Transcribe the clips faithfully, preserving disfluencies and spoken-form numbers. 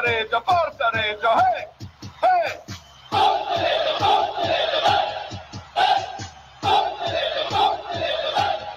Reggio, forza Reggio, eh! Eh! Forza Reggio, forza Reggio, eh! Forza Reggio, forza Reggio,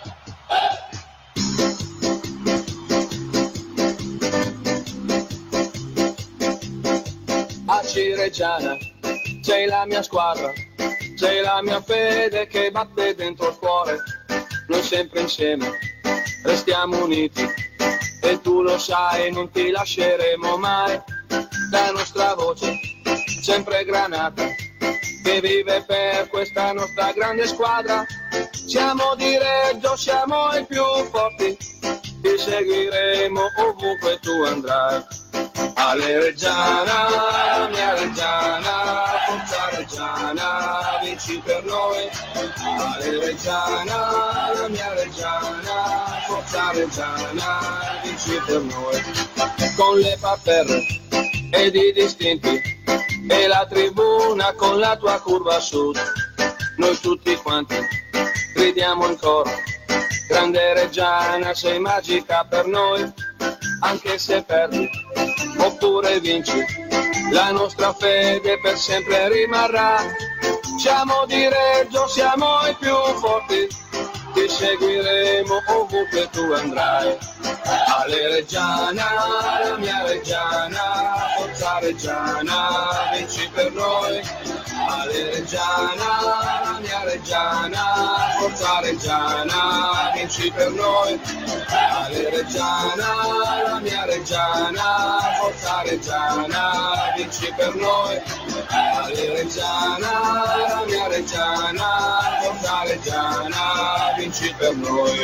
eh! A Cireggiana c'è la mia squadra, c'è la mia fede che batte dentro il cuore. Noi sempre insieme restiamo uniti e tu lo sai, non ti lasceremo mai. La nostra voce sempre granata che vive per questa nostra grande squadra. Siamo di Reggio, siamo i più forti, ti seguiremo ovunque tu andrai. Ale Reggiana, la mia Reggiana, forza Reggiana, vinci per noi. Ale Reggiana, la mia Reggiana, forza Reggiana, vinci per noi. Con le parterre ed i distinti e la tribuna con la tua curva a sud, noi tutti quanti gridiamo in coro. Grande Reggiana, sei magica per noi, anche se perdi oppure vinci, la nostra fede per sempre rimarrà. Siamo di Reggio, siamo i più forti, ti seguiremo ovunque tu andrai. Ale Reggiana, la mia Reggiana, forza Reggiana, vinci per noi. Ale Reggiana, la mia Reggiana, forza Reggiana, vinci per noi. Ale Reggiana, la mia Reggiana, forza Reggiana, vinci per noi. Ale Reggiana, la mia Reggiana, forza Reggiana, vinci per noi.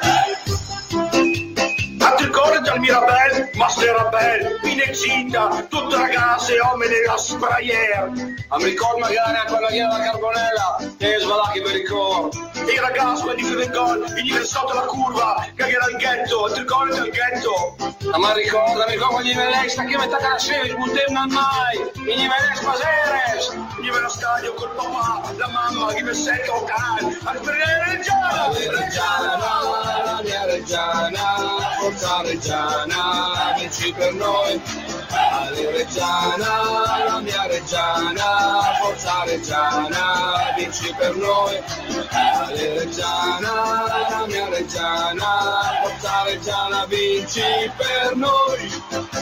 Tanto il cuore dal Mirabel, Master Rabel, Pinexita, tutte ragazze, uomini a sprayer. A mi ricordo magari a quella che era la carbonella, e svalacchi per il coro. E i ragazzi, quelli che del gol, venivano sotto la curva, che era il ghetto, il tricolore del ghetto. Ma ricorda, mi ricordo gli Veleix, che metà che la sera, il buttevano mai, gli Veleix Maseres, gli allo stadio col papà, la mamma, che mi sento locale, a riprendere Reggiana, Reggiana, la mia Reggiana, forza Reggiana, vinci per noi. Ale Reggiana, la mia Reggiana, forza Reggiana, vinci per noi. Ale Reggiana, la mia Reggiana, forza Reggiana, vinci per noi.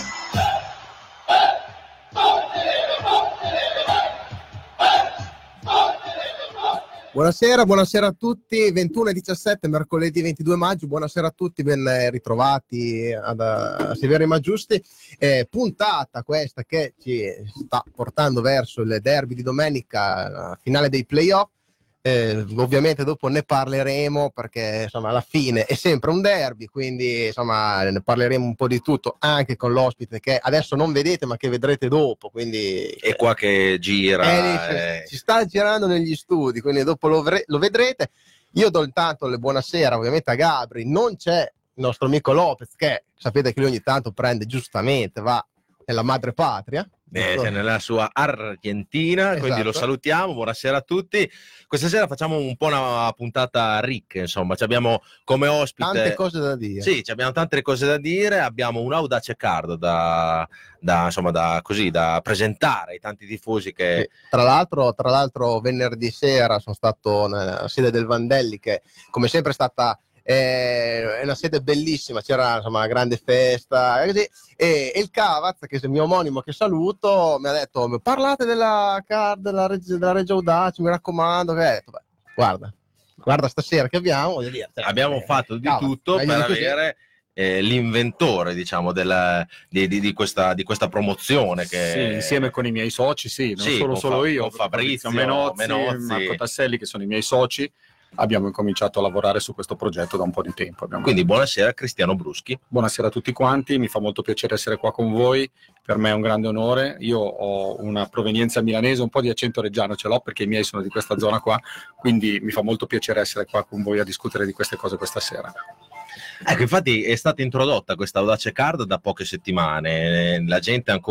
Buonasera, buonasera a tutti, ventuno e diciassette, mercoledì ventidue maggio, buonasera a tutti, ben ritrovati ad, a Severi Maggiusti, eh, puntata questa che ci sta portando verso il derby di domenica, la finale dei playoff. Eh, ovviamente dopo ne parleremo perché insomma alla fine è sempre un derby, quindi insomma ne parleremo un po' di tutto anche con l'ospite che adesso non vedete ma che vedrete dopo, quindi è qua che gira, eh, eh. ci sta girando negli studi, quindi dopo lo, vre- lo vedrete. Io do intanto le buonasera ovviamente a Gabri, non c'è il nostro amico Lopez che sapete che lui ogni tanto prende giustamente, va nella madre patria. Eh, nella sua Argentina, esatto. Quindi lo salutiamo, buonasera a tutti. Questa sera facciamo un po' una puntata ricca, insomma, ci abbiamo come ospite tante cose da dire. Sì, ci abbiamo tante cose da dire, abbiamo un Audace Card da, da, insomma, da, così, da presentare ai tanti tifosi che... Sì. Tra l'altro, tra l'altro venerdì sera sono stato nella sede del Vandelli che come sempre è stata... è una sede bellissima, c'era insomma una grande festa e, così. E, e il Cavaz, che è il mio omonimo che saluto, mi ha detto parlate della card della, Reg- della Reggio Audace, mi raccomando, che ho detto, beh, guarda guarda stasera che abbiamo voglio dire, abbiamo eh, fatto di Cavaz, tutto per così. avere eh, l'inventore diciamo della, di, di, di, questa, di questa promozione che sì, insieme con i miei soci, sì, non sì, solo solo fa- io, con Fabrizio Menozzi, Menozzi, Marco Tasselli, che sono i miei soci. Abbiamo incominciato a lavorare su questo progetto da un po' di tempo. Abbiamo... Quindi buonasera Cristiano Bruschi. Buonasera a tutti quanti, mi fa molto piacere essere qua con voi, per me è un grande onore. Io ho una provenienza milanese, un po' di accento reggiano ce l'ho perché i miei sono di questa zona qua, quindi mi fa molto piacere essere qua con voi a discutere di queste cose questa sera. Ecco, infatti è stata introdotta questa Audace Card da poche settimane, la gente ancora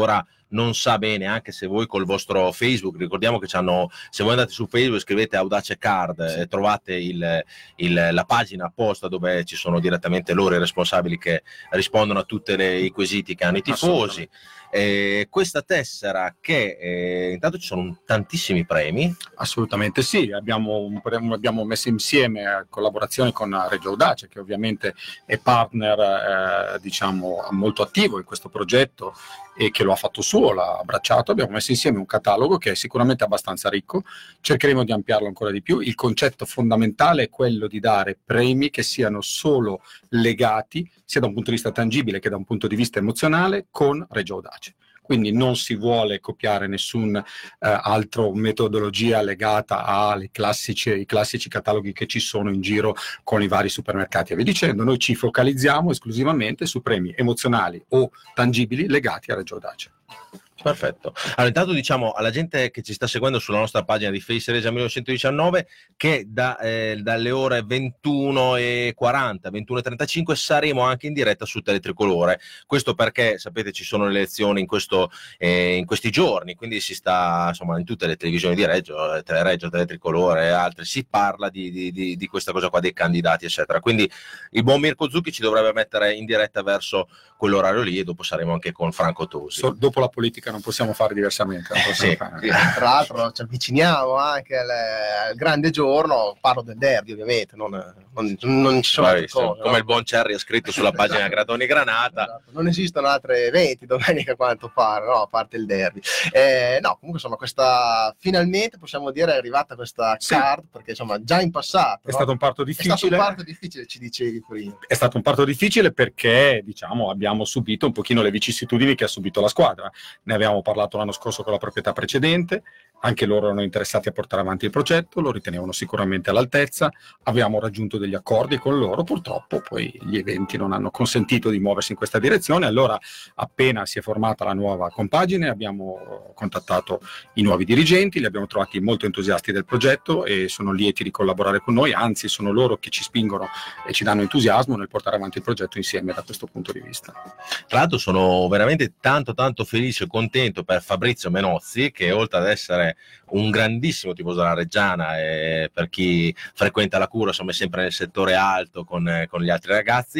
non sa bene, anche se voi col vostro Facebook, ricordiamo che c'hanno, se voi andate su Facebook scrivete Audace Card, sì. eh, trovate il, il, la pagina apposta dove ci sono direttamente loro i responsabili che rispondono a tutti i quesiti che hanno i tifosi. Eh, questa tessera che eh, intanto ci sono tantissimi premi. Assolutamente sì, abbiamo, un, abbiamo messo insieme a collaborazione con Reggio Audace, che ovviamente è partner eh, diciamo molto attivo in questo progetto e che lo ha fatto suo, l'ha abbracciato. Abbiamo messo insieme un catalogo che è sicuramente abbastanza ricco, cercheremo di ampliarlo ancora di più. Il concetto fondamentale è quello di dare premi che siano solo legati, sia da un punto di vista tangibile che da un punto di vista emozionale, con Reggio Audace. Quindi non si vuole copiare nessun eh, altro metodologia legata ai classici, ai classici cataloghi che ci sono in giro con i vari supermercati e via dicendo. Noi ci focalizziamo esclusivamente su premi emozionali o tangibili legati a Reggio Audace. Perfetto. Allora, intanto diciamo alla gente che ci sta seguendo sulla nostra pagina di Face Regia millenovecentodiciannove che da, eh, dalle ore ventuno e quaranta, ventuno e trentacinque saremo anche in diretta su Teletricolore. Questo perché, sapete, ci sono le elezioni in, questo, eh, in questi giorni, quindi si sta, insomma, in tutte le televisioni di Reggio, Telereggio, Teletricolore e altre, si parla di, di, di, di questa cosa qua, dei candidati, eccetera. Quindi il buon Mirko Zucchi ci dovrebbe mettere in diretta verso quell'orario lì e dopo saremo anche con Franco Tosi. So, dopo la politica non possiamo fare diversamente. Non possiamo sì, fare. Sì, tra l'altro ci avviciniamo anche al, al grande giorno, parlo del derby ovviamente, non, non, non ci sono altre cose, come no? Il buon Cherry ha scritto sulla pagina Gradoni Granata. Esatto. Non esistono altri eventi domenica a quanto pare, no? A parte il derby. Eh, no, comunque insomma questa finalmente possiamo dire è arrivata questa sì. card, perché insomma già in passato è no? stato un parto difficile. È stato un parto difficile, ci dicevi prima. È stato un parto difficile perché diciamo abbiamo subito un pochino le vicissitudini che ha subito la squadra. Ne avevamo parlato l'anno scorso con la proprietà precedente, anche loro erano interessati a portare avanti il progetto, lo ritenevano sicuramente all'altezza, avevamo raggiunto degli accordi con loro, purtroppo poi gli eventi non hanno consentito di muoversi in questa direzione. Allora appena si è formata la nuova compagine abbiamo contattato i nuovi dirigenti, li abbiamo trovati molto entusiasti del progetto e sono lieti di collaborare con noi, anzi sono loro che ci spingono e ci danno entusiasmo nel portare avanti il progetto insieme da questo punto di vista. Tra l'altro sono veramente tanto tanto felice e contento per Fabrizio Menozzi, che oltre ad essere un grandissimo tifoso della Reggiana e per chi frequenta la Cura insomma è sempre nel settore alto con, con gli altri ragazzi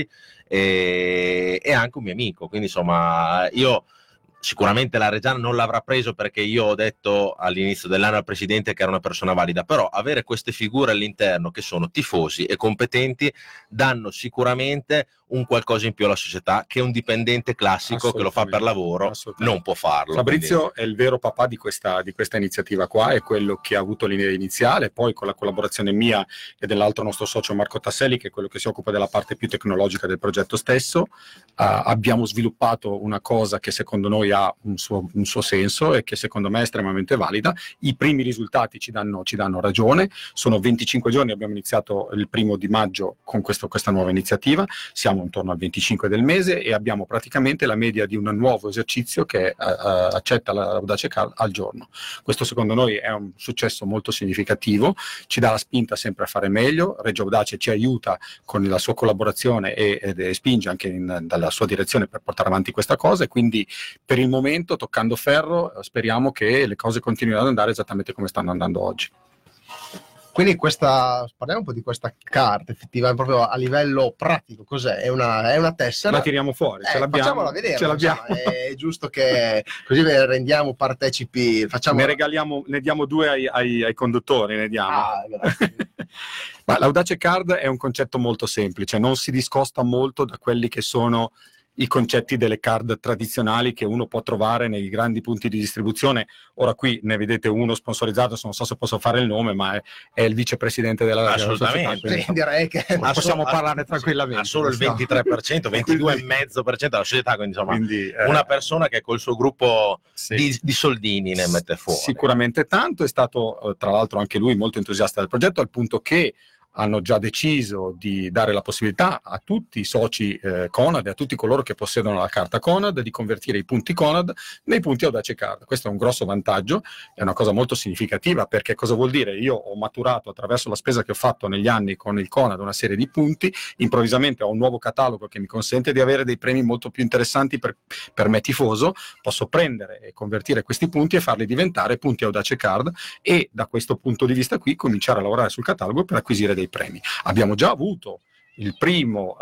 e, e anche un mio amico, quindi insomma io sicuramente la Reggiana non l'avrà preso perché io ho detto all'inizio dell'anno al presidente che era una persona valida, però avere queste figure all'interno che sono tifosi e competenti danno sicuramente un qualcosa in più alla società che un dipendente classico che lo fa per lavoro non può farlo. Fabrizio quindi... è il vero papà di questa, di questa iniziativa qua, è quello che ha avuto l'idea iniziale, poi con la collaborazione mia e dell'altro nostro socio Marco Tasselli, che è quello che si occupa della parte più tecnologica del progetto stesso, uh, abbiamo sviluppato una cosa che secondo noi ha un suo, un suo senso e che secondo me è estremamente valida. I primi risultati ci danno, ci danno ragione, sono venticinque giorni, abbiamo iniziato il primo di maggio con questo, questa nuova iniziativa, siamo intorno al venticinque del mese e abbiamo praticamente la media di un nuovo esercizio che uh, uh, accetta la Audace Card al giorno. Questo secondo noi è un successo molto significativo, ci dà la spinta sempre a fare meglio. Reggio Audace ci aiuta con la sua collaborazione e, e, e spinge anche in, dalla sua direzione per portare avanti questa cosa, e quindi per il momento, toccando ferro, speriamo che le cose continuino ad andare esattamente come stanno andando oggi. Quindi questa, parliamo un po' di questa carta effettiva, proprio a livello pratico, cos'è? È una, è una tessera? La tiriamo fuori, eh, ce l'abbiamo. Facciamola vedere, ce l'abbiamo. Insomma, è giusto che così ve rendiamo partecipi. Facciamo... Ne regaliamo, ne diamo due ai, ai, ai conduttori, ne diamo. Ah, Ma l'Audace Card è un concetto molto semplice, non si discosta molto da quelli che sono i concetti delle card tradizionali che uno può trovare nei grandi punti di distribuzione. Ora qui ne vedete uno sponsorizzato, non so se posso fare il nome, ma è, è il vicepresidente della assolutamente società, sì, direi che insomma, possiamo solo, parlarne tranquillamente. Ha solo il ventitré per cento, ventidue virgola cinque per cento della società, quindi insomma quindi, eh, una persona che col suo gruppo sì. di, di soldini ne mette fuori. Sicuramente tanto, è stato tra l'altro anche lui molto entusiasta del progetto, al punto che hanno già deciso di dare la possibilità a tutti i soci eh, Conad e a tutti coloro che possiedono la carta Conad di convertire i punti Conad nei punti Audace Card. Questo è un grosso vantaggio, è una cosa molto significativa, perché cosa vuol dire? Io ho maturato attraverso la spesa che ho fatto negli anni con il Conad una serie di punti, improvvisamente ho un nuovo catalogo che mi consente di avere dei premi molto più interessanti per, per me tifoso, posso prendere e convertire questi punti e farli diventare punti Audace Card e da questo punto di vista qui cominciare a lavorare sul catalogo per acquisire dei premi. Abbiamo già avuto il primo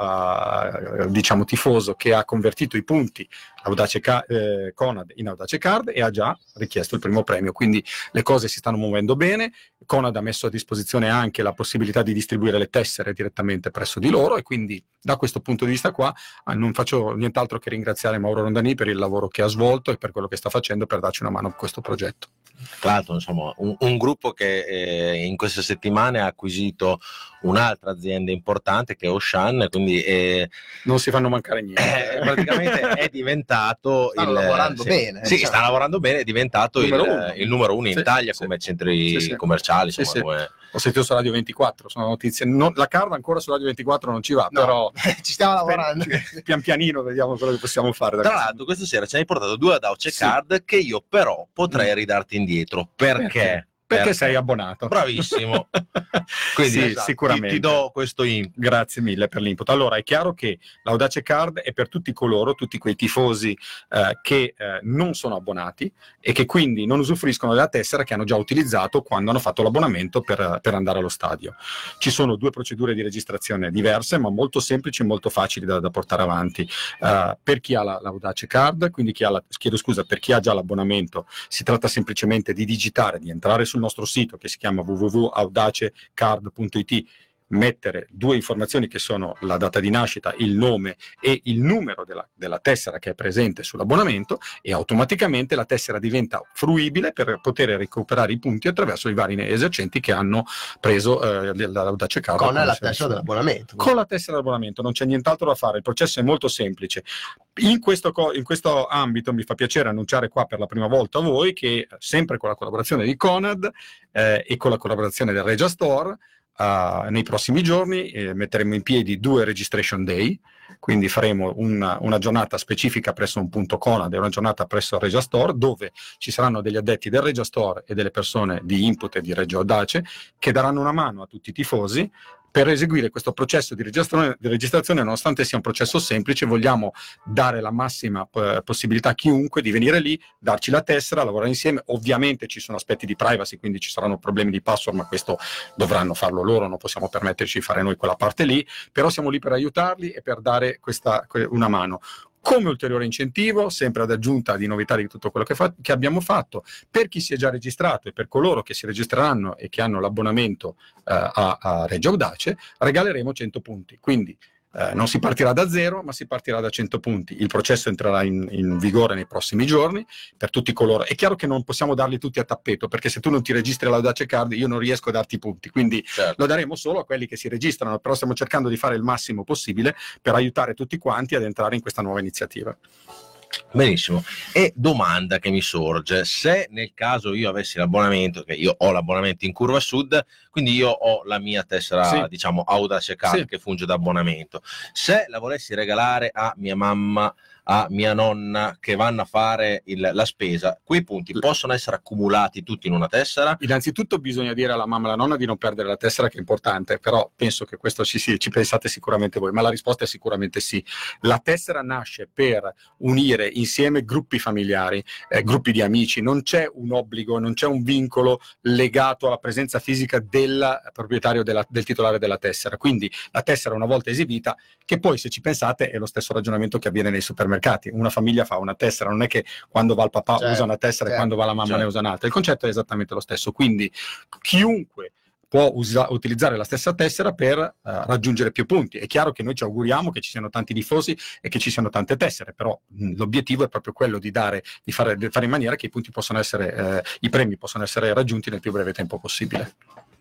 uh, diciamo tifoso che ha convertito i punti Audace Ca- eh, Conad in Audace Card e ha già richiesto il primo premio, quindi le cose si stanno muovendo bene. Conad ha messo a disposizione anche la possibilità di distribuire le tessere direttamente presso di loro, e quindi da questo punto di vista qua eh, non faccio nient'altro che ringraziare Mauro Rondani per il lavoro che ha svolto e per quello che sta facendo per darci una mano in questo progetto. Tra l'altro, insomma, un, un gruppo che eh, in queste settimane ha acquisito un'altra azienda importante che è Auchan, quindi eh, non si fanno mancare niente. Eh, praticamente è diventato stanno il, lavorando sì, bene. Sì, diciamo. sta lavorando bene, è diventato il, Numero il numero uno in Sì, Italia sì. come centri Sì, sì. commerciali. Sì, Insomma, sì. come... Ho sentito su Radio ventiquattro, sono notizie. Non, la card ancora su Radio ventiquattro non ci va, No, però ci stiamo lavorando. pian pianino vediamo quello che possiamo fare. Da Tra questo. l'altro questa sera ci hai portato due Audace Sì. Card che io però potrei Mm. ridarti indietro. Perché? Perché? Perché sei abbonato. Bravissimo. Quindi sì, esatto, sicuramente. Ti, ti do questo input. Grazie mille per l'input. Allora, è chiaro che l'Audace Card è per tutti coloro, tutti quei tifosi eh, che eh, non sono abbonati e che quindi non usufruiscono della tessera che hanno già utilizzato quando hanno fatto l'abbonamento per, per andare allo stadio. Ci sono due procedure di registrazione diverse, ma molto semplici e molto facili da, da portare avanti. Uh, per chi ha la, l'Audace Card, quindi chi ha la, chiedo scusa, per chi ha già l'abbonamento, si tratta semplicemente di digitare, di entrare sul nostro sito che si chiama w w w punto audace card punto i t, mettere due informazioni che sono la data di nascita, il nome e il numero della, della tessera che è presente sull'abbonamento, e automaticamente la tessera diventa fruibile per poter recuperare i punti attraverso i vari esercenti che hanno preso eh, l'Audace Card Con la tessera dell'abbonamento. Con la tessera dell'abbonamento non c'è nient'altro da fare, il processo è molto semplice. In questo, co- in questo ambito mi fa piacere annunciare qua per la prima volta a voi che sempre con la collaborazione di Conad eh, e con la collaborazione del Regia Store, Uh, nei prossimi giorni eh, metteremo in piedi due registration day, quindi faremo una, una giornata specifica presso un punto Conad e una giornata presso il Regia Store, dove ci saranno degli addetti del Regia Store e delle persone di Input e di Reggio Audace che daranno una mano a tutti i tifosi per eseguire questo processo di registrazione, di registrazione. Nonostante sia un processo semplice, vogliamo dare la massima eh, possibilità a chiunque di venire lì, darci la tessera, lavorare insieme. Ovviamente ci sono aspetti di privacy, quindi ci saranno problemi di password, ma questo dovranno farlo loro, non possiamo permetterci di fare noi quella parte lì, però siamo lì per aiutarli e per dare questa, una mano. Come ulteriore incentivo, sempre ad aggiunta di novità di tutto quello che, fa- che abbiamo fatto, per chi si è già registrato e per coloro che si registreranno e che hanno l'abbonamento eh, a, a Reggio Audace, regaleremo cento punti. Quindi eh, non si partirà da zero, ma si partirà da cento punti. Il processo entrerà in, in vigore nei prossimi giorni per tutti coloro. È chiaro che non possiamo darli tutti a tappeto, perché se tu non ti registri all'Audace Card io non riesco a darti i punti, quindi Certo. lo daremo solo a quelli che si registrano, però stiamo cercando di fare il massimo possibile per aiutare tutti quanti ad entrare in questa nuova iniziativa. Benissimo. E domanda che mi sorge: se nel caso io avessi l'abbonamento, che io ho l'abbonamento in Curva Sud, quindi io ho la mia tessera, Sì. diciamo Audace Card, Sì. che funge da abbonamento, se la volessi regalare a mia mamma, a mia nonna che vanno a fare il, la spesa, quei punti possono essere accumulati tutti in una tessera? Innanzitutto bisogna dire alla mamma e alla nonna di non perdere la tessera, che è importante, però penso che questo ci, ci pensate sicuramente voi, ma la risposta è sicuramente sì. La tessera nasce per unire insieme gruppi familiari, eh, gruppi di amici, non c'è un obbligo, non c'è un vincolo legato alla presenza fisica del proprietario della, del titolare della tessera, quindi la tessera una volta esibita, che poi se ci pensate è lo stesso ragionamento che avviene nei supermercati. Una famiglia fa una tessera, non è che quando va il papà Certo, usa una tessera certo, e quando va la mamma certo. ne usa un'altra. Il concetto è esattamente lo stesso, quindi chiunque può usa- utilizzare la stessa tessera per uh, raggiungere più punti. È chiaro che noi ci auguriamo che ci siano tanti tifosi e che ci siano tante tessere, però mh, l'obiettivo è proprio quello di dare, di fare, di fare in maniera che i punti possano essere, eh, i premi possano essere raggiunti nel più breve tempo possibile.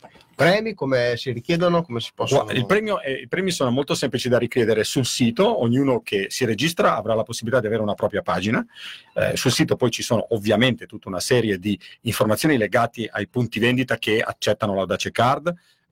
Premi come si richiedono, come si possono... Il premio è, I premi sono molto semplici da richiedere sul sito. Ognuno che si registra avrà la possibilità di avere una propria pagina. Eh, sul sito poi ci sono ovviamente tutta una serie di informazioni legate ai punti vendita che accettano l'Audace Card,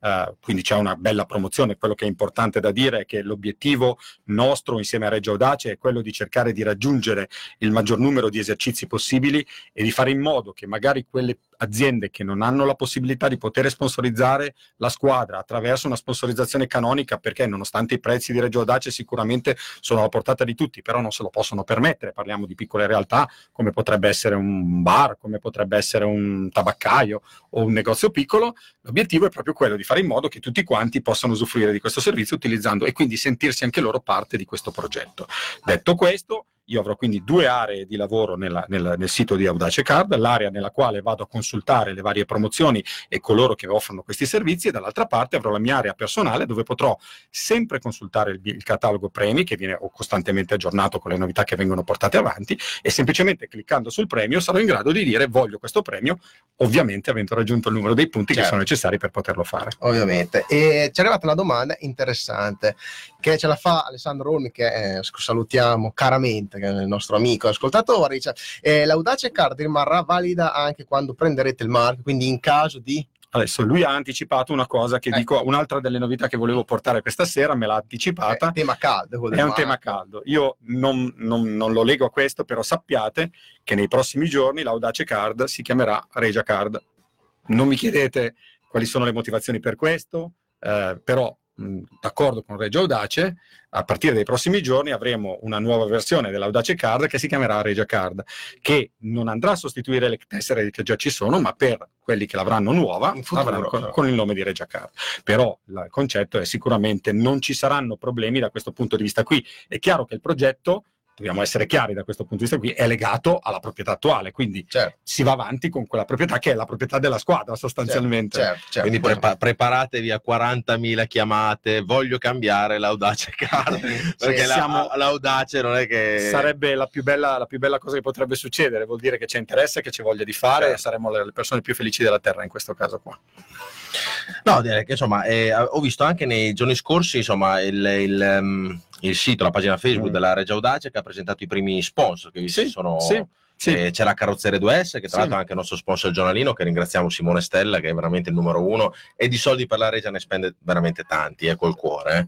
Uh, quindi c'è una bella promozione. Quello che è importante da dire è che l'obiettivo nostro insieme a Reggio Audace è quello di cercare di raggiungere il maggior numero di esercizi possibili e di fare in modo che magari quelle aziende che non hanno la possibilità di poter sponsorizzare la squadra attraverso una sponsorizzazione canonica, perché nonostante i prezzi di Reggio Audace sicuramente sono alla portata di tutti, però non se lo possono permettere, parliamo di piccole realtà come potrebbe essere un bar, come potrebbe essere un tabaccaio o un negozio piccolo, l'obiettivo è proprio quello di fare in modo che tutti quanti possano usufruire di questo servizio utilizzando e quindi sentirsi anche loro parte di questo progetto. Detto questo, io avrò quindi due aree di lavoro nella, nel, nel sito di Audace Card, l'area nella quale vado a consultare le varie promozioni e coloro che offrono questi servizi, e dall'altra parte avrò la mia area personale dove potrò sempre consultare il, il catalogo premi che viene costantemente aggiornato con le novità che vengono portate avanti, e semplicemente cliccando sul premio sarò in grado di dire voglio questo premio, ovviamente avendo raggiunto il numero dei punti certo. che sono necessari per poterlo fare. Ovviamente. E ci è arrivata una domanda interessante che ce la fa Alessandro Olmi, che eh, salutiamo caramente, che è il nostro amico ascoltatore. Dice, eh, l'Audace Card rimarrà valida anche quando prenderete il marchio, quindi in caso di... Adesso lui ha anticipato una cosa che ecco. dico, un'altra delle novità che volevo portare questa sera, me l'ha anticipata. È tema caldo. È un tema caldo. Io non, non, non lo leggo a questo, però sappiate che nei prossimi giorni l'Audace Card si chiamerà Regia Card. Non mi chiedete quali sono le motivazioni per questo, eh, però mh, d'accordo con Reggio Audace, a partire dai prossimi giorni avremo una nuova versione dell'Audace Card che si chiamerà Regia Card, che non andrà a sostituire le tessere che già ci sono, ma per quelli che l'avranno nuova avranno con, con il nome di Regia Card. Però il concetto è sicuramente non ci saranno problemi da questo punto di vista qui. È chiaro che il progetto, dobbiamo essere chiari da questo punto di vista qui, è legato alla proprietà attuale, quindi certo. si va avanti con quella proprietà che è la proprietà della squadra sostanzialmente. Certo, certo, certo. Quindi prepa- preparatevi a quarantamila chiamate, voglio cambiare l'Audace Card, perché sì, la, siamo, l'Audace non è che... Sarebbe la più, bella, la più bella cosa che potrebbe succedere, vuol dire che c'è interesse, che c'è voglia di fare, certo. e saremo le, le persone più felici della terra in questo caso qua. No, direi che insomma, eh, ho visto anche nei giorni scorsi insomma il... il um... il sito, la pagina Facebook mm. della Regia Audace, che ha presentato i primi sponsor che sì, sono sì, sì. Eh, c'è la Carrozzeria due S, che tra sì. l'altro è anche il nostro sponsor giornalino, che ringraziamo, Simone Stella, che è veramente il numero uno e di soldi per la Regia ne spende veramente tanti, eh, col cuore.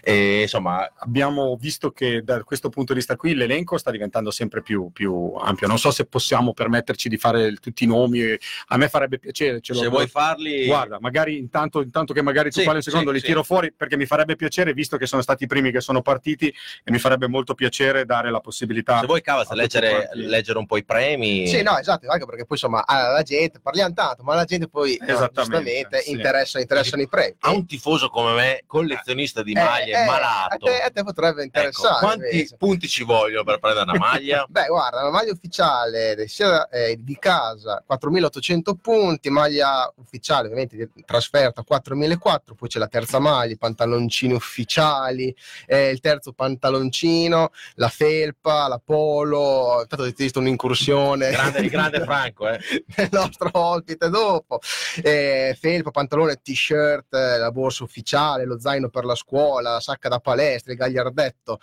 E insomma abbiamo visto che da questo punto di vista qui l'elenco sta diventando sempre più, più ampio. Non so se possiamo permetterci di fare tutti i nomi, a me farebbe piacere. Ce se lo, vuoi farli, guarda, magari intanto, intanto che magari tu sì, parli un secondo, sì, li sì. tiro fuori, perché mi farebbe piacere, visto che sono stati i primi che sono partiti, e mi farebbe molto piacere dare la possibilità. Se vuoi Cavaz, leggere, leggere un po' i premi. Sì, no, esatto, anche perché poi insomma la gente, parliamo tanto, ma la gente poi no, giustamente sì. interessa, interessano i premi. A un tifoso come me, collezionista di maglie, eh, eh, malato, a te, a te potrebbe interessare. Ecco, quanti invece. punti ci vogliono per prendere una maglia? Beh, guarda, la maglia ufficiale sia eh, di casa quattromilaottocento punti, maglia ufficiale ovviamente di trasferta quattromilaquattrocento, poi c'è la terza maglia, i pantaloncini ufficiali, eh, il terzo pantaloncino, la felpa, la polo, intanto ho visto un'incursione grande, di grande Franco eh. del nostro ospite dopo, eh, felpa, pantalone, t-shirt, la borsa ufficiale, lo zaino per la scuola, la sacca da palestra, il gagliardetto,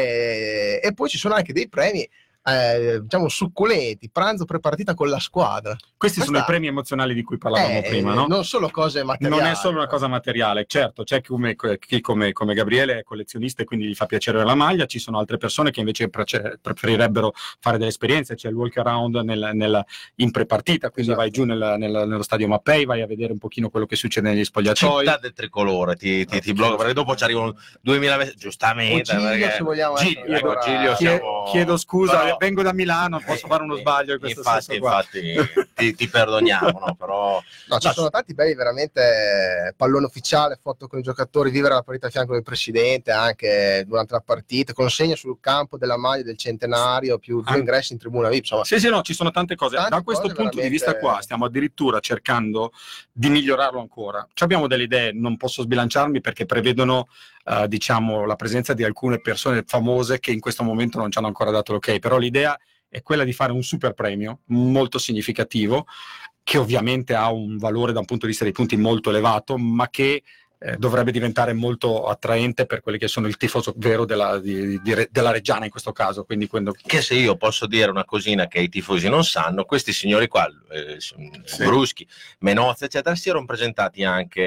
eh, e poi ci sono anche dei premi Eh, diciamo succulenti, pranzo prepartita con la squadra. Questi Questa... sono i premi emozionali di cui parlavamo eh, prima, no? Non solo cose materiali. Non è solo una cosa materiale, certo, c'è chi come, chi come, come Gabriele è collezionista e quindi gli fa piacere la maglia, ci sono altre persone che invece pre- preferirebbero fare delle esperienze, c'è il walk around nel, nel, in prepartita, quindi esatto. vai giù nel, nel, nello stadio Mappei, vai a vedere un pochino quello che succede negli spogliatoi. Città del tricolore, ti, ti, ti blocco, perché dopo ci arrivano duemila giustamente. Giglio, perché... se vogliamo Giglio, ecco, Giglio, siamo... chiedo scusa, però... vengo da Milano, posso eh, fare uno sbaglio in questo infatti, senso qua. infatti ti, ti perdoniamo, no? Però no, ci no, sono tanti belli veramente, pallone ufficiale, foto con i giocatori, vivere la partita a fianco del presidente anche durante la partita, consegna sul campo della maglia del centenario, più due ingressi in tribuna V I P, insomma. Sì, sì, no, ci sono tante cose. Tante da questo cose punto veramente... di vista qua stiamo addirittura cercando di migliorarlo ancora. Ci abbiamo delle idee, non posso sbilanciarmi perché prevedono uh, diciamo la presenza di alcune persone famose che in questo momento non ci hanno ancora dato l'ok, però l'idea è quella di fare un super premio molto significativo, che ovviamente ha un valore da un punto di vista dei punti molto elevato, ma che eh, dovrebbe diventare molto attraente per quelli che sono il tifoso vero della, di, di, della Reggiana in questo caso. Quindi quando... Che se io posso dire una cosina che i tifosi non sanno, questi signori qua, eh, sì. Bruschi, Menozzi, eccetera, si erano presentati anche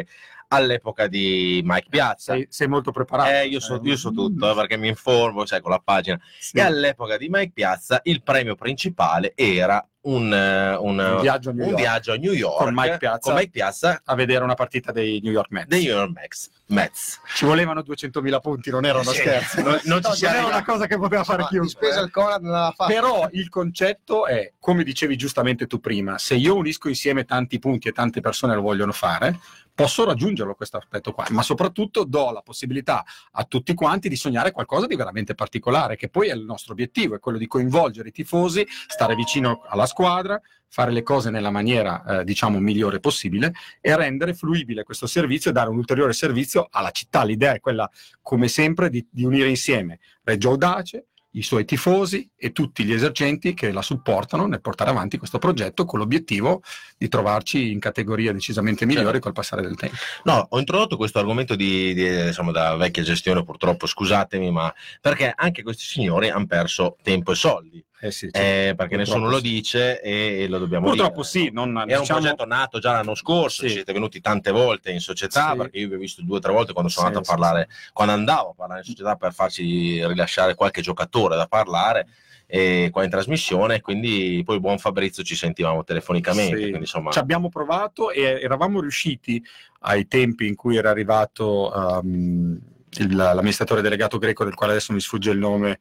all'epoca di Mike Piazza. Sei, sei molto preparato. Eh, io, so, io so tutto, eh, perché mi informo, sai, con la pagina. Sì. E all'epoca di Mike Piazza il premio principale era un, un, un, viaggio, a New un York. viaggio a New York con Mike, Piazza, con Mike Piazza a vedere una partita dei New York Mets. Dei New York Mets. Mets. Ci volevano duecentomila punti, non era uno sì. scherzo. Non, non, ci non era una cosa che poteva fare chiunque. Il Conad non l'aveva fatto. Però il concetto è, come dicevi giustamente tu prima, se io unisco insieme tanti punti e tante persone lo vogliono fare, posso raggiungerlo questo aspetto qua, ma soprattutto do la possibilità a tutti quanti di sognare qualcosa di veramente particolare, che poi è il nostro obiettivo, è quello di coinvolgere i tifosi, stare vicino alla squadra, fare le cose nella maniera eh, diciamo migliore possibile e rendere fruibile questo servizio e dare un ulteriore servizio alla città. L'idea è quella, come sempre, di, di unire insieme Reggio Audace, i suoi tifosi e tutti gli esercenti che la supportano nel portare avanti questo progetto, con l'obiettivo di trovarci in categorie decisamente migliori certo. col passare del tempo. No, ho introdotto questo argomento di, di diciamo da vecchia gestione, purtroppo, scusatemi, ma perché anche questi signori hanno perso tempo e soldi. Eh sì, eh, perché nessuno sì. lo dice e lo dobbiamo purtroppo dire. Sì, non, era diciamo... un progetto nato già l'anno scorso, sì. siete venuti tante volte in società, sì. perché io vi ho visto due o tre volte quando sono sì, andato a parlare, sì. quando andavo a parlare in società per farci rilasciare qualche giocatore da parlare e qua in trasmissione, quindi poi buon Fabrizio ci sentivamo telefonicamente. Sì. Quindi, insomma... Ci abbiamo provato e eravamo riusciti ai tempi in cui era arrivato um, il, l'amministratore delegato greco, del quale adesso mi sfugge il nome,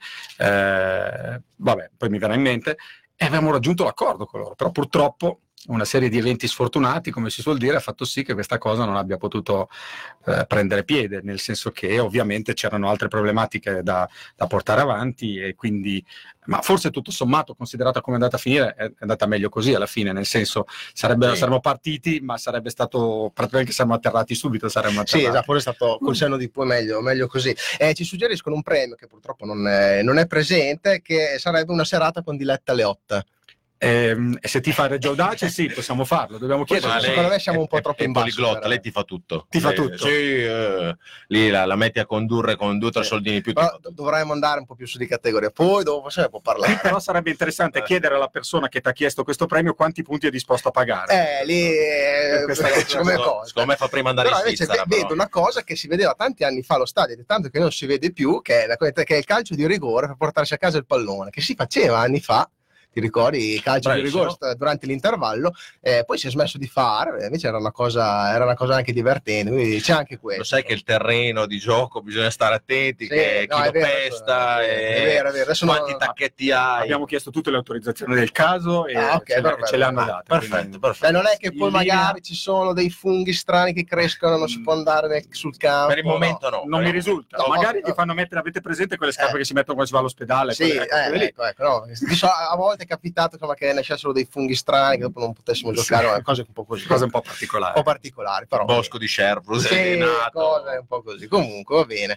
eh, vabbè, poi mi verrà in mente, e avevamo raggiunto l'accordo con loro, però purtroppo una serie di eventi sfortunati, come si suol dire, ha fatto sì che questa cosa non abbia potuto eh, prendere piede, nel senso che ovviamente c'erano altre problematiche da, da portare avanti e quindi, ma forse tutto sommato, considerata come è andata a finire, è andata meglio così alla fine, nel senso sarebbe, sì. saremmo partiti, ma sarebbe stato praticamente che siamo atterrati subito, saremmo atterrati. Sì, esatto, forse è stato col senno di poi meglio, meglio così. Eh, ci suggeriscono un premio che purtroppo non è, non è presente, che sarebbe una serata con Diletta Leotta. E eh, se ti fa Reggio Audace sì, possiamo farlo, dobbiamo chiedere. Lei, secondo me siamo un po' troppo in basso. Poliglotta, lei ti fa tutto. Ti fa lei, tutto. Sì, eh, lì la, la metti a condurre con due o tre sì. soldini più. Però dovremmo andare un po' più su di categoria, poi dopo se ne può parlare. Sì, però sarebbe interessante eh. chiedere alla persona che ti ha chiesto questo premio quanti punti è disposto a pagare. Eh, lì eh, come cosa. Secondo me fa prima andare però in Svizzera. Invece vedo una cosa che si vedeva tanti anni fa allo stadio, ed è tanto che non si vede più, che è, la, che è il calcio di rigore per portarsi a casa il pallone, che si faceva anni fa. Ti ricordi il calcio di rigore durante l'intervallo, eh, poi si è smesso di fare, invece era una cosa, era una cosa anche divertente, quindi c'è anche questo. Lo sai che il terreno di gioco bisogna stare attenti, sì, che no, chi lo vero, pesta, è e vero, è vero. quanti non... tacchetti hai. Abbiamo chiesto tutte le autorizzazioni del caso e ah, okay, ce, perfetto, ce le hanno date. Perfetto, quindi... perfetto. Beh, non è che poi magari linea... ci sono dei funghi strani che crescono, non si può andare nel, sul campo. Per il momento no. no non mi risulta. No, magari no. Ti fanno mettere, avete presente quelle scarpe eh. che si mettono quando si va all'ospedale? Sì, quelle, ecco, eh, ecco, ecco, no. A volte è capitato insomma, che nascessero dei funghi strani che dopo non potessimo giocare, sì. cose un po' così, cose un po' particolari, un po' particolari, però bosco di Sherbrooke, sì, cose un po' così. Comunque va bene.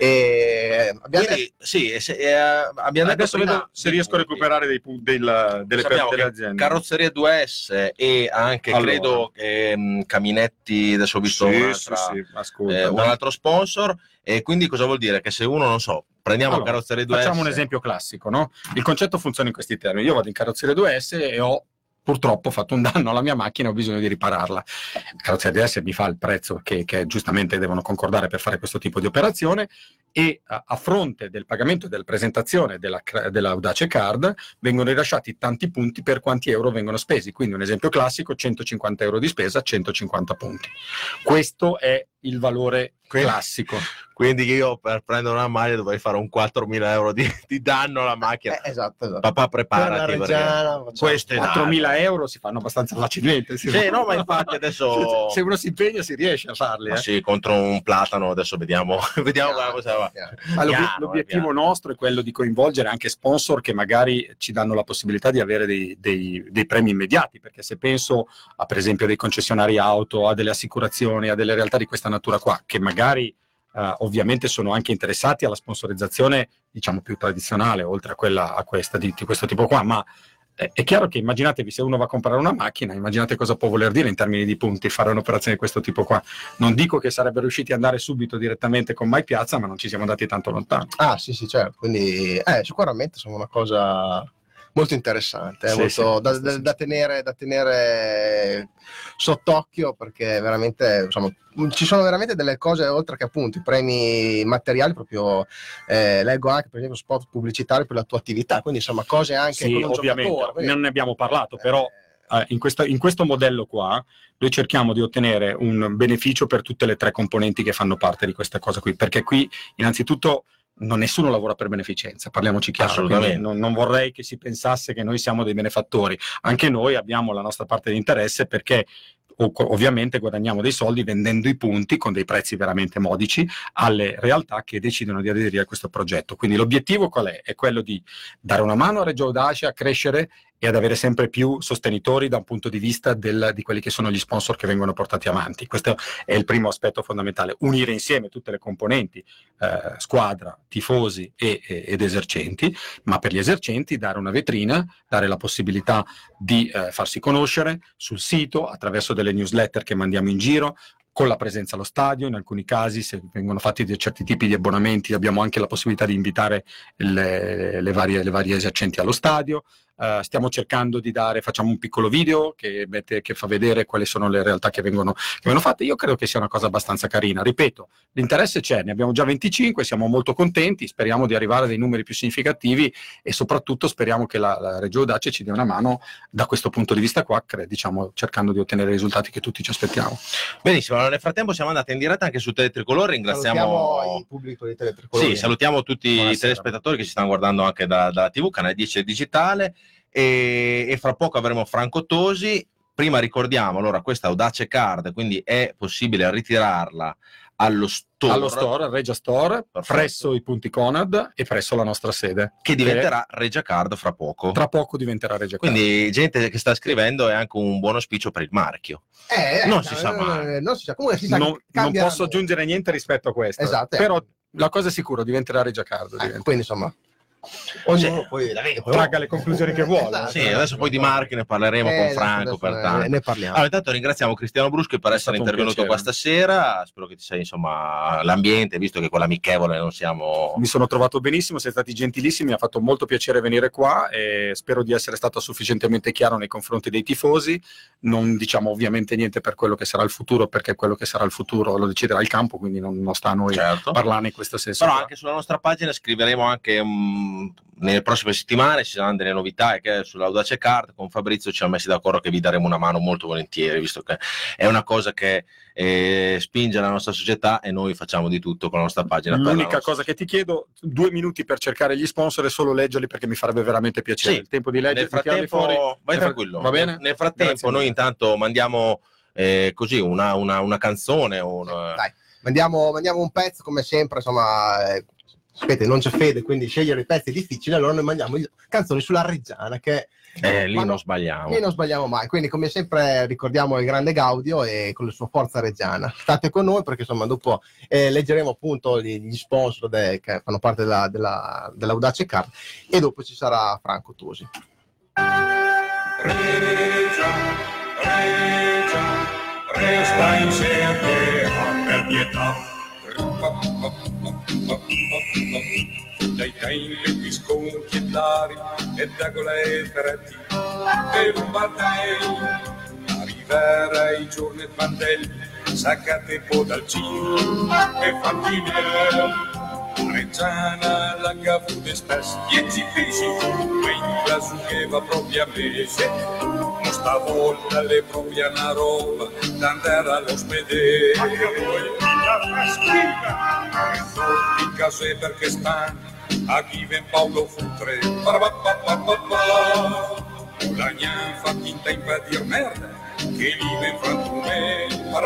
E abbiamo Quindi, detto... sì, se, eh, abbiamo adesso detto vedo se riesco a recuperare dei punti del, delle, per, delle aziende. Carrozzeria due S e anche allora. credo che mh, Caminetti, adesso ho visto sì, un'altra, sì, sì. Ascolta, eh, un altro sponsor. E quindi cosa vuol dire? Che se uno, non so, prendiamo allora, Carrozzeria due S. Facciamo un esempio classico, no? Il concetto funziona in questi termini. Io vado in Carrozzeria due S e ho purtroppo ho fatto un danno alla mia macchina e ho bisogno di ripararla. Carrozzeria due S mi fa il prezzo che, che giustamente devono concordare per fare questo tipo di operazione e a, a fronte del pagamento e della presentazione della, della Audace Card vengono rilasciati tanti punti per quanti euro vengono spesi. Quindi un esempio classico, centocinquanta euro di spesa, centocinquanta punti. Questo è il valore classico. Quindi io per prendere una maglia dovrei fare un quattromila euro di, di danno alla macchina. Eh, esatto, esatto. Papà, preparati. Queste quattromila euro si fanno abbastanza facilmente. Sì, sì no, ma infatti adesso... Se uno si impegna si riesce a farli. Eh. Sì, contro un platano adesso vediamo, vediamo piano, cosa va. Ma piano, l'obiettivo piano. nostro è quello di coinvolgere anche sponsor che magari ci danno la possibilità di avere dei, dei, dei premi immediati, perché se penso a per esempio dei concessionari auto, a delle assicurazioni, a delle realtà di questa natura qua, che magari Uh, ovviamente sono anche interessati alla sponsorizzazione diciamo più tradizionale oltre a quella a questa di, di questo tipo qua, ma è, è chiaro che immaginatevi se uno va a comprare una macchina, immaginate cosa può voler dire in termini di punti fare un'operazione di questo tipo qua. Non dico che sarebbero riusciti ad andare subito direttamente con Mike Piazza, ma non ci siamo andati tanto lontano. Ah sì sì certo, quindi eh, sicuramente sono una cosa molto interessante, Sì, molto sì, da, sì, da- sì. da tenere, da tenere sott'occhio, perché veramente insomma, ci sono veramente delle cose, oltre che appunto i premi materiali, proprio eh, leggo anche per esempio spot pubblicitari per la tua attività, quindi insomma cose anche Sì, con un ovviamente, giocatore. Quindi, non ne abbiamo parlato, però eh, eh, in, questa- in questo modello qua noi cerchiamo di ottenere un beneficio per tutte le tre componenti che fanno parte di questa cosa qui, perché qui innanzitutto non nessuno lavora per beneficenza, parliamoci chiaro, Assolutamente. quindi non, non vorrei che si pensasse che noi siamo dei benefattori, anche noi abbiamo la nostra parte di interesse perché o- ovviamente guadagniamo dei soldi vendendo i punti con dei prezzi veramente modici alle realtà che decidono di aderire a questo progetto. Quindi l'obiettivo qual è? È quello di dare una mano a Reggio Audace a crescere e ad avere sempre più sostenitori da un punto di vista del, di quelli che sono gli sponsor che vengono portati avanti. Questo è il primo aspetto fondamentale, unire insieme tutte le componenti, eh, squadra, tifosi e, e, ed esercenti, ma per gli esercenti dare una vetrina, dare la possibilità di eh, farsi conoscere sul sito, attraverso delle newsletter che mandiamo in giro, con la presenza allo stadio. In alcuni casi, se vengono fatti di certi tipi di abbonamenti, abbiamo anche la possibilità di invitare le, le, varie, le varie esercenti allo stadio. Uh, stiamo cercando di dare, facciamo un piccolo video che, mette, che fa vedere quali sono le realtà che vengono, che vengono fatte. Io credo che sia una cosa abbastanza carina. Ripeto, l'interesse c'è, ne abbiamo già venticinque, siamo molto contenti, speriamo di arrivare a dei numeri più significativi e soprattutto speriamo che la, la Reggio Audace ci dia una mano da questo punto di vista qua, cre- diciamo, cercando di ottenere i risultati che tutti ci aspettiamo. Benissimo, allora nel frattempo siamo andati in diretta anche su Teletricolore, ringraziamo salutiamo il pubblico di Teletricolore. Sì, salutiamo tutti Buonasera. i telespettatori che ci stanno guardando anche da- dalla tivù, Canale dieci e digitale, e, e fra poco avremo Franco Tosi. Prima ricordiamo, allora, questa Audace Card, quindi è possibile ritirarla allo store, Allo store, al Regia Store, Perfetto. presso i punti Conad e presso la nostra sede, che diventerà Regia Card fra poco. tra poco diventerà Regia Card. Quindi gente che sta scrivendo è anche un buon auspicio per il marchio. Eh, eh, Non eh, si sa eh, mai. non si sa, comunque si sa non, che non cambieranno. posso aggiungere niente rispetto a questo, Esatto, eh. però la cosa è sicura, diventerà Regia Card. Eh, diventa. quindi insomma ognuno poi Tragga le conclusioni che vuole. Esatto. Sì, adesso poi di marchi ne parleremo Eh, con adesso- Franco, adesso pertanto. ne, ne parliamo. Allora, intanto ringraziamo Cristiano Bruschi per È essere stato un intervenuto qua piacere. stasera. Spero che ti sei, insomma, l'ambiente, visto che con l'amichevole non siamo. Mi sono trovato benissimo, siete stati gentilissimi, mi ha fatto molto piacere venire qua e spero di essere stato sufficientemente chiaro nei confronti dei tifosi. Non diciamo ovviamente niente per quello che sarà il futuro, perché quello che sarà il futuro lo deciderà il campo, quindi non, non sta a noi Certo. parlare in questo senso. Però qua. anche sulla nostra pagina scriveremo anche um, nelle prossime settimane, ci saranno delle novità, e che sull'Audace Card con Fabrizio ci siamo messi d'accordo che vi daremo una mano molto volentieri, visto che è una cosa che eh, spinge la nostra società e noi facciamo di tutto con la nostra pagina. per la L'unica nostra- cosa che ti chiedo, due minuti per cercare gli sponsor e solo leggerli, perché mi farebbe veramente piacere. Sì. Il tempo di leggere, Nel frattempo, vai tranquillo. Va bene? Nel, nel frattempo, Grazie noi mille. intanto mandiamo eh, così una, una, una canzone. Un, Dai, mandiamo, mandiamo un pezzo come sempre, insomma, eh, sapete, non c'è fede, quindi scegliere i pezzi è difficile, allora noi mandiamo il- canzoni sulla Reggiana che eh, lì ma non no, sbagliamo. lì non sbagliamo mai, quindi come sempre ricordiamo il grande Gaudio e con la sua forza reggiana. State con noi perché insomma dopo eh, leggeremo appunto gli, gli sponsor de- che fanno parte della, della, dell'Audace Card e dopo ci sarà Franco Tosi. Regia, Regia, resta insieme per pietà. Dai caini le bisconti e lari e dagole e ferretti e lumbatei arrivera i giorni e mandelli saccate po' dal cino e fantinelli Reggiana la cavuta spesso dieci fisi quindi la sugheva propria mese non stavolta le propria una roba d'andare all'ospedale anche a voi la scriva in caso è perché stanno a chi ven Paolo Futre la gnan fa finta in pa dir merda che li ven frantume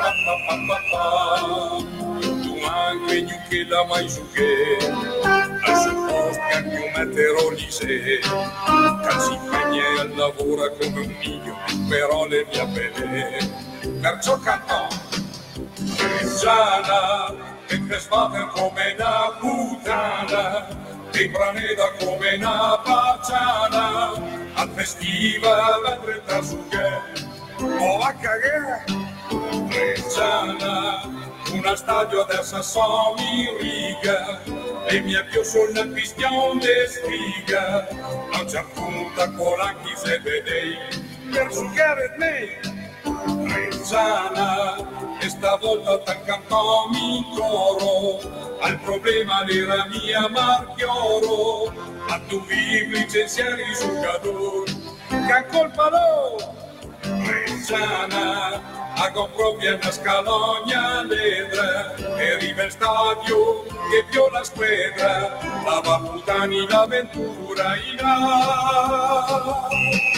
tu anche giù che la mai su che al suo posto che anche un meteorolise che si impegna al lavoro come un miglio però le mie belle perciò cantò Reggiana e frescate come una puttana e praneda come una pacciana al festival vedrete su che o a cagare Reggiana una stadio adesso sono in riga e mi avvio sulla questione sfiga. A un certo punto con anche se vedei per giocare me Reggiana, e stavolta t'accanto mi coro, al problema della mia Marchioro, a tu vivi licenziare i giocatori, che colpa no, Reggiana, a proprio una scalogna ledra, e arriva il stadio che viola squadra, la Vaputani l'avventura in A.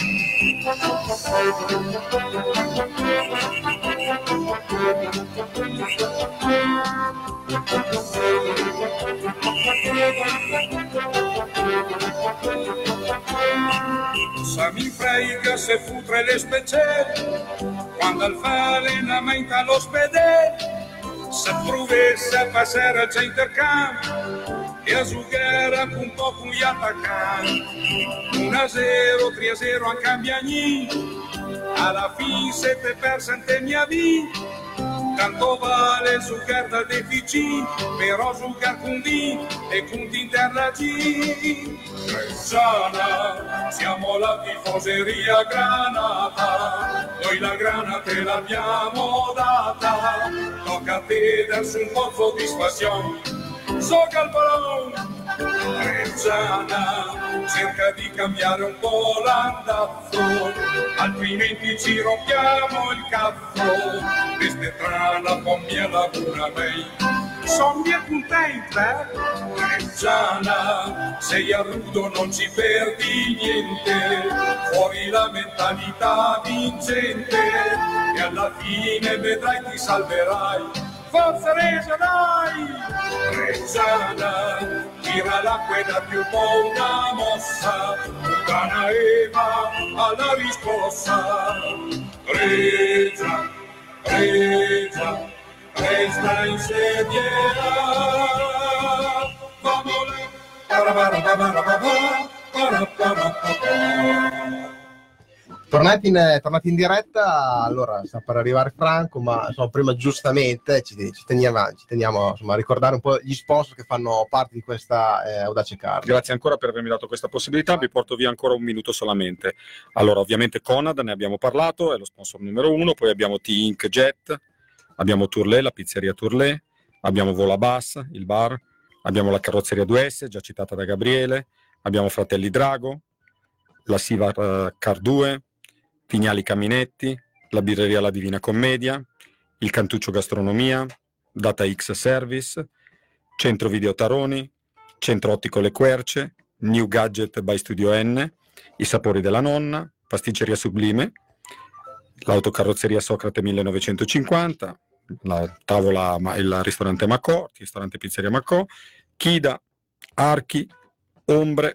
Sa mi frega se futre le specie quando al fare allenamento all'ospedale, se provesse a passare al centercampo e a giocare un po' con gli attaccanti, uno a zero, tre a zero a Cambiagni, alla fine sette per cento mia vita, tanto vale giocare da deficit, però giocare con D e con interna G. Reggiana, siamo la tifoseria granata, noi la grana te l'abbiamo data, tocca a te darsi un po' di soddisfazione, gioca il pallone. Reggiana, cerca di cambiare un po' l'andazzo, altrimenti ci rompiamo il cazzo, questa è trana con mia laguna mei. Sono bien contenta, Reggiana, sei a rudo non ci perdi niente, fuori la mentalità vincente, e alla fine vedrai ti salverai. Forza Reggio, dai! Reggiana, tira la quella più buona mossa, puttana Eva alla risposta. Reggia, Reggia, resta in sediera, vamole, Tornati in, tornati in diretta, allora sta per arrivare Franco, ma insomma, prima giustamente ci, ci teniamo, ci teniamo insomma, a ricordare un po' gli sponsor che fanno parte di questa eh, Audace Card. Grazie ancora per avermi dato questa possibilità, vi porto via ancora un minuto solamente. Allora, ovviamente Conad, ne abbiamo parlato, è lo sponsor numero uno, poi abbiamo T-Ink Jet, abbiamo Tourlé, la pizzeria Tourlé, abbiamo Volabas, il bar, abbiamo la carrozzeria due S, già citata da Gabriele, abbiamo Fratelli Drago, la Siva uh, Car due, Vignali Caminetti, la birreria La Divina Commedia, il Cantuccio Gastronomia, Data X Service, Centro Video Taroni, Centro Ottico Le Querce, New Gadget by Studio N, I Sapori della Nonna, Pasticceria Sublime, l'autocarrozzeria Socrate millenovecentocinquanta, la tavola, il ristorante Macò, il ristorante Pizzeria Macò, Chida, Archi, Ombre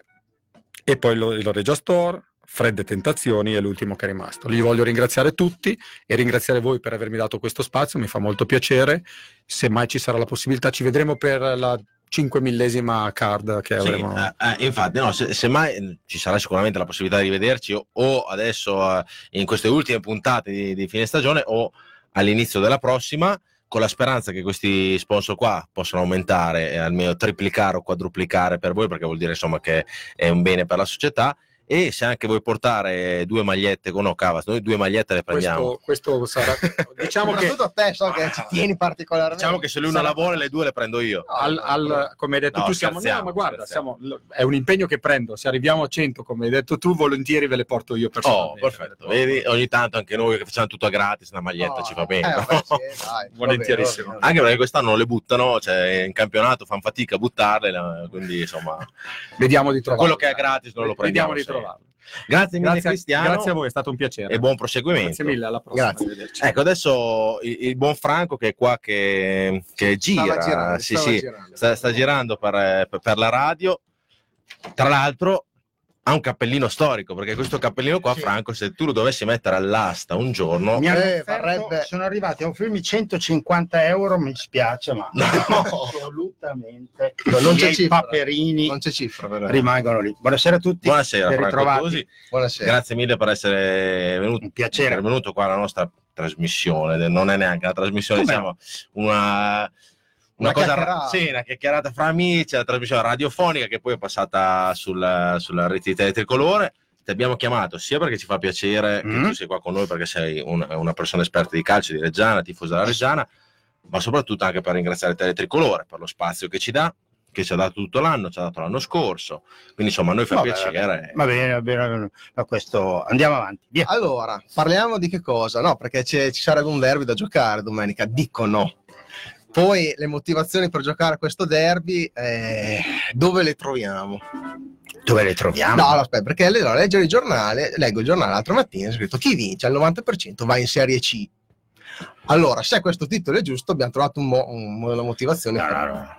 e poi il, il Regia Store, Fredde Tentazioni è l'ultimo che è rimasto. Li voglio ringraziare tutti e ringraziare voi per avermi dato questo spazio, mi fa molto piacere. Se mai ci sarà la possibilità ci vedremo per la cinquemillesima card che sì, avremo. Eh, eh, infatti, no, se, se mai ci sarà sicuramente la possibilità di rivederci o, o adesso eh, in queste ultime puntate di, di fine stagione o all'inizio della prossima, con la speranza che questi sponsor qua possano aumentare e almeno triplicare o quadruplicare per voi, perché vuol dire insomma che è un bene per la società. E se anche vuoi portare due magliette con Ocavas, noi due magliette le prendiamo. Questo, questo sarà, diciamo che soprattutto a te so che ci tieni particolarmente. Diciamo che se lui non la vuole le due le prendo io. Al, al, come hai detto no, tu siamo, no, ma guarda, scherziamo. siamo, è un impegno che prendo, se arriviamo a cento come hai detto tu volentieri ve le porto io personalmente. Oh, perfetto, vedi, ogni tanto anche noi che facciamo tutto a gratis una maglietta no, ci va bene, eh, no? vabbè, sì, dai, volentierissimo. vabbè, vabbè. Anche perché quest'anno non le buttano, cioè in campionato fanno fatica a buttarle, quindi insomma Vediamo di trovarlo. quello che è gratis non lo prendiamo. Vediamo di sì. trovarlo. Grazie mille Grazie, Cristiano, grazie a voi, è stato un piacere. e buon proseguimento. Grazie mille, alla prossima. Grazie. Arrivederci. Ecco, adesso il, il buon Franco che è qua che, che gira, Stava girando, sì, stava sì, girando. sta, sta girando per, per, per la radio. Tra l'altro ha un cappellino storico, perché questo cappellino qua, Sì. Franco, se tu lo dovessi mettere all'asta un giorno, Mi hanno Eh, offerto- varrebbe- sono arrivati a offrirmi centocinquanta euro, mi spiace, ma No. assolutamente No, non i c'è miei cifra. paperini Non c'è cifra, vero? rimangono lì. Buonasera a tutti. buonasera ben Franco ritrovati. Tosi. Buonasera. Grazie mille per essere venuto, Un piacere. per venuto qua alla nostra trasmissione. Non è neanche una trasmissione, Come diciamo una, una, Una cosa, chiacchierata. sì, una chiacchierata fra amici, la trasmissione radiofonica che poi è passata sul, sulla rete di Teletricolore. Ti abbiamo chiamato sia perché ci fa piacere Mm. che tu sei qua con noi, perché sei un- una persona esperta di calcio, di Reggiana, tifosa della Reggiana, ma soprattutto anche per ringraziare Teletricolore per lo spazio che ci dà, che ci ha dato tutto l'anno, ci ha dato l'anno scorso, quindi insomma a noi fa Vabbè, piacere. Va bene, va bene, va bene. Ma questo andiamo avanti. Via. Allora, parliamo di che cosa? No, perché c'è- ci sarebbe un derby da giocare domenica, dicono. Poi le motivazioni per giocare questo derby, eh, dove le troviamo? Dove le troviamo? No, no, aspetta, perché allora, leggere il giornale, leggo il giornale l'altro mattino, è scritto chi vince al novanta per cento va in Serie C. Allora, se questo titolo è giusto, abbiamo trovato un mo- un- una motivazione. No, per- no, no.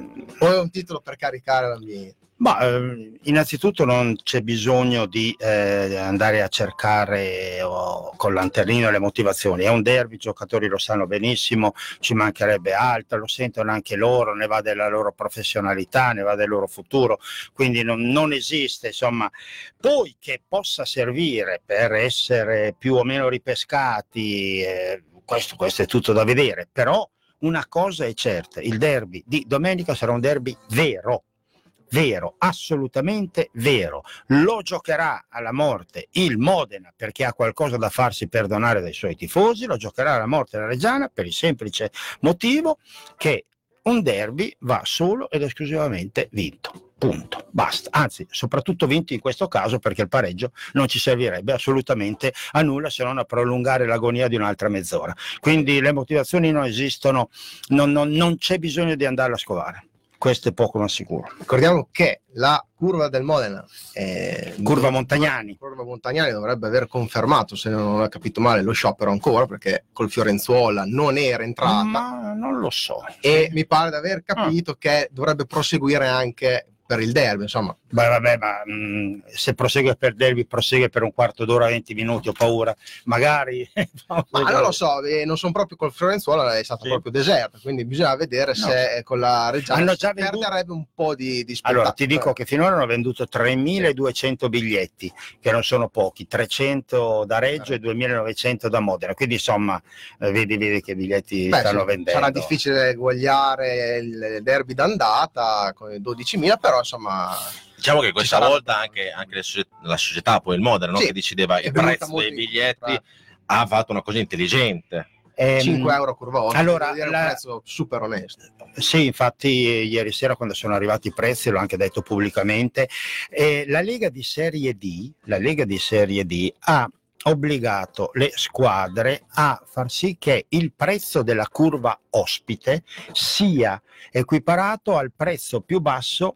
O è un titolo per caricare l'ambiente? Ma eh, innanzitutto non c'è bisogno di eh, andare a cercare oh, con lanternino le motivazioni. È un derby, i giocatori lo sanno benissimo, ci mancherebbe altro, lo sentono anche loro, ne va della loro professionalità, ne va del loro futuro, quindi non, non esiste, insomma. Poi che possa servire per essere più o meno ripescati, eh, questo, questo è tutto da vedere, però una cosa è certa, il derby di domenica sarà un derby vero. Vero, assolutamente vero. Lo giocherà alla morte il Modena perché ha qualcosa da farsi perdonare dai suoi tifosi, lo giocherà alla morte la Reggiana per il semplice motivo che un derby va solo ed esclusivamente vinto. Punto, basta. Anzi, soprattutto vinto in questo caso perché il pareggio non ci servirebbe assolutamente a nulla se non a prolungare l'agonia di un'altra mezz'ora. Quindi le motivazioni non esistono, non, non, non c'è bisogno di andarle a scovare. Questo è poco ma sicuro. Ricordiamo che la curva del Modena, eh, Curva Montagnani. Curva Montagnani dovrebbe aver confermato, se non ho capito male, lo sciopero ancora perché col Fiorenzuola non era entrata. Ma non lo so. E mi pare di aver capito che dovrebbe proseguire anche per il derby, insomma. Beh, vabbè, ma mh, se prosegue per derby, prosegue per un quarto d'ora, venti minuti, ho paura. Magari. Ma non lo so, eh, non sono proprio col Fiorenzuola, è stata Sì. proprio deserta, quindi bisogna vedere No. se eh, con la Reggiana Hanno si già venduto- perderebbe un po' di, di spettacolo. Allora, ti dico che finora hanno venduto tremiladuecento biglietti, che non sono pochi, trecento da Reggio e duemilanovecento da Modena. Quindi, insomma, eh, vedi, vedi che biglietti Beh, stanno sì, vendendo. sarà difficile eguagliare il derby d'andata con i dodicimila, però insomma Diciamo che questa sarà- volta anche, anche le socie- la società, poi il Modena, no? Sì, che decideva è il venuta prezzo molto dei biglietti, incontro, ha fatto una cosa intelligente. Ehm, cinque euro curva otto, allora, devo dire la- un prezzo super onesto. Sì, infatti ieri sera quando sono arrivati i prezzi l'ho anche detto pubblicamente, eh, la Lega di Serie D, la Lega di Serie D ha obbligato le squadre a far sì che il prezzo della curva ospite sia equiparato al prezzo più basso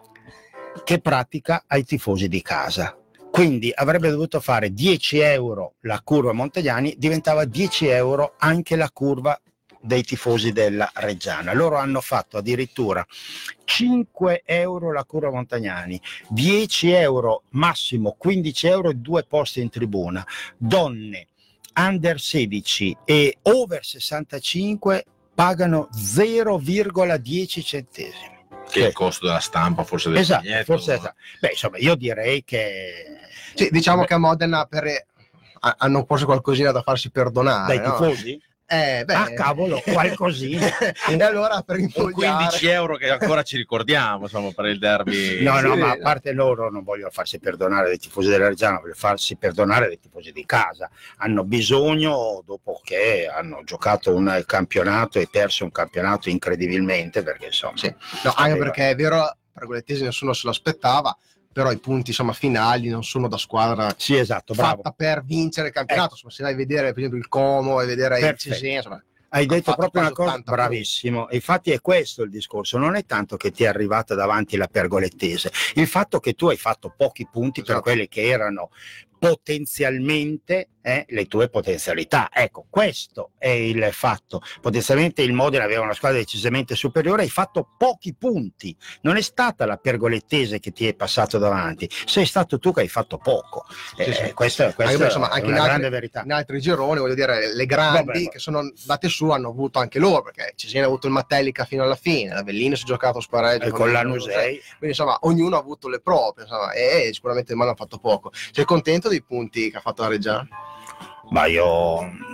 che pratica ai tifosi di casa. Quindi avrebbe dovuto fare dieci euro la curva Montagnani, diventava dieci euro anche la curva dei tifosi della Reggiana. Loro hanno fatto addirittura cinque euro la curva Montagnani, dieci euro massimo, quindici euro e due posti in tribuna. Donne under sedici e over sessantacinque pagano zero virgola dieci centesimi. Che è il costo della stampa, forse del Esatto, biglietto. forse esatto. Beh, insomma, io direi che Sì, diciamo Beh. che a Modena per, ha- hanno forse qualcosina da farsi perdonare. dai no? tifosi? Eh, beh, Ah, cavolo, qualcosina. e allora per Un infogliare quindici euro che ancora ci ricordiamo, insomma, per il derby. No, no, Sì, ma a no. parte loro non voglio farsi perdonare dai tifosi della Reggiana, voglio farsi perdonare dai tifosi di casa. Hanno bisogno, dopo che hanno giocato un campionato e perso un campionato incredibilmente, perché insomma... Sì. No, anche Eh, perché è vero, Pergolettesi nessuno se lo aspettava, però i punti insomma finali non sono da squadra Sì, esatto, bravo. fatta per vincere il campionato. Ecco. Insomma, se vai a vedere per esempio il Como e vedere il Perfetto. Cesena, insomma, Hai ha detto fatto proprio una quasi cosa, ottanta bravissimo. E infatti è questo il discorso, non è tanto che ti è arrivata davanti la Pergolettese, il fatto che tu hai fatto pochi punti per Esatto. quelli che erano potenzialmente eh, le tue potenzialità. Ecco, questo è il fatto. Potenzialmente il Modena aveva una squadra decisamente superiore, hai fatto pochi punti. Non è stata la Pergolettese che ti è passato davanti, sei stato tu che hai fatto poco. Sì, Eh, sì. Questo, Anche questo perché, insomma, è anche una in grande altri, verità. in altri gironi, voglio dire, le grandi Vabbè, vabbè. che sono andate su hanno avuto anche loro, perché Cesena ha avuto il Matelica fino alla fine, l'Avellino si è giocato a spareggio Eh, con l'Anusei. quindi insomma ognuno ha avuto le proprie, insomma, e, e sicuramente il Mano ha fatto poco. Sei contento dei punti che ha fatto la Reggiana? Ma io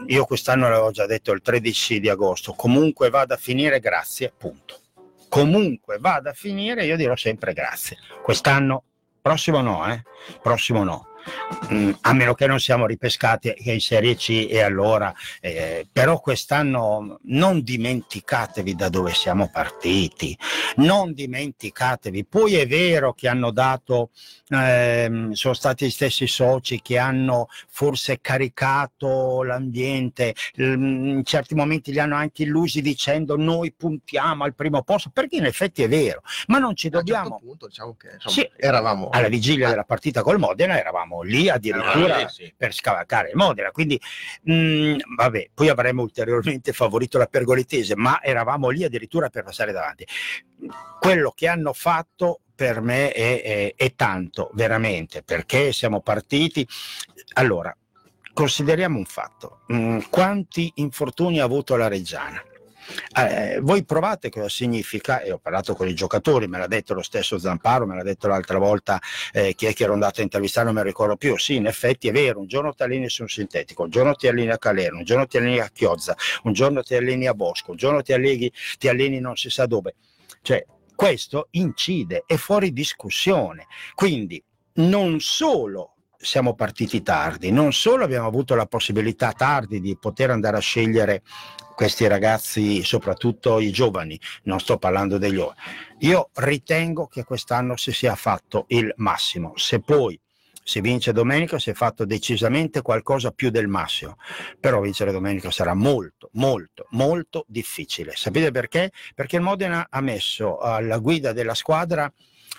io quest'anno l'avevo già detto il tredici di agosto, comunque vada a finire, grazie, punto. Comunque vada a finire, io dirò sempre grazie. Quest'anno, prossimo no, eh? Prossimo no. Mm, a meno che non siamo ripescati in Serie C, e allora eh, però quest'anno non dimenticatevi da dove siamo partiti, non dimenticatevi. Poi è vero che hanno dato eh, sono stati gli stessi soci che hanno forse caricato l'ambiente, in certi momenti li hanno anche illusi dicendo noi puntiamo al primo posto, perché in effetti è vero, ma non ci dobbiamo, a un certo punto, diciamo che insomma, sì, eravamo alla vigilia della partita col Modena, eravamo lì addirittura eh, sì. per scavalcare il Modena, quindi mh, vabbè, poi avremmo ulteriormente favorito la Pergoletese, ma eravamo lì addirittura per passare davanti. Quello che hanno fatto per me è, è, è tanto, veramente, perché siamo partiti. Allora, consideriamo un fatto: mh, quanti infortuni ha avuto la Reggiana? Eh, voi provate cosa significa, e ho parlato con i giocatori, me l'ha detto lo stesso Zamparo, me l'ha detto l'altra volta eh, chi è che ero andato a intervistare, non mi ricordo più. Sì, in effetti è vero, un giorno ti alleni su un sintetico, un giorno ti alleni a Calero, un giorno ti alleni a Chiozza, un giorno ti alleni a Bosco, un giorno ti alleni, ti alleni non si sa dove, cioè questo incide, è fuori discussione. Quindi non solo siamo partiti tardi, non solo abbiamo avuto la possibilità tardi di poter andare a scegliere questi ragazzi, soprattutto i giovani, non sto parlando degli giovani. Io ritengo che quest'anno si sia fatto il massimo. Se poi si vince domenica si è fatto decisamente qualcosa più del massimo, però vincere domenica sarà molto, molto, molto difficile. Sapete perché? Perché il Modena ha messo alla guida della squadra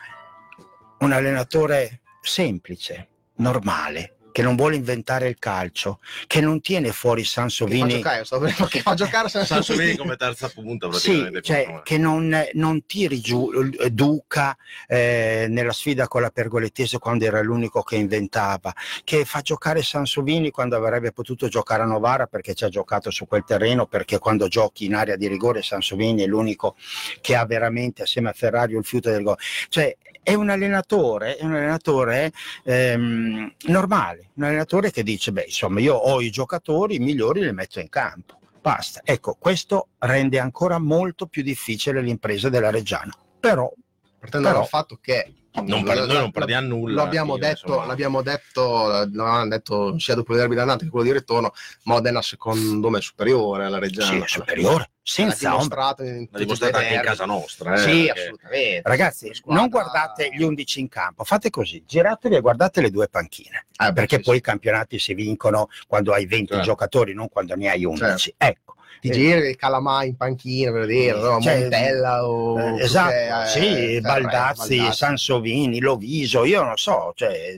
un allenatore semplice, normale, che non vuole inventare il calcio, che non tiene fuori Sansovini, che fa giocare, sto per- che fa giocare Sansovini come terza punta praticamente. sì, cioè, che non, non tiri giù eh, Duca eh, nella sfida con la Pergoletese quando era l'unico che inventava, che fa giocare Sansovini quando avrebbe potuto giocare a Novara, perché ci ha giocato su quel terreno, perché quando giochi in area di rigore Sansovini è l'unico che ha veramente assieme a Ferrario il fiuto del gol. Cioè è un allenatore, è un allenatore ehm, normale, un allenatore che dice beh insomma io ho i giocatori migliori, li metto in campo, basta. Ecco, questo rende ancora molto più difficile l'impresa della Reggiana, però partendo però dal fatto che Non per- noi non perdiamo nulla. Lo abbiamo alla fine, detto, insomma. l'abbiamo detto, l'avevamo detto sia dopo il derby d'andata che quello di ritorno, Modena secondo me è superiore alla Reggiana. sì, è superiore, senza ombra. dimostrato in L'ha tutti i dimostrato anche in derby. casa nostra. Eh, Sì, perché- assolutamente. Ragazzi, Squadra- non guardate gli undici in campo, fate così, giratevi e guardate le due panchine, Eh, perché sì, poi sì. i campionati si vincono quando hai venti Certo. giocatori, non quando ne hai undici. Ecco. Ti Eh, giri Calamà in panchina per vedere, no? Cioè, Montella o eh, esatto, che, eh, sì, Ferré, Baldazzi, Sansovini, Loviso, io non so, cioè,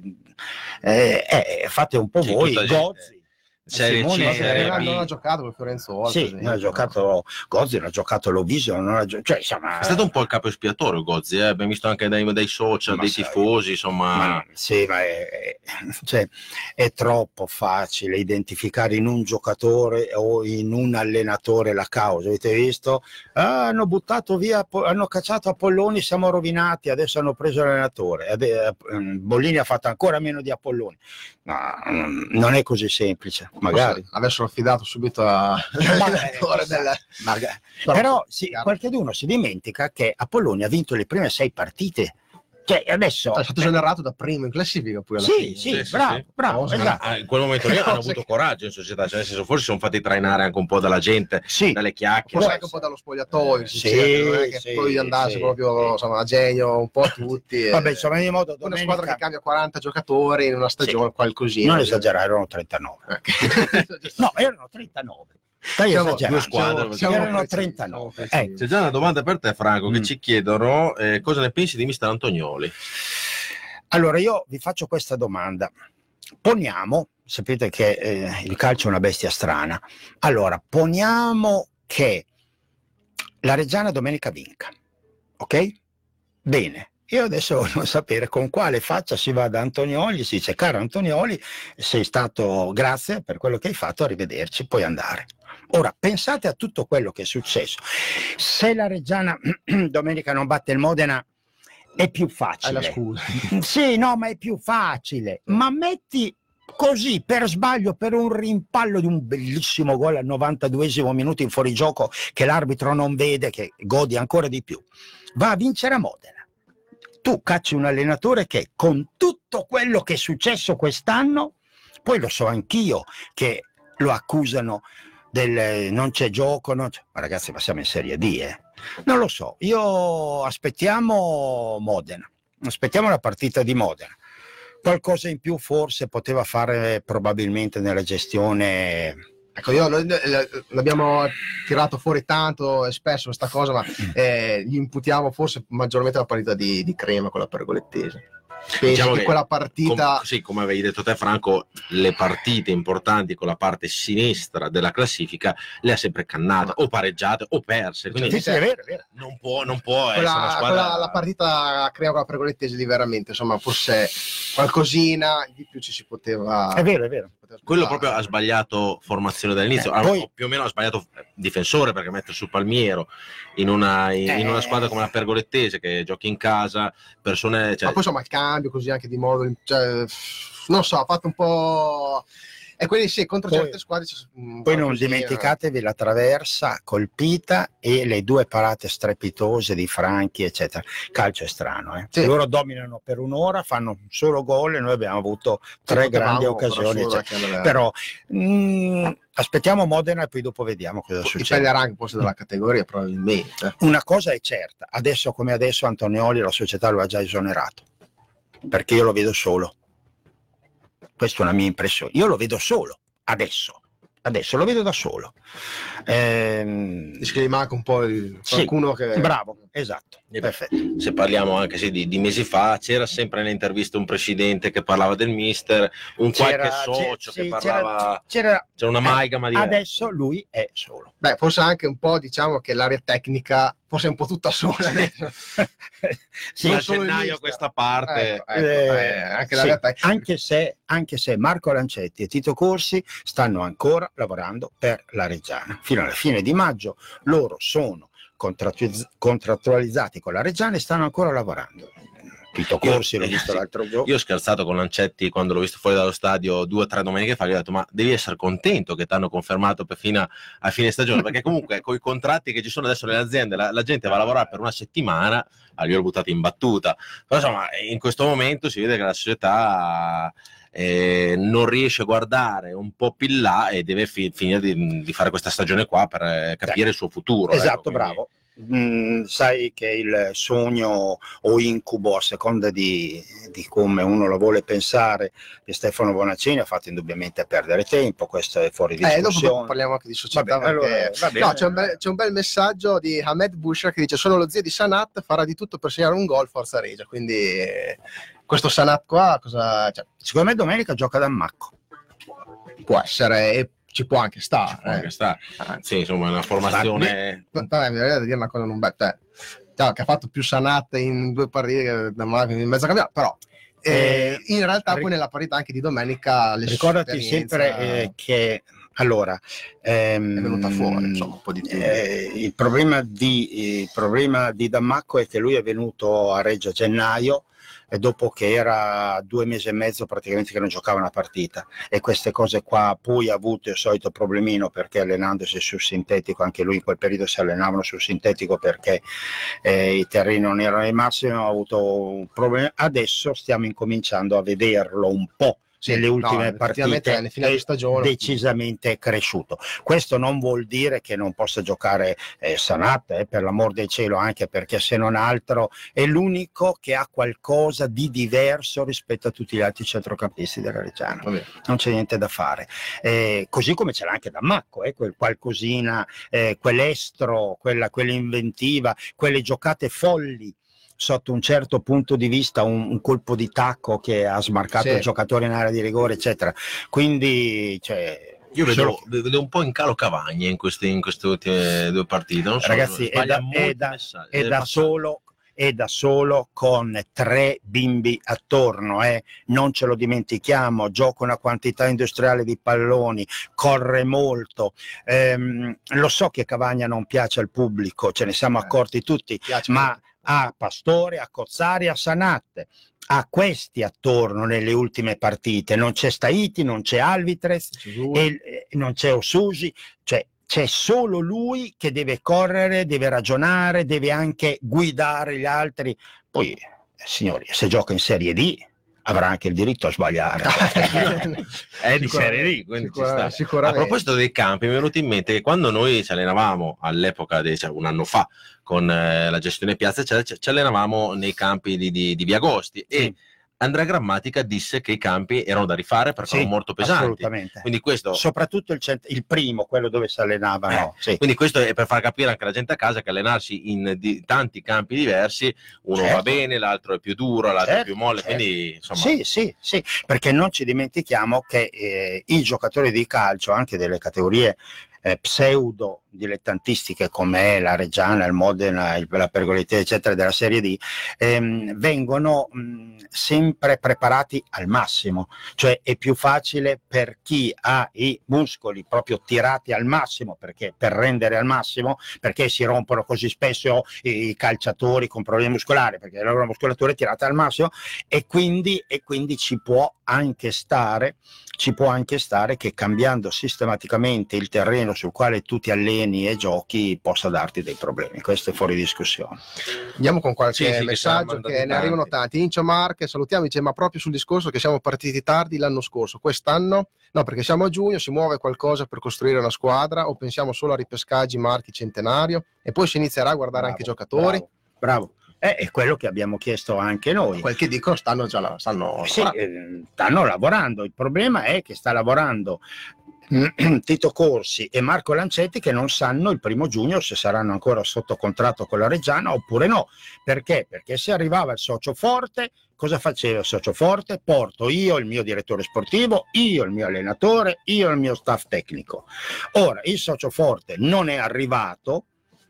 eh, eh, fate un po' Sì, voi, tutta gente. Gozzi. Serie C, Simone, Serie non, B. non ha giocato per Fiorenzo Orto, Sì, ad esempio. non ha giocato Gozzi, non ha giocato Loviso, non ha gio- cioè, insomma, È stato un po' il capo espiatorio Gozzi, eh? Abbiamo visto anche dai, dai social, Ma dei sai, tifosi, insomma. Ma, sì, ma è, è- cioè, è troppo facile identificare in un giocatore o in un allenatore la causa. Avete visto? Ah, hanno buttato via, Po- hanno cacciato Apolloni, siamo rovinati, adesso hanno preso l'allenatore. Ade- eh, Bollini ha fatto ancora meno di Apolloni. No, mm, non è così semplice, magari. Forse avessero affidato subito all'allenatore del... Magari. Però- Però sì, chiaro. qualcuno si dimentica che Apolloni ha vinto le prime sei partite. Cioè, adesso è stato generato da primo in classifica poi alla sì, fine. sì, Sì, sì, bravo, sì. bravo, Cosa- esatto. Ah, in quel momento lì hanno Cose avuto che- coraggio in società, cioè nel senso forse sono fatti trainare anche un po' dalla gente, Sì. dalle chiacchiere. Forse Può anche un po' dallo spogliatoio, si Sì, cerca, non è che sì, poi andasse sì, proprio sì. insomma, a genio un po' a tutti. e- Vabbè, insomma, in modo una domenica, squadra che cambia quaranta giocatori in una stagione, qualcosina. non esagerare, erano trentanove. Ok. No, erano trentanove. Stai Siamo- esagerando. due squadre, siamo erano precisi, trentanove. siamo precisi. Ecco. C'è già una domanda per te Franco, che Mm. ci chiedono eh, cosa ne pensi di mister Antonioli. Allora, io vi faccio questa domanda. Poniamo, sapete che eh, il calcio è una bestia strana. Allora, poniamo che la Reggiana domenica vinca, ok? Bene. Io adesso voglio sapere con quale faccia si va da Antonioli, si dice caro Antonioli, sei stato, grazie per quello che hai fatto, arrivederci, puoi andare. Ora, pensate a tutto quello che è successo. Se la Reggiana domenica non batte il Modena, è più Hai facile. la scusa. Sì, no, ma è più facile. Ma metti così per sbaglio, per un rimpallo di un bellissimo gol al novantaduesimo minuto in fuorigioco che l'arbitro non vede, che godi ancora di più, va a vincere a Modena. Tu cacci un allenatore che con tutto quello che è successo quest'anno, poi lo so anch'io che lo accusano del non c'è gioco, non c'è... ma ragazzi, ma siamo in Serie D, eh? Non lo so, io aspettiamo Modena, aspettiamo la partita di Modena. Qualcosa in più forse poteva fare probabilmente nella gestione. Ecco, io noi l'abbiamo tirato fuori tanto e spesso questa cosa, ma eh, gli imputiamo forse maggiormente la partita di, di Crema con la Pergolettese. Penso Diciamo che, che quella partita, com- sì, come avevi detto te Franco, le partite importanti con la parte sinistra della classifica le ha sempre cannate, o pareggiate o perse, quindi Sì, sì, è vero, è vero. non può, non può essere una quella, squadra. quella, la partita Crema con la Pergolettese di veramente, insomma, forse qualcosina di più ci si poteva. È vero, è vero. Quello proprio ha sbagliato formazione dall'inizio, Eh, ah, poi- più o meno ha sbagliato difensore, perché mette su Palmiero in una, in, in una Eh. squadra come la Pergolettese che giochi in casa, persone, cioè, Ma poi insomma il cambio così anche di modo, cioè, non so, ha fatto un po'. E quindi sì, contro Poi- certe squadre c'è un Poi non qualcosina. dimenticatevi la traversa colpita e le due parate strepitose di Franchi, eccetera. Calcio è strano, eh? Sì. Loro dominano per un'ora, fanno un solo gol e noi abbiamo avuto tre potevamo, grandi occasioni. però, eccetera. solo anche Però mh, aspettiamo Modena e poi dopo vediamo cosa succede. dipenderà anche forse dalla categoria probabilmente. Una cosa è certa, adesso come adesso Antonioli la società lo ha già esonerato, perché io lo vedo solo. Questa è una mia impressione. Io lo vedo solo, adesso. Adesso lo vedo da solo. Ehm, Dici che gli manca un po' il, sì, qualcuno che. bravo, esatto. Eh, Perfetto. se parliamo anche sì, di, di mesi fa, c'era sempre nelle interviste un presidente che parlava del mister, un C'era- qualche socio c'è- che sì, parlava, c'era, c'era una amalgama di adesso lui è solo. Beh, forse anche un po', diciamo che l'area tecnica forse è un po' tutta sola adesso. Sì, non da solo il gennaio a mister. questa parte. Ecco, ecco, Eh, eh, anche sì, l'area tecnica. anche se, anche se Marco Lancetti e Tito Corsi stanno ancora lavorando per la Reggiana. Fino alla fine di maggio loro sono contrattu- contrattualizzati con la Reggiana e stanno ancora lavorando. Tito Corsi l'ho Io- visto sì, l'altro giorno. Io ho scherzato con Lancetti quando l'ho visto fuori dallo stadio due o tre domeniche fa, gli ho detto ma devi essere contento che ti hanno confermato per fino a, a fine stagione, perché comunque con i contratti che ci sono adesso nelle aziende la, la gente va a lavorare per una settimana, ah, io l'ho buttato in battuta, però insomma in questo momento si vede che la società eh, non riesce a guardare un po' più in là e deve fi- finire di, di fare questa stagione qua per eh, capire il suo futuro. Esatto, ecco, quindi- bravo. Mm, sai che il sogno o incubo, a seconda di, di come uno lo vuole pensare, di Stefano Bonaccini ha fatto indubbiamente perdere tempo. Questo è fuori Eh, dopo, discussione. dopo parliamo anche di società. Vabbè, allora, perché- va bene. no, c'è un, bel, c'è un bel messaggio di Hamed Bushra che dice: sono lo zio di Sanat, farà di tutto per segnare un gol, forza Regia. Quindi eh, questo Sanat qua cosa, cioè, Secondo me domenica gioca da Macco. può essere e ci può anche stare. può anche eh. stare. Sì, insomma, è una formazione. Vabbè, mi viene da dire una cosa non bella, cioè, cioè, che ha fatto più Sanat in due partite da Marco in mezzo campionato, però eh, in realtà ric- poi nella partita anche di domenica le Ricordati esperienza sempre eh, che allora ehm, è venuta fuori, insomma, un po' di tempo. eh, il problema di il problema di Dammacco è che lui è venuto a Reggio a gennaio e dopo che era due mesi e mezzo praticamente che non giocava una partita, e queste cose qua poi ha avuto il solito problemino perché allenandosi sul sintetico, anche lui in quel periodo si allenavano sul sintetico perché eh, i terreni non erano ai massimi, ha avuto un problema. Adesso stiamo incominciando a vederlo un po'. Sì, nelle no, ultime effettivamente partite alle finali di è stagione decisamente cresciuto. Questo non vuol dire che non possa giocare eh, Sanat, eh, per l'amor del cielo, anche perché se non altro è l'unico che ha qualcosa di diverso rispetto a tutti gli altri centrocampisti della Reggiana. Vabbè. Non c'è niente da fare. Eh, così come ce l'ha anche Dammacco, eh, quel qualcosina, eh, quell'estro, quella, quell'inventiva, quelle giocate folli sotto un certo punto di vista, un, un colpo di tacco che ha smarcato Sì. il giocatore in area di rigore, eccetera. Quindi, cioè, Io vedo, solo- vedo un po' in calo Cavagna in queste, in queste ultime due partite. Non so, ragazzi, è sbaglia da, molti è da- messaggi, è deve da passare. solo è da solo con tre bimbi attorno, eh. Non ce lo dimentichiamo, gioca una quantità industriale di palloni, corre molto. Ehm, lo so che Cavagna non piace al pubblico, ce ne siamo accorti tutti, piace ma a Pastore, a Cozzari, a Sanat, ha questi attorno nelle ultime partite, non c'è Staiti, non c'è Alvitrez, e, e non c'è Osusi, cioè c'è solo lui che deve correre, deve ragionare, deve anche guidare gli altri. Poi, signori, se gioca in Serie D avrà anche il diritto a sbagliare. È di Serie D, quindi ci sta. Sicuramente. A proposito dei campi, mi è venuto in mente che quando noi ci allenavamo all'epoca, di, cioè un anno fa, con eh, la gestione piazza, cioè, ci allenavamo nei campi di, di, di Via Agosti, e Sì. Andrea Grammatica disse che i campi erano da rifare perché Sì, erano molto pesanti. assolutamente. Quindi questo, Soprattutto il, cent- il primo, quello dove si allenavano. Eh, sì. Quindi questo è per far capire anche alla gente a casa che allenarsi in di, tanti campi diversi, uno Certo. va bene, l'altro è più duro, l'altro Certo, è più molle, certo. quindi insomma... Sì, sì, sì, perché non ci dimentichiamo che eh, i giocatori di calcio, anche delle categorie eh, pseudo dilettantistiche come la Reggiana, il Modena, il, la Pergolese, eccetera, della Serie D, ehm, vengono mh, sempre preparati al massimo, cioè è più facile per chi ha i muscoli proprio tirati al massimo, perché per rendere al massimo, perché si rompono così spesso i calciatori con problemi muscolari, perché la loro muscolatura è tirata al massimo, e quindi, e quindi ci può anche stare ci può anche stare che cambiando sistematicamente il terreno sul quale tu ti alleni e giochi possa darti dei problemi. Questo è fuori discussione. Andiamo con qualche Sì, sì, che messaggio saranno che, andati ne arrivano tanti. tanti. Incio Marche, salutiamo, dice ma proprio sul discorso che siamo partiti tardi l'anno scorso, quest'anno no, perché siamo a giugno, si muove qualcosa per costruire una squadra o pensiamo solo a ripescaggi, marchi, centenario e poi si inizierà a guardare Bravo, anche i giocatori? Bravo, bravo. Eh, è quello che abbiamo chiesto anche noi. Quel che dicono stanno già stanno Sì, eh, stanno lavorando. Il problema è che sta lavorando Tito Corsi e Marco Lancetti, che non sanno il primo giugno se saranno ancora sotto contratto con la Reggiana oppure no. Perché? Perché se arrivava il socio forte, cosa faceva il socio forte? Porto io il mio direttore sportivo, io il mio allenatore, io il mio staff tecnico. Ora il socio forte non è arrivato,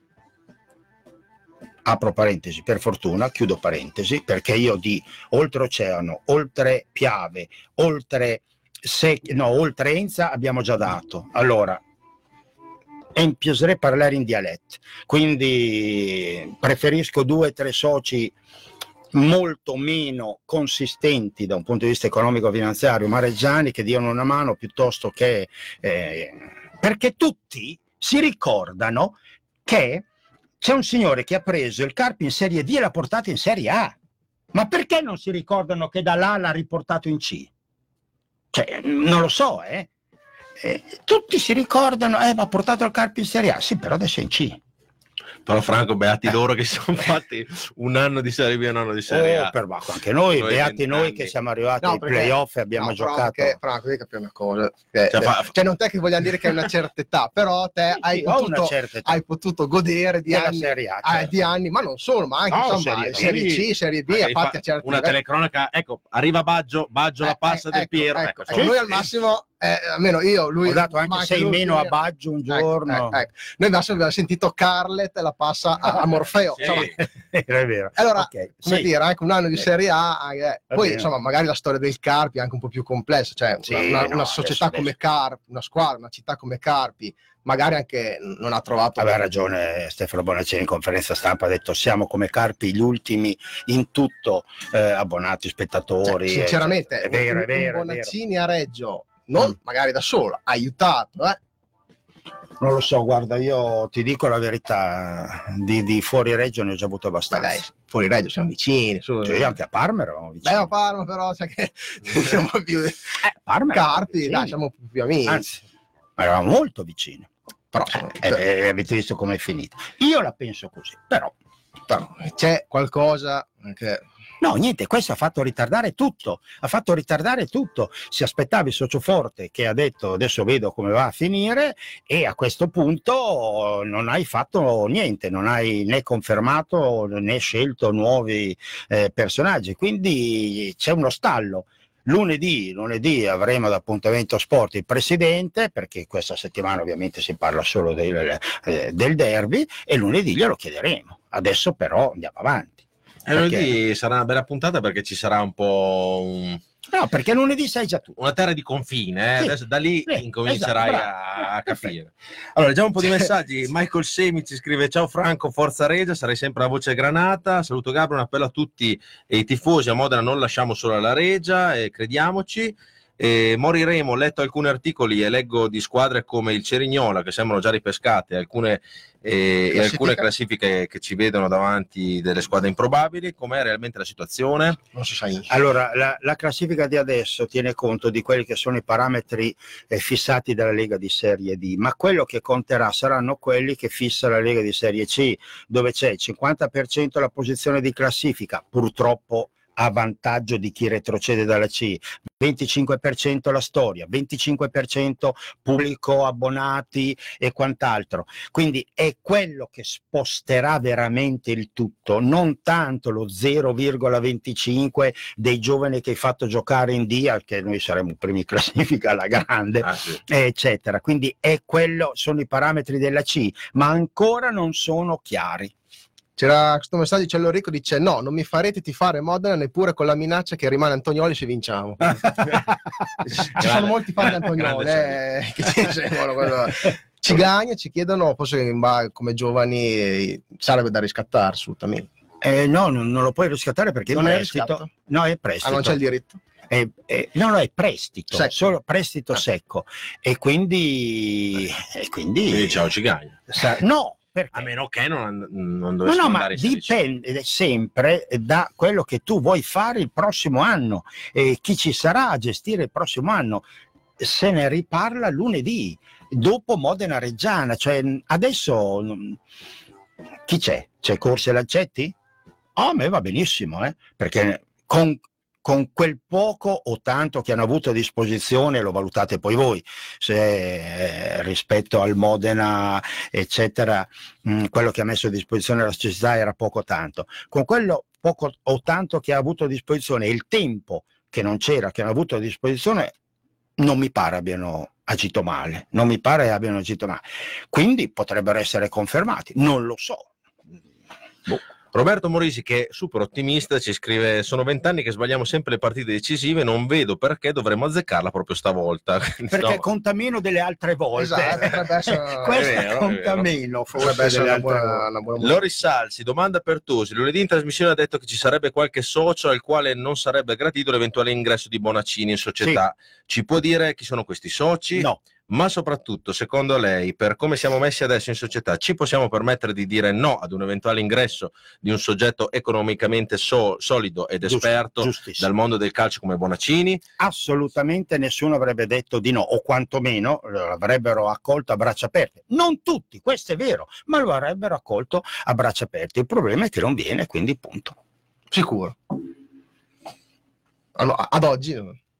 apro parentesi, per fortuna, chiudo parentesi, perché io di oltreoceano, oltre Piave, oltre Se, no, oltre Enza abbiamo già dato. Allora, empieserei a parlare in dialetto, quindi preferisco due o tre soci molto meno consistenti da un punto di vista economico-finanziario, mareggiani, che diano una mano piuttosto che... Eh, perché tutti si ricordano che c'è un signore che ha preso il Carpi in Serie D e l'ha portato in Serie A. Ma perché non si ricordano che da là l'ha riportato in C? Cioè, non lo so, eh. eh tutti si ricordano, eh, ma ha portato il Carpi in Serie A. Sì, però adesso è in C. Però Franco, beati Eh. loro che si sono fatti un anno di Serie B e un anno di Serie A. Oh, per Bacco, anche noi, Noi beati noi vent'anni. che siamo arrivati No, ai perché- playoff e abbiamo No, però giocato. anche, Franco, devi capire una cosa, che- Cioè, fa- cioè non è che vogliamo dire che hai una certa età, però te Sì, hai, sì, ho una potuto, certa età. hai potuto godere di Della anni, Serie A, ah, certo. di anni, ma non solo, ma anche No, insomma, Serie Serie, B. C, Serie B, a Magari parte fa a certi una livelli. telecronaca, ecco, arriva Baggio, Baggio la Eh, passa eh, del ecco, Piero. ecco, ecco, ecco, noi al massimo, eh, almeno io, lui Ho dato ma anche sei lui, meno a lui- Baggio un ecco, giorno. ecco, ecco. Noi al massimo abbiamo sentito Carlet la passa a, a Morfeo. Sì. Insomma, è vero. allora, Ok, come sì. dire, anche un anno di Sì. Serie A, eh, Va poi bene. insomma magari la storia del Carpi è anche un po' più complessa, cioè Sì, una, una- no, una società adesso- come Carpi, una squadra, una città come Carpi, magari anche non ha trovato... Aveva ragione Stefano Bonaccini in conferenza stampa, ha detto siamo come Carpi gli ultimi in tutto, eh, abbonati, Cioè, spettatori. sinceramente, è vero, un, è vero, un è vero. Bonaccini a Reggio, non magari da solo, ha aiutato, eh? Non lo so, guarda, io ti dico la verità, di, di fuori Reggio ne ho già avuto Ma abbastanza. dai, fuori Reggio siamo vicini, su. Cioè, anche a Parma eravamo Beh, vicini. a Parma però, sai che siamo più... Eh, Parma eravamo Carpi, vicini. dai, siamo più, più amici. Anzi, eravamo molto vicini. Però, insomma, Eh, eh, avete visto com'è finita. Io la penso così, però però c'è qualcosa che... no, niente, questo ha fatto ritardare tutto, ha fatto ritardare tutto. Si aspettava il socio forte che ha detto adesso vedo come va a finire e a questo punto non hai fatto niente, non hai né confermato né scelto nuovi eh, personaggi, quindi c'è uno stallo. Lunedì, lunedì avremo ad Appuntamento Sport il presidente, perché questa settimana ovviamente si parla solo del, eh, del derby, e lunedì glielo chiederemo. Adesso però andiamo avanti. E lunedì sarà una bella puntata perché ci sarà un po' un... No, perché lunedì sai già tu. Una terra di confine, eh? Sì, Adesso da lì sì, incomincerai esatto, a, a capire. Allora, leggiamo un po' di messaggi. Michael Semi ci scrive: ciao Franco, forza Regia, sarai sempre la voce granata. Saluto Gabro, un appello a tutti i tifosi a Modena, non lasciamo solo la Regia, e crediamoci. E moriremo, ho letto alcuni articoli e leggo di squadre come il Cerignola che sembrano già ripescate, alcune, eh, e alcune classifiche che ci vedono davanti delle squadre improbabili. Com'è realmente la situazione? Non si sa niente. Allora, la, la classifica di adesso tiene conto di quelli che sono i parametri eh, fissati dalla Lega di Serie D, ma quello che conterà saranno quelli che fissa la Lega di Serie C, dove c'è il cinquanta per cento la posizione di classifica, purtroppo a vantaggio di chi retrocede dalla C, venticinque per cento la storia, venticinque per cento pubblico, abbonati e quant'altro. Quindi è quello che sposterà veramente il tutto, non tanto lo zero virgola venticinque dei giovani che hai fatto giocare in D, che noi saremo primi in classifica alla grande, Ah, sì. eccetera. Quindi è quello, sono i parametri della C, ma ancora non sono chiari. C'era questo messaggio, c'è Enrico, dice no, non mi farete tifare Modena neppure con la minaccia che rimane Antonioli se vinciamo. Ci sono molti fan di Antonioli eh, che ci seguono, quello. Ci gagna, ci chiedono, forse come giovani eh, sarebbe da riscattare assolutamente. Eh, no, non, non lo puoi riscattare perché Non è è prestito. riscatto? No, è prestito. Ah, non c'è il diritto? È, è, no, no, è prestito, Secco. solo prestito Ah. secco. E quindi... E quindi Quindi ciao ci gagna. sa- no, perché? A meno che non, non No, dovesse no, ma andare in Serie C. dipende sempre da quello che tu vuoi fare il prossimo anno e chi ci sarà a gestire il prossimo anno. Se ne riparla lunedì, dopo Modena Reggiana. Cioè, adesso mm, chi c'è? C'è Corsi e Lancetti? Oh, a me va benissimo, eh? Perché con, con quel poco o tanto che hanno avuto a disposizione, lo valutate poi voi, se eh, rispetto al Modena, eccetera, mh, quello che ha messo a disposizione la società era poco o tanto. Con quello poco o tanto che ha avuto a disposizione e il tempo che non c'era, che hanno avuto a disposizione, non mi pare abbiano agito male, non mi pare abbiano agito male. Quindi potrebbero essere confermati, non lo so. Boh. Roberto Morisi, che è super ottimista, ci scrive: sono vent'anni che sbagliamo sempre le partite decisive, non vedo perché dovremmo azzeccarla proprio stavolta. Perché No. conta meno delle altre volte. Esatto, potrebbe essere- Questa È vero, è conta vero. meno Potrebbe forse essere delle una altre buona, volte. una buona Loris Salsi, domanda per Tosi. Lunedì in trasmissione ha detto che ci sarebbe qualche socio al quale non sarebbe gradito l'eventuale ingresso di Bonaccini in società. Ci può dire chi sono questi soci? No. Ma soprattutto, secondo lei, per come siamo messi adesso in società, ci possiamo permettere di dire no ad un eventuale ingresso di un soggetto economicamente so- solido ed Giusto, esperto giustissimo. dal mondo del calcio come Bonaccini? Assolutamente nessuno avrebbe detto di no, o quantomeno lo avrebbero accolto a braccia aperte. Non tutti, questo è vero, ma lo avrebbero accolto a braccia aperte. Il problema è che non viene, quindi punto. Sicuro. Ah, no, ad oggi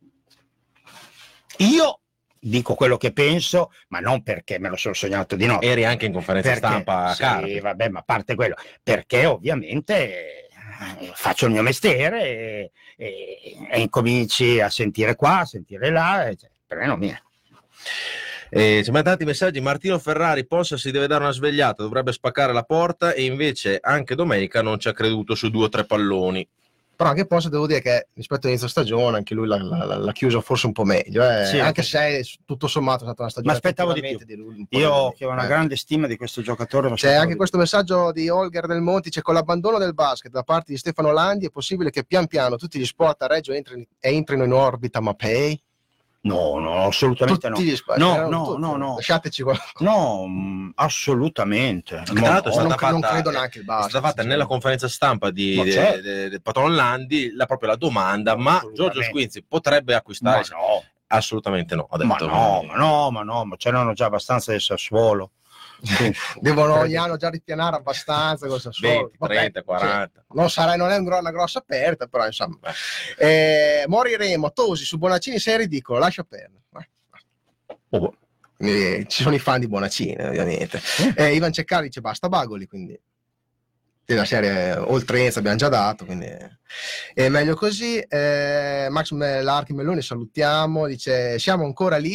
Io dico quello che penso, ma non perché me lo sono sognato di no. Eri anche in conferenza Perché- stampa a sì, Carpi. vabbè, ma a parte quello, perché ovviamente eh, faccio il mio mestiere e, e- e incominci a sentire qua, a sentire là, e, cioè, per me non viene. Eh, ci mandano tanti messaggi. Martino Ferrari, Possa si deve dare una svegliata, dovrebbe spaccare la porta, e invece anche domenica non ci ha creduto su due o tre palloni. però anche Posse devo dire che rispetto all'inizio stagione anche lui l'ha, l'ha, l'ha chiuso forse un po' meglio eh. Sì, anche anche- se tutto sommato è stata una stagione Ma aspettavo di effettivamente più. lui un po' Io di- che ho una eh. grande stima di questo giocatore. ma C'è aspettavo anche di questo messaggio di Holger Del Monti, c'è: con l'abbandono del basket da parte di Stefano Landi è possibile che pian piano tutti gli sport a Reggio entrino, entrino in orbita Mapei? più. No, no, assolutamente Tutti no. gli sport, No, erano no, tutti. no, no. Lasciateci qualcosa. No, mh, assolutamente. Tra l'altro è non, stata cre- non fatta- credo neanche il è basket. stata fatta nella conferenza stampa di, Ma de- certo. de- del patron Landi la, proprio la domanda: ma Assolutamente. Giorgio Squinzi potrebbe acquistare? Ma no. Assolutamente no, ha Ma detto. no, ma no, ma no, ma ce n'hanno già abbastanza del Sassuolo. Devono ogni anno già ripianare abbastanza con il Sassuolo. venti, Vabbè, trenta, quaranta. sì. Non sarà, non è un gro- una grossa aperta, però insomma. Eh, moriremo. Tosi su Bonaccini sei ridicolo, lascia perdere. Oh, Quindi, ci sono i fan di Bonaccini, ovviamente. Eh, Ivan Ceccari dice basta Bagoli, quindi la serie oltrenza abbiamo già dato, quindi è meglio così. Eh, Max Larchi Melloni salutiamo, dice siamo ancora lì.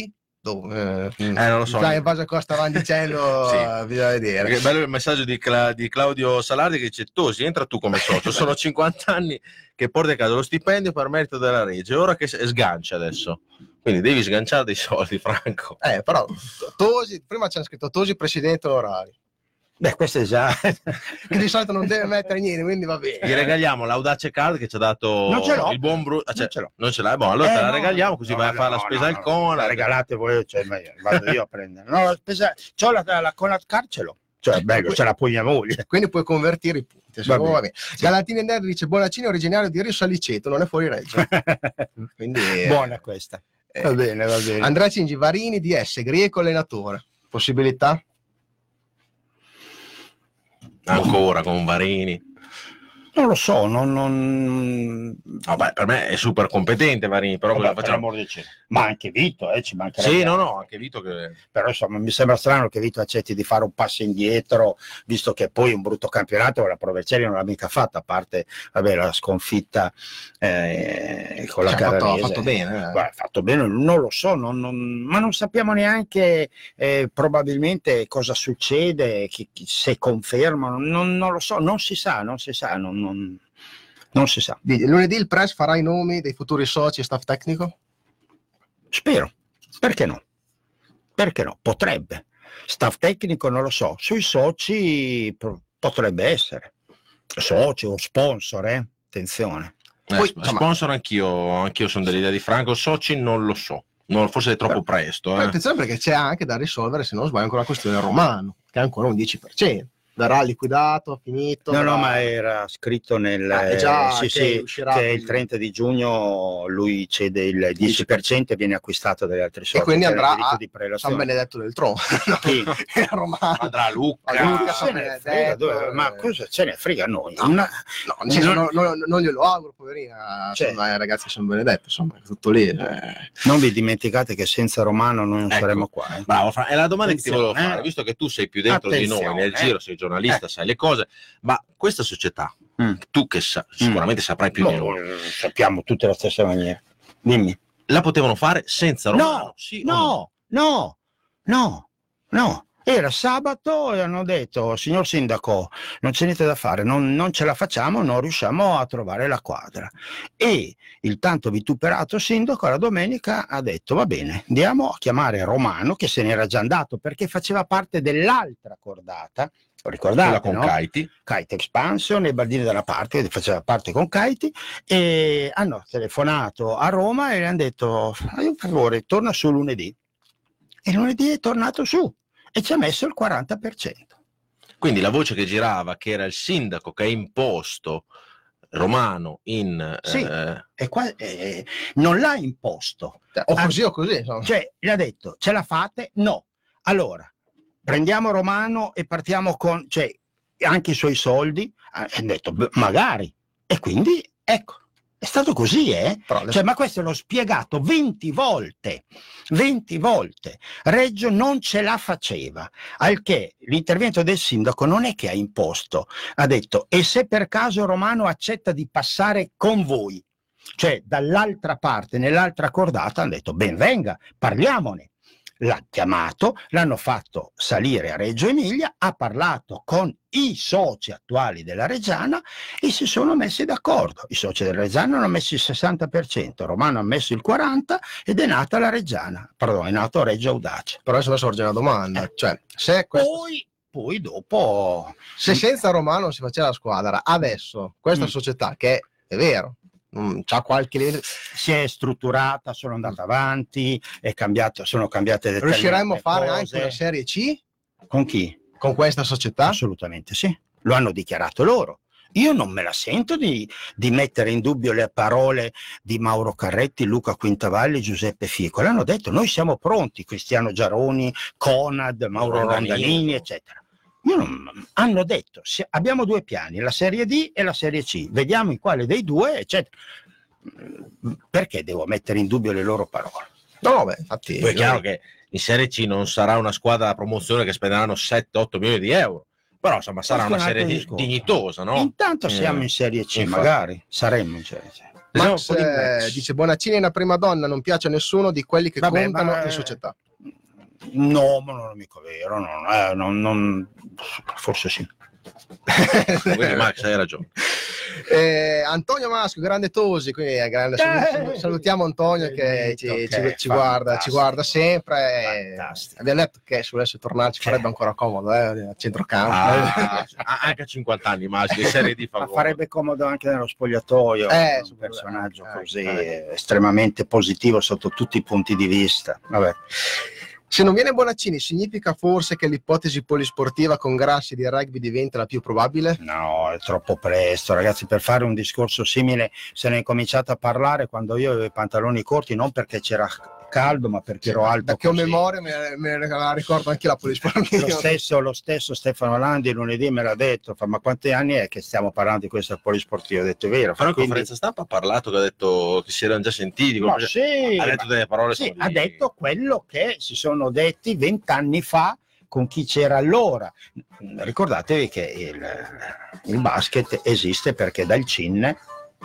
Oh, eh, Eh, non lo so. Sai, in base a cosa stavano dicendo, Sì. bisogna vedere. Perché è bello il messaggio di, Cla- di Claudio Salardi che dice: Tosi, entra tu come socio, sono cinquanta anni che porti a casa lo stipendio per merito della Regia, ora che s- sgancia adesso, quindi devi sganciare dei soldi, Franco. Eh, però Tosi, prima c'era scritto Tosi presidente onorario, Beh, questo è già... che di solito non deve mettere niente, quindi va bene. Gli regaliamo l'Audace Card che ci ha dato Non ce l'ho. il buon Bruno, cioè, Non ce l'ho. non ce l'hai, boh, allora Eh, te la no, regaliamo così no, vai a no, fare la no, spesa no, al no, Conad. la regalate voi, cioè, ma io- vado io a prendere. No, la spesa, c'ho la, la Conad Card, ce l'ho. Cioè, bello, ce l'ha poi mia moglie. Quindi puoi convertire i punti. Va bene. Va bene. Galatini Nerd dice Bonaccini originario di Risso Aliceto, non è fuori Reggio. Quindi, eh, Buona questa. Va bene, va bene. Andrea Cingi, Varini D S, Grieco allenatore. Possibilità? Ancora con Varini. Non lo so, non... non... Vabbè, per me è super competente Varini, però Vabbè, cosa per facciamo? l'amor del cielo. Ma anche Vito, eh, ci mancherebbe. Sì, no, no, anche Vito che... Però insomma mi sembra strano che Vito accetti di fare un passo indietro, visto che poi un brutto campionato la Provercelli non l'ha mica fatta, a parte vabbè, la sconfitta eh, con la Cioè, ha fatto- Carrarese. ha fatto bene, eh. Guarda, ha fatto bene, non lo so, non- non- ma non sappiamo neanche eh, probabilmente cosa succede, chi- chi- se confermano, non, non lo so, non si sa, non si sa, non, non- non si sa. Di- Lunedì il press farà i nomi dei futuri soci e staff tecnico? Spero, perché no? Perché no? Potrebbe. Staff tecnico non lo so, sui soci pro- potrebbe essere. Soci o sponsor, eh? Attenzione. Eh, Poi, sp- insomma- sponsor anch'io, anch'io sono dell'idea di Franco, soci non lo so, non, forse è troppo presto. Però Eh. attenzione perché c'è anche da risolvere, se non sbaglio, ancora la questione Romano, che è ancora un dieci per cento. Verrà liquidato, finito. No, no, verrà- ma era scritto nel Ah, è già sì, che sì, uscirà che quindi. il trenta di giugno lui cede il dieci per cento e viene acquistato dagli altri soci. E quindi c'era il andrà diritto a di San prelazione. Benedetto del Tronto. Sì. È Romano. Andrà a Lucca. A Lucca, Ma San se ne Benedetto, frega, dove- eh. ma cosa ce ne frega a noi? No. Una- No, nel senso, Non- non, non- non glielo auguro, poverina, Cioè. insomma, ai ragazzi di San Benedetto, insomma, è tutto lì. eh. Non vi dimenticate che senza Romano noi non Ecco. saremmo qua. eh. Bravo, Fra- è la domanda che ti volevo Attenzione, fare, eh. visto che tu sei più dentro di noi Attenzione, nel eh. giro, sei giornalista, Eh. sai le cose, ma questa società, Mm. tu che sa- sicuramente saprai più No, di noi, eh, sappiamo tutte alla stessa maniera. Dimmi. la potevano fare senza Romano? No, Sì o no? no, no, no, no. Era sabato e hanno detto, signor sindaco, non c'è niente da fare, non, non ce la facciamo, non riusciamo a trovare la quadra. E il tanto vituperato sindaco la domenica ha detto, va bene, andiamo a chiamare Romano, che se n'era già andato perché faceva parte dell'altra cordata, ricordate, Quella con no? Kaiti. Kite Expansion e Baldini da una parte, che faceva parte con Kaiti, e hanno telefonato a Roma e gli hanno detto, fai un favore, torna su lunedì. E lunedì è tornato su e ci ha messo il quaranta per cento. Quindi la voce che girava, che era il sindaco che ha imposto Romano in... Sì. eh, E qua, eh, non l'ha imposto, Cioè, o così o così, insomma. cioè gli ha detto, ce la fate? No. Allora, prendiamo Romano e partiamo con, cioè, anche i suoi soldi. Ha detto, "Beh, magari. E quindi, ecco, è stato così, eh? Però adesso- Cioè, ma questo l'ho spiegato venti volte, venti volte. Reggio non ce la faceva, al che l'intervento del sindaco non è che ha imposto, ha detto, e se per caso Romano accetta di passare con voi, cioè dall'altra parte, nell'altra cordata, hanno detto, ben venga, parliamone. L'ha chiamato, l'hanno fatto salire a Reggio Emilia, ha parlato con i soci attuali della Reggiana e si sono messi d'accordo. I soci della Reggiana hanno messo il sessanta per cento, Romano ha messo il quaranta per cento ed è nata la Reggiana, pardon, è nato Reggio Audace. Però adesso sorge una domanda, cioè, se, questo- Poi, poi dopo... se senza Romano non si faceva la squadra, adesso questa Mm. società, che è vero, mm, c'ha qualche livello, si è strutturata, sono andata avanti, è cambiato, sono cambiate determinate riusciremmo a fare cose. anche una Serie C Con chi? con questa società? Assolutamente sì, lo hanno dichiarato loro. Io non me la sento di, di mettere in dubbio le parole di Mauro Carretti, Luca Quintavalli, Giuseppe Fico. L'hanno detto, noi siamo pronti, Cristiano Giaroni, Conad, Mauro Rondanini. Rondanini, eccetera. Io non- hanno detto, se- abbiamo due piani, la Serie D e la Serie C, vediamo in quale dei due, eccetera. Perché devo mettere in dubbio le loro parole? No, beh, infatti... Poi è chiaro che in Serie C non sarà una squadra da promozione che spenderanno sette otto milioni di euro, però insomma sarà Questo una è un altro serie di- discorso. dignitosa, no? Intanto siamo Eh, in Serie C, infatti. magari saremmo in Serie C. Max Vediamo un po' di eh, match. dice Bonaccini è una prima donna, non piace a nessuno di quelli che Vabbè, contano ma- in società. No, ma non è mica vero, no, eh, non, non... forse sì. Quindi Max hai ragione. Eh, Antonio Maschio, grande Tosi, quindi è grande, Eh, salutiamo Antonio che ci, che ci- è ci guarda, ci guarda sempre. Fantastico. Abbiamo detto che se volesse tornare ci farebbe ancora comodo, eh, a centrocampo. Ah, anche a cinquanta anni Max, di serie di Ma favore. farebbe comodo anche nello spogliatoio, Eh, un personaggio eh, così eh. eh, estremamente positivo sotto tutti i punti di vista. Vabbè. Se non viene Bonaccini, significa forse che l'ipotesi polisportiva con Grassi di rugby diventa la più probabile? No, è troppo presto, ragazzi, per fare un discorso simile se ne è cominciato a parlare quando io avevo i pantaloni corti, non perché c'era caldo, ma perché ero alto Da che ho così. memoria me, me la ricordo anche la polisportiva. Lo stesso, lo stesso Stefano Landi lunedì me l'ha detto, fa, ma quanti anni è che stiamo parlando di questa polisportiva? Ho detto, è vero. Però in Quindi- conferenza stampa ha parlato che ha detto che si erano già sentiti, Ma cioè, sì, ha detto delle parole sì, solide. ha detto quello che si sono detti vent'anni fa con chi c'era allora. Ricordatevi che il, il basket esiste perché dal C I N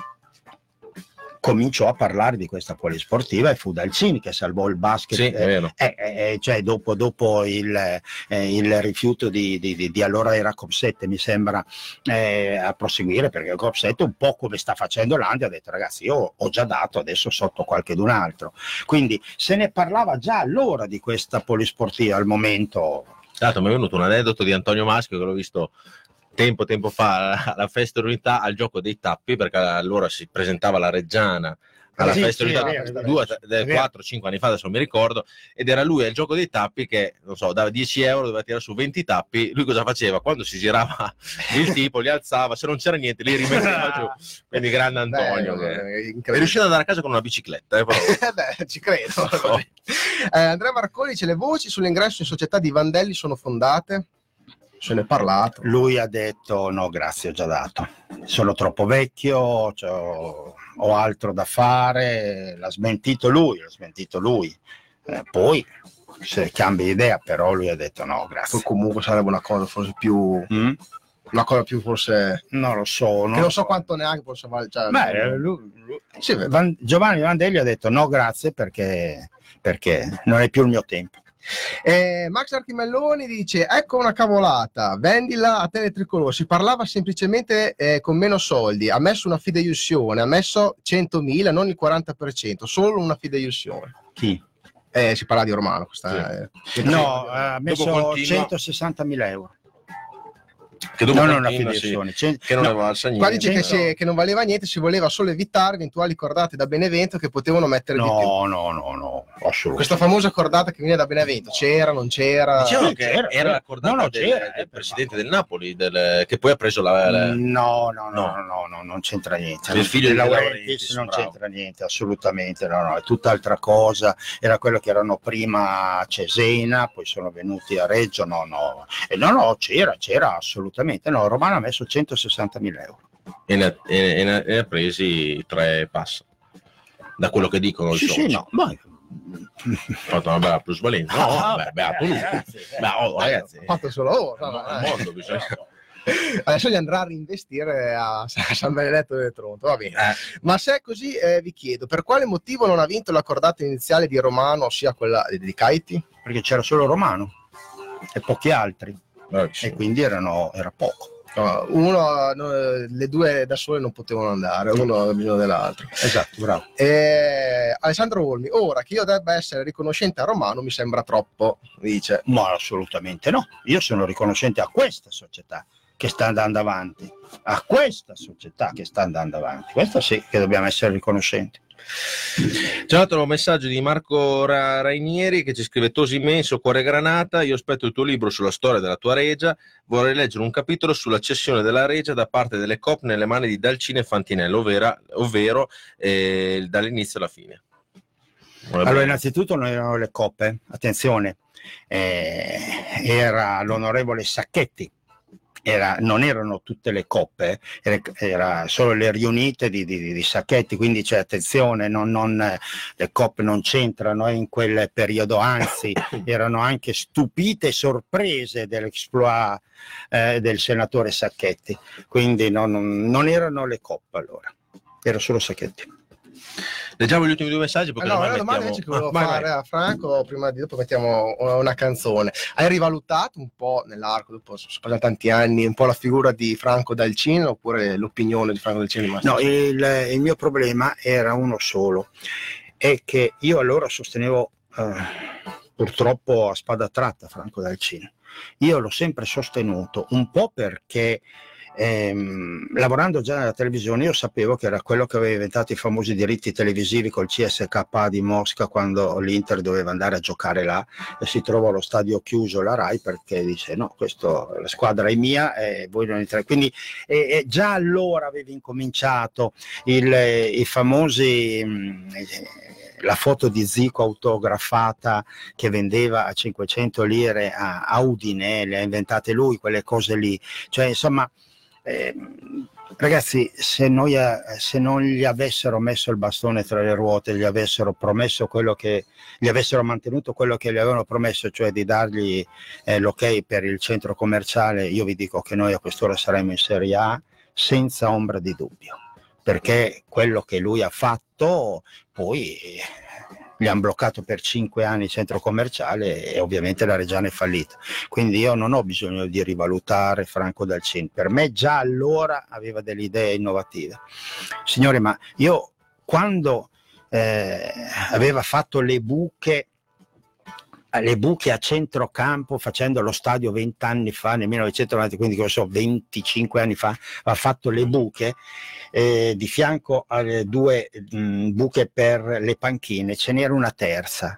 cominciò a parlare di questa polisportiva e fu dal C I N che salvò il basket. Sì, è vero. Eh, eh, cioè dopo, dopo il, eh, il rifiuto di, di, di, di allora era Copsette, mi sembra, eh, a proseguire, perché Copsette un po' come sta facendo l'Andi ha detto ragazzi io ho già dato, adesso sotto qualchedun altro, quindi se ne parlava già allora di questa polisportiva. Al momento Tra l'altro mi è venuto un aneddoto di Antonio Maschio che l'ho visto tempo tempo fa alla Festa dell'Unità al gioco dei tappi, perché allora si presentava la Reggiana alla Sì, Festa sì, dell'Unità è vero, è due, vero. de- quattro cinque anni fa, adesso non mi ricordo, ed era lui al gioco dei tappi che non so, dava dieci euro, doveva tirare su venti tappi. Lui cosa faceva? Quando si girava il tipo li alzava, se non c'era niente li rimetteva giù. Quindi grande Antonio, Beh, che è è incredibile. riuscito ad andare a casa con una bicicletta, eh, però. Eh beh, ci credo. Eh, Andrea Marconi dice: le voci sull'ingresso in società di Vandelli sono fondate? Se ne è parlato. lui ha detto no grazie, ho già dato, sono troppo vecchio, cioè, ho, ho altro da fare, l'ha smentito lui, l'ha smentito lui. Eh, poi se cambia idea, però lui ha detto no grazie. Poi comunque sarebbe una cosa forse più Mm? una cosa più forse Non lo so, che non so quanto neanche possa valere. Cioè, Beh, lui- lui- sì, beh. Van- Giovanni Vandelli ha detto no grazie perché, perché non è più il mio tempo. Eh, Max Archimelloni dice: ecco una cavolata, vendila a te le tricolore. Si parlava semplicemente eh, con meno soldi. Ha messo una fideiussione, ha messo centomila, non il quaranta per cento, solo una fideiussione. Chi? Eh, si parla di Romano. Questa, eh, No, ha messo continua- centosessantamila euro. Che dopo Non una continua, sì, fideiussione. Cent- che non no, aveva alza Qua niente. dice che, cento. si- che non valeva niente, si voleva solo evitare eventuali cordate da Benevento che potevano mettere di più. no, no, no, no, assolutamente. Questa famosa cordata che viene da Benevento, c'era, non c'era? Dicevano Sì, che c'era, era c'era. la cordata No, no, del, c'era, del eh, presidente del Napoli, del- che poi ha preso la, la- No, no, no, No. no, no, no, non c'entra niente. Il figlio di De De Laurentiis Laurentiis, non bravo. c'entra niente, assolutamente, no, no, è tutt'altra cosa. Era quello che erano prima a Cesena, poi sono venuti a Reggio, no, no. E no, no, c'era, c'era assolutamente. No, Romano ha messo centosessantamila euro. e, ne, e- e ne- e ne ha presi tre passa. Da quello che dicono i Sì, soci. sì, no, ma... Ha fatto una bella plusvalenza. No, Ah, vabbè, beato lui. ragazzi, eh. Beh, oh, ragazzi, Ho fatto solo ora. al vabbè. mondo bisogna... Adesso gli andrà a reinvestire a San Benedetto del Tronto, va bene. Eh, Ma se è così, eh, vi chiedo, per quale motivo non ha vinto la cordata iniziale di Romano, ossia quella di Caiti? Perché c'era solo Romano e pochi altri, bravissimo. e quindi erano, era poco. No, uno, no, le due da sole non potevano andare, uno ha bisogno dell'altro. Esatto, bravo. Eh, Alessandro Olmi, ora che io debba essere riconoscente a Romano mi sembra troppo, dice. Ma assolutamente no. Io sono riconoscente a questa società che sta andando avanti, a questa società che sta andando avanti. Questo sì che dobbiamo essere riconoscenti. C'è un altro messaggio di Marco Ra- Rainieri che ci scrive: Tosi immenso, cuore granata, io aspetto il tuo libro sulla storia della tua Regia, vorrei leggere un capitolo sulla cessione della Regia da parte delle Coop nelle mani di Dalcini e Fantinello, ovvero, ovvero eh, dall'inizio alla fine. Allora, innanzitutto non erano le coppe, attenzione, eh, era l'onorevole Sacchetti. Era, non erano tutte le coppe, era, era solo le riunite di, di, di Sacchetti, quindi c'è attenzione, non, non, le coppe non c'entrano in quel periodo, anzi erano anche stupite e sorprese dell'exploit eh, del senatore Sacchetti, quindi non, non erano le coppe allora, era solo Sacchetti. Leggiamo gli ultimi due messaggi, perché Ah, no, ormai una domanda mettiamo... invece che volevo Ah, vai, fare vai. a Franco, prima di dopo mettiamo una canzone. Hai rivalutato un po' nell'arco, dopo sono passati tanti anni, un po' la figura di Franco Dalcin, oppure l'opinione di Franco Dalcin è rimasta? No, il, il mio problema era uno solo, è che io allora sostenevo eh, purtroppo a spada tratta Franco Dalcin. Io l'ho sempre sostenuto, un po' perché ehm, lavorando già nella televisione io sapevo che era quello che aveva inventato i famosi diritti televisivi col C S K A di Mosca, quando l'Inter doveva andare a giocare là e si trovò allo stadio chiuso la Rai perché dice no, questo, la squadra è mia e voi non entrate. Quindi e, e già allora avevi incominciato il, i famosi mh, la foto di Zico autografata che vendeva a cinquecento lire a, a Udine, le ha inventate lui quelle cose lì, cioè insomma eh, ragazzi, se, noi, se non gli avessero messo il bastone tra le ruote, gli avessero promesso quello che gli avessero mantenuto quello che gli avevano promesso, cioè di dargli eh, l'ok per il centro commerciale, io vi dico che noi a quest'ora saremmo in Serie A senza ombra di dubbio, perché quello che lui ha fatto poi gli hanno bloccato per cinque anni il centro commerciale e ovviamente la Reggiana è fallita. Quindi io non ho bisogno di rivalutare Franco Dalcin, per me già allora aveva delle idee innovative. Signori, ma io quando eh, aveva fatto le buche le buche a centrocampo facendo lo stadio vent'anni fa, nel millenovecentonovanta, quindi che so, venticinque anni fa, ha fatto le buche eh, di fianco alle due mh, buche per le panchine, ce n'era una terza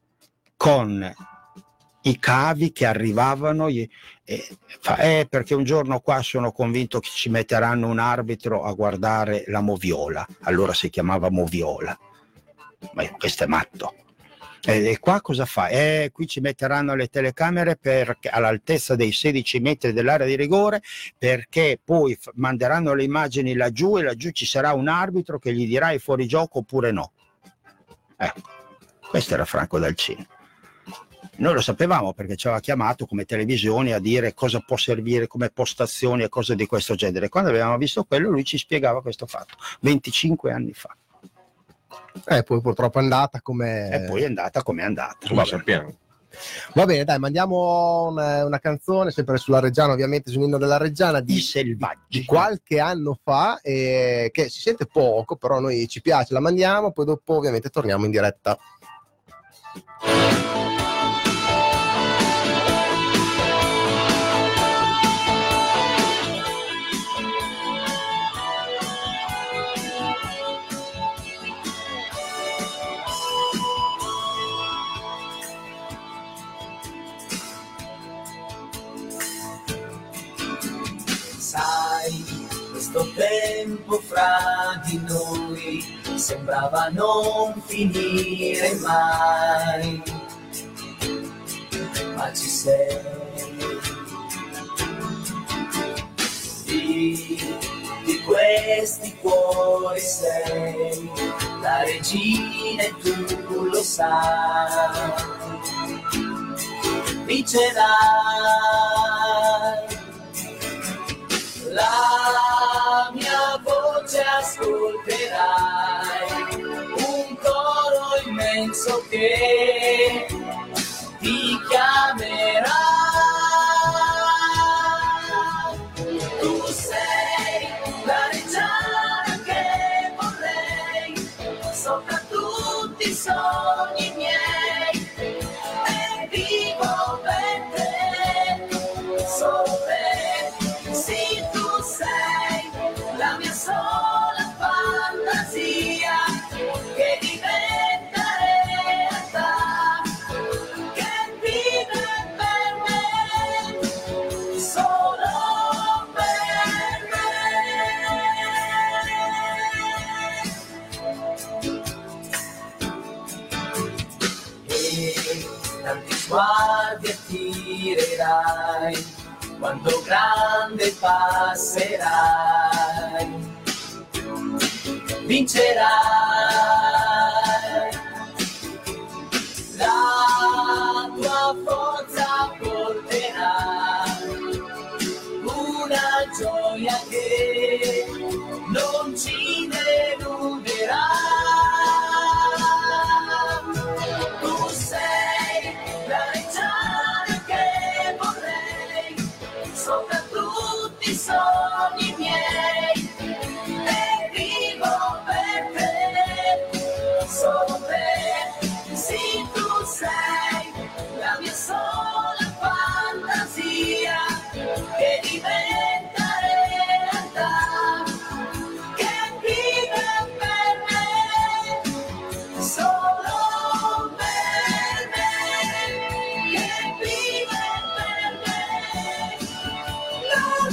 con i cavi che arrivavano eh, fa, eh, perché un giorno qua sono convinto che ci metteranno un arbitro a guardare la moviola, allora si chiamava moviola, ma questo è matto. E qua cosa fa? Eh, qui ci metteranno le telecamere per, all'altezza dei sedici metri dell'area di rigore, perché poi f- manderanno le immagini laggiù e laggiù ci sarà un arbitro che gli dirà è fuori gioco oppure no. Eh, questo era Franco Dalcin. Noi lo sapevamo perché ci aveva chiamato come televisioni a dire cosa può servire come postazioni e cose di questo genere. Quando avevamo visto quello lui ci spiegava questo fatto, venticinque anni fa. Eh, poi purtroppo è andata come... E poi è andata come è andata. Lo sappiamo. Va bene, dai, mandiamo una, una canzone, sempre sulla Reggiana, ovviamente sull'inno della Reggiana, di, I selvaggi. di qualche anno fa, eh, che si sente poco, però a noi ci piace, la mandiamo, poi dopo ovviamente torniamo in diretta. Sai, questo tempo fra di noi sembrava non finire mai, ma ci sei. Di, di questi cuori sei la regina e tu lo sai, vincerai. La mia voce ascolterai, un coro immenso che ti chiamerà. Tu sei la reggiana che vorrei, sopra tutti i sogni miei, e vivo per te, solo per te. Sì, tu sei la mia sola fantasia che diventa realtà, che vive per me, solo per me. E tanti sguardi attirerai quando grande passerai, vincerai. La tua forza porterà una gioia che non ci deluderà. sopra tutti i sogni miei, e vivo per te, solo te, sì tu sei la mia sola fantasia, che diventa realtà, che vive per me, solo per me, che vive per me, per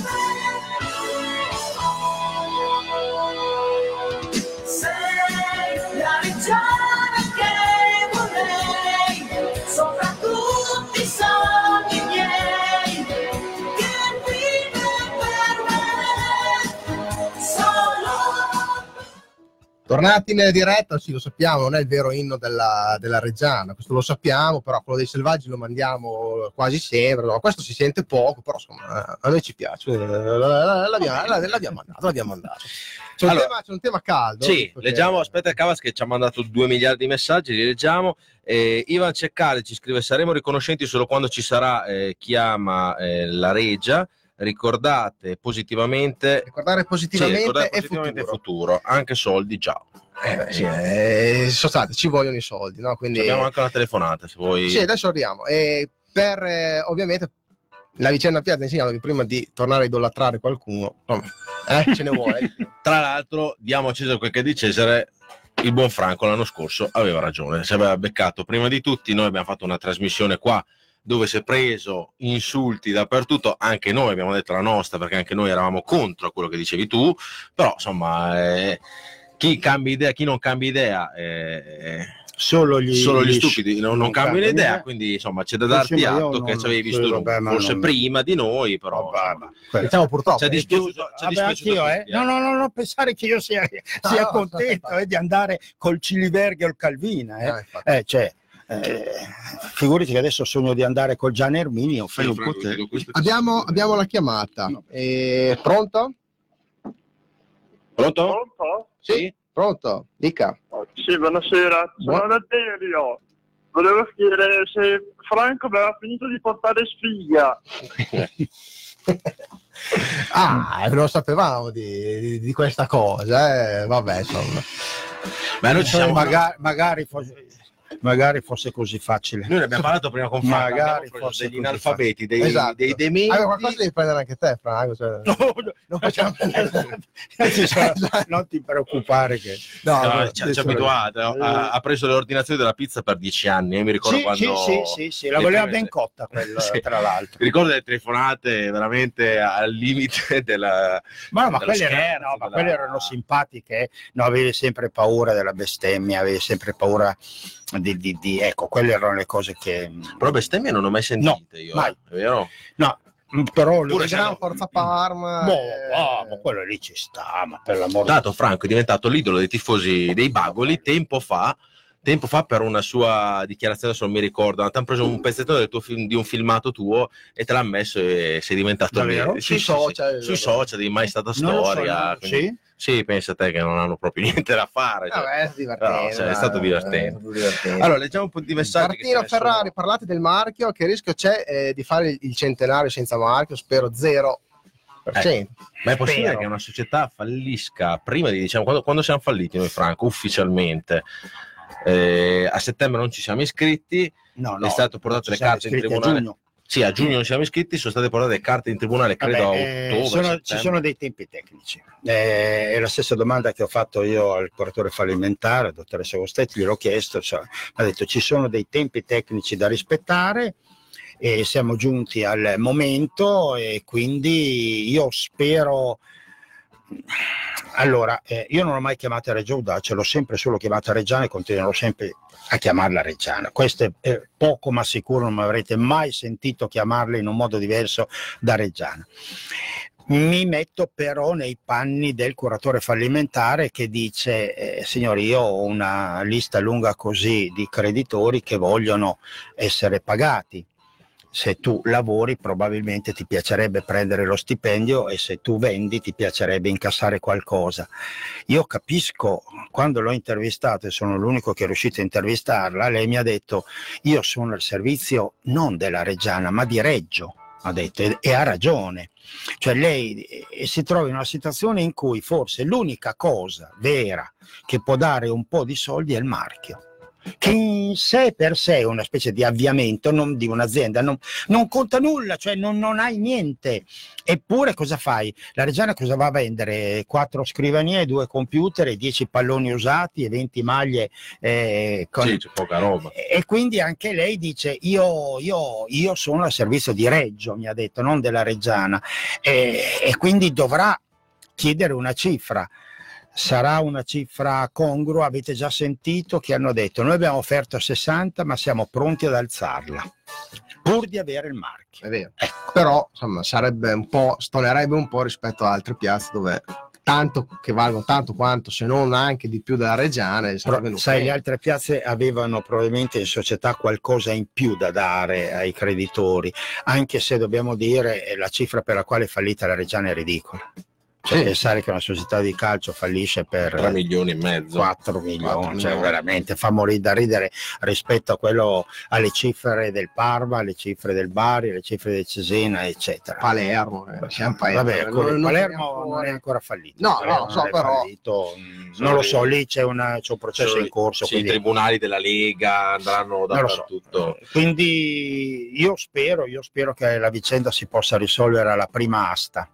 me. Sei la reggiana che vorrei, sopra tutti i sogni miei, che vive per me, solo. Tornati in diretta, sì, lo sappiamo, non è il vero inno della, della Reggiana, questo lo sappiamo, però quello dei Selvaggi lo mandiamo quasi sempre, no? Questo si sente poco, però insomma a noi ci piace, l'abbiamo, l'abbiamo mandato, l'abbiamo mandato. C'è un, Allora, tema, c'è un tema caldo. Sì, perché... leggiamo, aspetta Cavas che ci ha mandato due miliardi di messaggi, li leggiamo. Eh, Ivan Ceccale ci scrive: saremo riconoscenti solo quando ci sarà eh, chi ama eh, la Regia. Ricordate positivamente, Ricordare positivamente, sì, ricordare e positivamente futuro. futuro, anche soldi già. Eh, sì, eh, sono stati, ci vogliono i soldi, no? Quindi Abbiamo anche una telefonata, se vuoi. sì, adesso arriviamo. E per eh, ovviamente la vicenda Piazza insegna che prima di tornare a idolatrare qualcuno, insomma, eh, ce ne vuole. Tra l'altro, diamo a Cesare quel che è di Cesare. Il buon Franco l'anno scorso aveva ragione, si aveva beccato prima di tutti. Noi abbiamo fatto una trasmissione qua dove si è preso insulti dappertutto, anche noi abbiamo detto la nostra, perché anche noi eravamo contro quello che dicevi tu, però insomma eh, chi cambia idea, chi non cambia idea eh, Solo gli, solo gli gli stupidi non, non cambiano idea, quindi insomma c'è da darti Sì, ma io atto che non- ci avevi sì, visto vabbè, ma forse non- prima di noi, però insomma, Diciamo purtroppo. ci è dispiaciuto, ci è Vabbè, dispiaciuto anch'io, a eh. tutti, No, no, no, non pensare che io sia, No, sia no, contento no, eh, di andare col Ciliberghi o il Calvina. Eh. No, infatti. Eh, cioè, eh, figurati che adesso sogno di andare col Gian Erminio. Fai un po' te. Abbiamo, abbiamo la chiamata. Eh, pronto? Pronto? Pronto? Sì, pronto. Dica. Sì, buonasera. Sono Buon- da Derio. Volevo chiedere se Franco aveva finito di portare sfiga. Ah, non sapevamo di, di- di questa cosa, eh. Vabbè, insomma. Ma noi ci siamo magari, magari, fosse, magari fosse così facile. Noi ne abbiamo parlato prima con Franco, Magari abbiamo preso fosse degli così analfabeti, dei, Esatto. dei dementi. Allora, qualcosa devi prendere anche te, Franco. Cioè... No, no, non facciamo non ti preoccupare che No, No, no, ci, ci ha adesso- abituato, ha, ha preso le ordinazioni della pizza per dieci anni. Io mi ricordo sì, quando sì, sì, sì, sì, la le voleva prime- ben cotta quella, Sì. tra l'altro. Mi ricordo delle telefonate veramente al limite della. Ma, no, ma, dello quelle, erano, scherzo, no, ma della- quelle erano simpatiche, eh. No, avevi sempre paura della bestemmia, avevi sempre paura di, di, di- ecco, quelle erano le cose che Però bestemmie non ho mai sentite io, mai. eh, è vero? no, però Pure lui- Gran Forza Parma. Boh, eh, ah, ma quello lì ci sta, ma per l'amor di Dato Franco è diventato l'idolo dei tifosi dei Bagoli tempo fa. Tempo fa per una sua dichiarazione, se non mi ricordo, ti hanno preso un pezzettino del tuo film, di un filmato tuo e te l'ha messo e sei diventato Davvero? lì. Sui Sì, sì, social. sì. Sui social di Mai Stata Non lo so, Storia. no, quindi- sì? Sì, pensa te che non hanno proprio niente da fare. cioè. Vabbè, è divertente. Però, cioè, è dai, stato è divertente. stato divertente. Allora, leggiamo un po' di messaggi. che Martino ce ne sono. Ferrari, parlate del marchio, che rischio c'è eh, di fare il centenario senza marchio? Spero zero per cento. Ma è possibile Spero. che una società fallisca prima di, diciamo, quando, quando siamo falliti noi, Franco, ufficialmente? Eh, a settembre non ci siamo iscritti, No, no, è stato portato ci le siamo carte in iscritti a tribunale. giugno. Sì, a giugno non siamo iscritti, sono state portate le carte in tribunale, credo Vabbè, a eh, ottobre. sono- ci settembre. sono dei tempi tecnici. Eh, è la stessa domanda che ho fatto io al curatore fallimentare, dottoressa Costetti, gliel'ho chiesto, cioè, ha detto ci sono dei tempi tecnici da rispettare e siamo giunti al momento e quindi io spero. Allora, eh, io non ho mai chiamato Reggio Audace, l'ho sempre solo chiamata Reggiana e continuerò sempre a chiamarla Reggiana. Questo è, è poco ma sicuro, non mi avrete mai sentito chiamarla in un modo diverso da Reggiana. Mi metto però nei panni del curatore fallimentare che dice eh, signori, io ho una lista lunga così di creditori che vogliono essere pagati. Se tu lavori probabilmente ti piacerebbe prendere lo stipendio e se tu vendi ti piacerebbe incassare qualcosa. Io capisco, quando l'ho intervistato e sono l'unico che è riuscito a intervistarla, lei mi ha detto io sono al servizio non della Reggiana ma di Reggio. ha detto, e, e ha ragione. Cioè lei eh, si trova in una situazione in cui forse l'unica cosa vera che può dare un po' di soldi è il marchio, che in sé per sé è una specie di avviamento non di un'azienda, non, non conta nulla, cioè non, non hai niente. Eppure cosa fai? La Reggiana cosa va a vendere? Quattro scrivanie, due computer, dieci palloni usati e venti maglie eh, con... Sì, c'è poca roba. E quindi anche lei dice io, io, io sono al servizio di Reggio, mi ha detto, non della Reggiana, e, e quindi dovrà chiedere una cifra. Sarà una cifra congrua? Avete già sentito che hanno detto noi abbiamo offerto sessanta ma siamo pronti ad alzarla pur di avere il marchio. È vero. Ecco. Però insomma sarebbe un po', stonerebbe un po' rispetto ad altre piazze dove tanto che valgono tanto quanto, se non anche di più della Reggiana. Però, sai, le altre piazze avevano probabilmente in società qualcosa in più da dare ai creditori, anche se dobbiamo dire la cifra per la quale è fallita la Reggiana è ridicola. Cioè, sì. Pensare che una società di calcio fallisce per tre milioni e mezzo, quattro milioni, cioè veramente fa morire da ridere rispetto a quello, alle cifre del Parma, alle cifre del Bari, alle cifre del Cesena, eccetera. Palermo, eh, Palermo. Vabbè, non, non Palermo non è ancora fallito. No, no, non so, però fallito, non lo so, lì c'è, una, c'è un processo in corso. Sì, quindi... i tribunali della Lega andranno dappertutto. So. Quindi io spero, io spero che la vicenda si possa risolvere alla prima asta.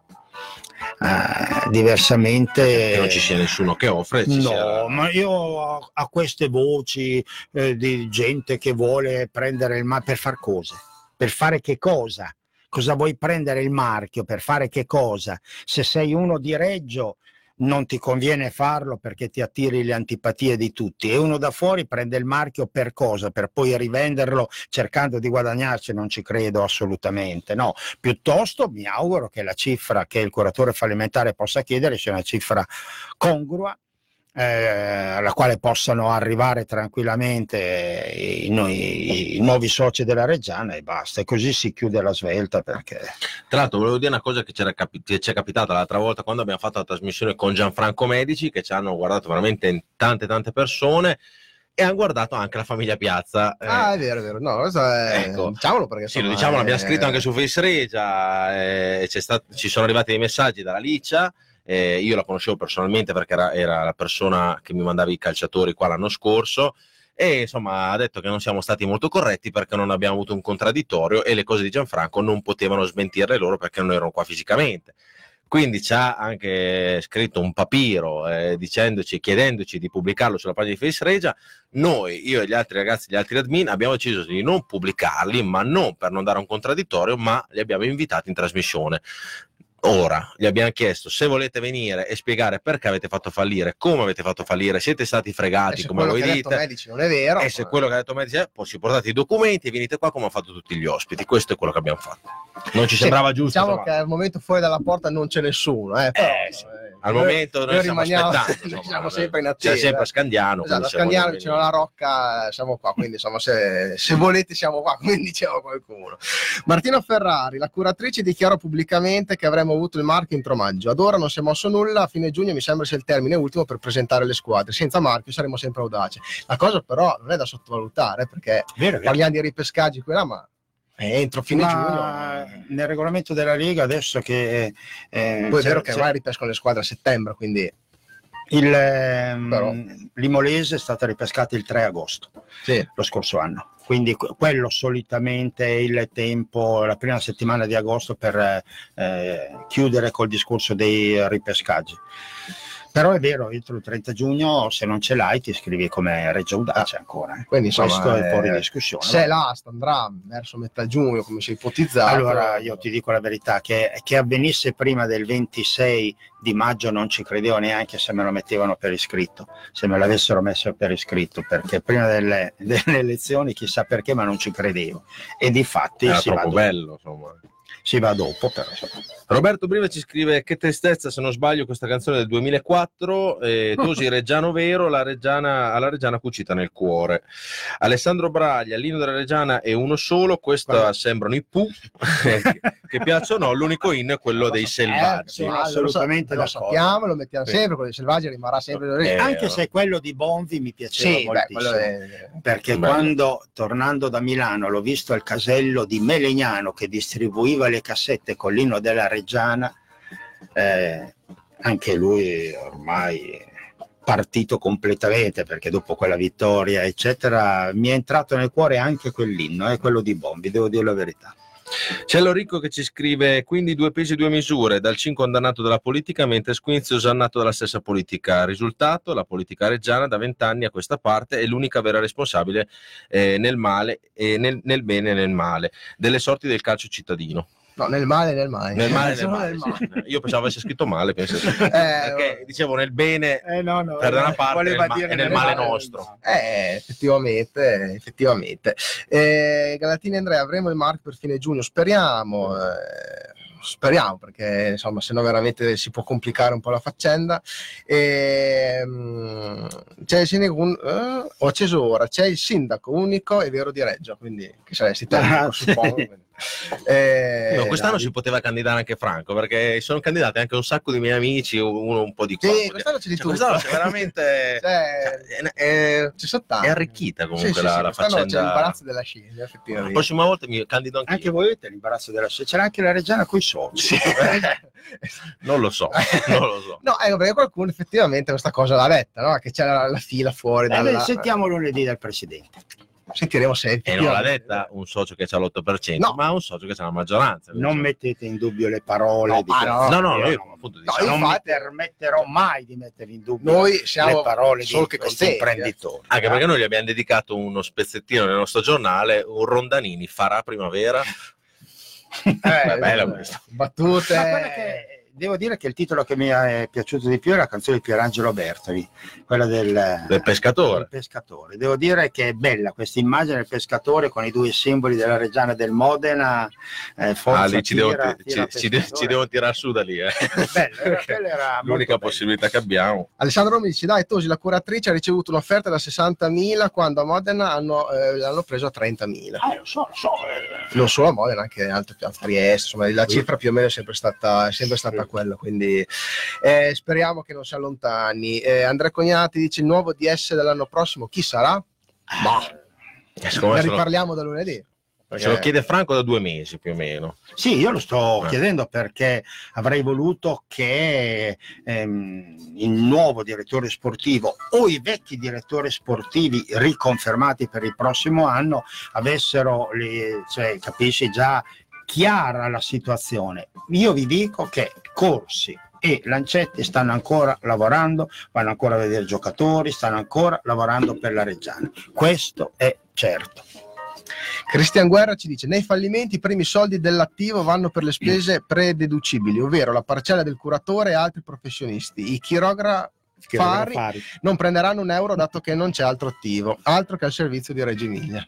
Uh, diversamente che non ci sia nessuno che offre ci no sia... ma io a, a queste voci eh, di gente che vuole prendere il marchio per far cosa? Per fare che cosa? Cosa vuoi prendere il marchio? Per fare che cosa? Se sei uno di Reggio non ti conviene farlo perché ti attiri le antipatie di tutti, e uno da fuori prende il marchio per cosa? Per poi rivenderlo cercando di guadagnarci? Non ci credo assolutamente, no. Piuttosto mi auguro che la cifra che il curatore fallimentare possa chiedere sia una cifra congrua, eh, alla quale possano arrivare tranquillamente i, i, i nuovi soci della Reggiana, e basta, e così si chiude la svelta. Perché tra l'altro volevo dire una cosa che c'era capi- che ci è capitata l'altra volta quando abbiamo fatto la trasmissione con Gianfranco Medici, che ci hanno guardato veramente in tante tante persone e hanno guardato anche la famiglia Piazza. Ah, eh, è vero, è vero. No, questo è... ecco. Diciamolo perché sì, insomma, lo diciamo, è... l'abbiamo scritto anche su Face Regia, eh, c'è stato, ci sono arrivati dei messaggi dalla Licia. Eh, io la conoscevo personalmente perché era, era la persona che mi mandava i calciatori qua l'anno scorso, e insomma ha detto che non siamo stati molto corretti perché non abbiamo avuto un contraddittorio e le cose di Gianfranco non potevano smentirle loro perché non erano qua fisicamente. Quindi ci ha anche scritto un papiro eh, dicendoci, chiedendoci di pubblicarlo sulla pagina di Face Regia. Noi, io e gli altri ragazzi, gli altri admin, abbiamo deciso di non pubblicarli, ma non per non dare un contraddittorio, ma li abbiamo invitati in trasmissione. Ora gli abbiamo chiesto se volete venire e spiegare perché avete fatto fallire, come avete fatto fallire, siete stati fregati come voi dite, Medici non è vero, e se quello che ha detto Medici è, poi ci portate i documenti e venite qua come hanno fatto tutti gli ospiti. Questo è quello che abbiamo fatto, non ci sì, sembrava giusto. Diciamo però. Che al momento fuori dalla porta non c'è nessuno, eh, però, Eh, sì. eh, Al noi, momento noi, noi stiamo rimaniamo, aspettando, insomma, siamo sempre in attesa. siamo sempre a Scandiano, esatto, a Scandiano vicino alla Rocca siamo qua, quindi insomma se, se volete siamo qua, come diceva qualcuno. Martina Ferrari, la curatrice, dichiarò pubblicamente che avremmo avuto il marchio entro maggio. Ad ora non si è mosso nulla, a fine giugno mi sembra sia il termine ultimo per presentare le squadre. Senza marchio saremo sempre audaci. La cosa però non è da sottovalutare, perché vero, vero. parliamo di ripescaggi qui là, ma è entro fine ma giugno. Nel regolamento della Lega adesso che eh, poi è vero che ormai ripescano le squadre a settembre, quindi il Però... l'Imolese è stata ripescata il tre agosto, sì. Lo scorso anno, quindi quello solitamente è il tempo, la prima settimana di agosto per eh, chiudere col discorso dei ripescaggi. Però è vero, entro il trenta giugno se non ce l'hai ti iscrivi come Reggio Audace ancora, eh. Quindi insomma, questo è fuori eh, discussione. Se l'asta andrà verso metà giugno come si è ipotizzato, allora io ti dico la verità, che, che avvenisse prima del ventisei di maggio non ci credevo neanche se me lo mettevano per iscritto, se me l'avessero messo per iscritto, perché prima delle, delle elezioni chissà perché, ma non ci credevo, e di fatti era si troppo va bello, insomma. Si va dopo, però. Roberto Briva ci scrive: che tristezza, se non sbaglio, questa canzone del duemilaquattro, eh, Tosi Reggiano vero, la Reggiana, alla Reggiana cucita nel cuore. Alessandro Braglia, l'inno della Reggiana è uno solo, questa Beh. sembrano i Pooh, che piacciono, no, l'unico inno è quello dei Selvaggi. Eh, sono assolutamente lo, lo sappiamo, lo mettiamo sempre, quello dei Selvaggi rimarrà sempre eh, anche se quello di Bonvi mi piaceva sì, moltissimo, beh, è... perché bello. Quando tornando da Milano l'ho visto al casello di Melegnano che distribuiva due le cassette con l'inno della Reggiana, eh, anche lui ormai partito completamente, perché dopo quella vittoria eccetera mi è entrato nel cuore anche quell'inno, è eh, quello di Bombi, devo dire la verità. C'è Lorico che ci scrive: quindi due pesi due misure, dal cinque condannato dalla politica mentre Squinzi osannato dalla stessa politica. Risultato: la politica reggiana da vent'anni a questa parte è l'unica vera responsabile eh, nel male e nel, nel bene e nel male delle sorti del calcio cittadino. No, nel male e nel male. Nel male, nel male, nel male. sì. Io pensavo avesse scritto male, penso sì. Eh, perché dicevo nel bene Eh, no, no, per da una eh, parte voleva nel ma- dire e nel nel male male. nostro. Eh, effettivamente, effettivamente. Eh, Galatini Andrea, avremo il marchio per fine giugno, speriamo, eh, speriamo, perché insomma, se no veramente si può complicare un po' la faccenda. E, mh, c'è il sindaco, un- eh, ho acceso ora, c'è il sindaco unico e vero di Reggio, quindi che saresti te, Ah, suppongo. sì. Eh, No, quest'anno dai. si poteva candidare anche Franco, perché sono candidati anche un sacco di miei amici, uno un po' di qua. Sì, quest'anno c'è di Cioè, tutto. quest'anno c'è veramente Cioè, è, è- ci sono tanti. è arricchita comunque Sì, sì, la, sì, la quest'anno faccenda. c'è l'imbarazzo della scia, La effettivamente. prossima volta mi candido anche Anche io. voi avete l'imbarazzo della scelta, c'era anche la Reggiana coi soldi. Sì. Non lo so, non lo so. No, ecco, perché qualcuno effettivamente questa cosa l'ha detta, no? Che c'è la, la fila fuori Eh, dalla... beh, sentiamo lunedì dal presidente. Sentiremo sempre. E non l'ha detta un socio che c'ha l'otto per cento, No. ma un socio che c'ha la maggioranza. Non mettete in dubbio le parole No, di ah, questo. No, no, Io io non- appunto No, diciamo, non infatti- mi permetterò mai di mettere in dubbio Noi siamo le parole solo di che questi contenti, eh. imprenditori. anche perché noi gli abbiamo dedicato uno spezzettino nel nostro giornale, un Rondanini farà primavera. Eh, bella eh, questa. battute. Ma quella che- devo dire che il titolo che mi è piaciuto di più è la canzone di Pierangelo Bertoli, quella del, Del pescatore. del pescatore. Devo dire che è bella questa immagine del pescatore con i due simboli della Reggiana e del Modena. Eh, forza, Ah, lì ci, devo, tira, ci- tira, ci, ci, pescatore. ci devono tirare su da lì. Eh. Bello, era- quella era molto L'unica bella. possibilità che abbiamo. Alessandro mi dice: dai, Tosi, la curatrice ha ricevuto un'offerta da sessantamila quando a Modena hanno, eh, l'hanno preso a trentamila. Ah, lo so, lo so. eh. Non solo a Modena, anche altre piazze, Trieste, insomma, la cifra più o meno è sempre stata, è sempre stata quella, quindi eh, speriamo che non si allontani. Eh, Andrea Cognati dice: il nuovo D S dell'anno prossimo chi sarà? Ma Eh, secondo ne me se lo, riparliamo da lunedì. se lo chiede Franco da due mesi più o meno. Sì, io lo sto Eh. chiedendo perché avrei voluto che ehm, il nuovo direttore sportivo o i vecchi direttori sportivi riconfermati per il prossimo anno avessero, le, cioè, capisci, già chiara la situazione. Io vi dico che Corsi e Lancetti stanno ancora lavorando, vanno ancora a vedere giocatori, stanno ancora lavorando per la Reggiana. Questo è certo. Cristian Guerra ci dice: nei fallimenti i primi soldi dell'attivo vanno per le spese prededucibili, ovvero la parcella del curatore e altri professionisti. I chirografi Fari Fari. non prenderanno un euro dato che non c'è altro attivo, altro che al servizio di Reggio Emilia.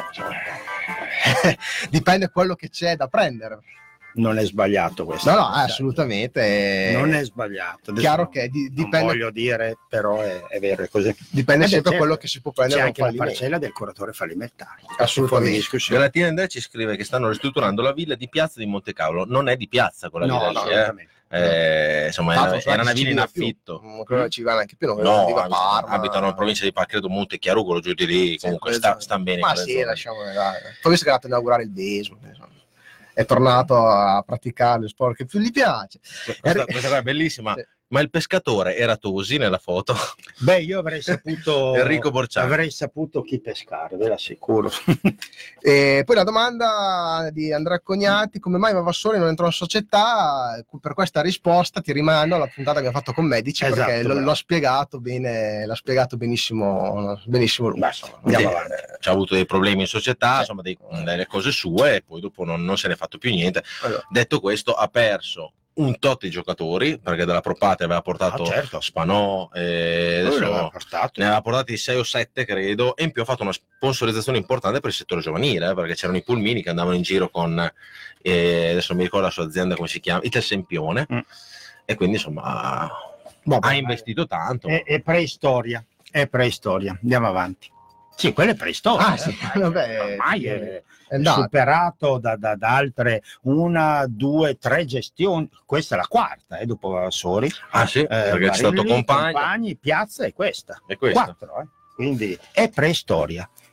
Dipende quello che c'è da prendere. Non è sbagliato questo. No, no, assolutamente. Non è sbagliato. Adesso chiaro non- che di- non dipende, voglio dire, però è, è vero, è così. dipende Eh beh, sempre da certo. quello che si può prendere. C'è da un anche la fallimento. parcella del curatore fallimentare. Assolutamente. Fuori discussione. Galatina Andrea ci scrive che stanno ristrutturando la villa di Piazza di Montecavolo. Non è di piazza quella No, villa no, lì, eh. assolutamente. Eh, insomma, Tanto, era, non so era una neanche villa in se ci vive più. affitto. Mm, quello non ci va neanche più, non No, viva a abitano, Parma. abitano in provincia di Parcredo, Montechiarugolo, giù di lì. Comunque Sì, sta, esatto. stanno bene. Ma quelle sì, zone. lasciamole dai. Poi visto che è andato a inaugurare il baseball, insomma, è tornato a praticare lo sport che più gli piace. Questa, questa qua è bellissima. Sì. Ma il pescatore era Tosi nella foto? Beh, io avrei saputo Enrico Borciani. avrei saputo chi pescare, ve l'assicuro. E poi la domanda di Andrea Cognati: come mai Vavassori non entrò in società? Per questa risposta ti rimando alla puntata che abbiamo fatto con Medici, Esatto, perché lo- bravo. l'ho spiegato bene, l'ha spiegato benissimo, benissimo lui. Beh, insomma, andiamo Sì, avanti. eh, c'ha avuto dei problemi in società, Sì. insomma, dei- delle cose sue, e poi dopo non, non se ne è fatto più niente. Allora, Detto questo, ha perso un tot di giocatori, perché dalla Propate aveva portato Ah, certo. Spanò, e Lui adesso l'aveva portato. ne aveva portati sei o sette, credo, e in più ha fatto una sponsorizzazione importante per il settore giovanile, eh, perché c'erano i pulmini che andavano in giro con, eh, adesso non mi ricordo la sua azienda come si chiama, Italsempione, Mm. e quindi insomma Vabbè, ha investito tanto. È, è preistoria, è preistoria. Andiamo avanti. Sì, quella è preistoria. Ah, eh. sì, Ormai- vabbè, ormai è, è andato. superato da, da- da altre una, due, tre gestioni. Questa è la quarta, eh, dopo Vavassori. Ah sì, Eh, perché c'è stato Barilli, Compagni, Compagni, Piazza e questa. e questa. Quattro, eh. Quindi è preistoria.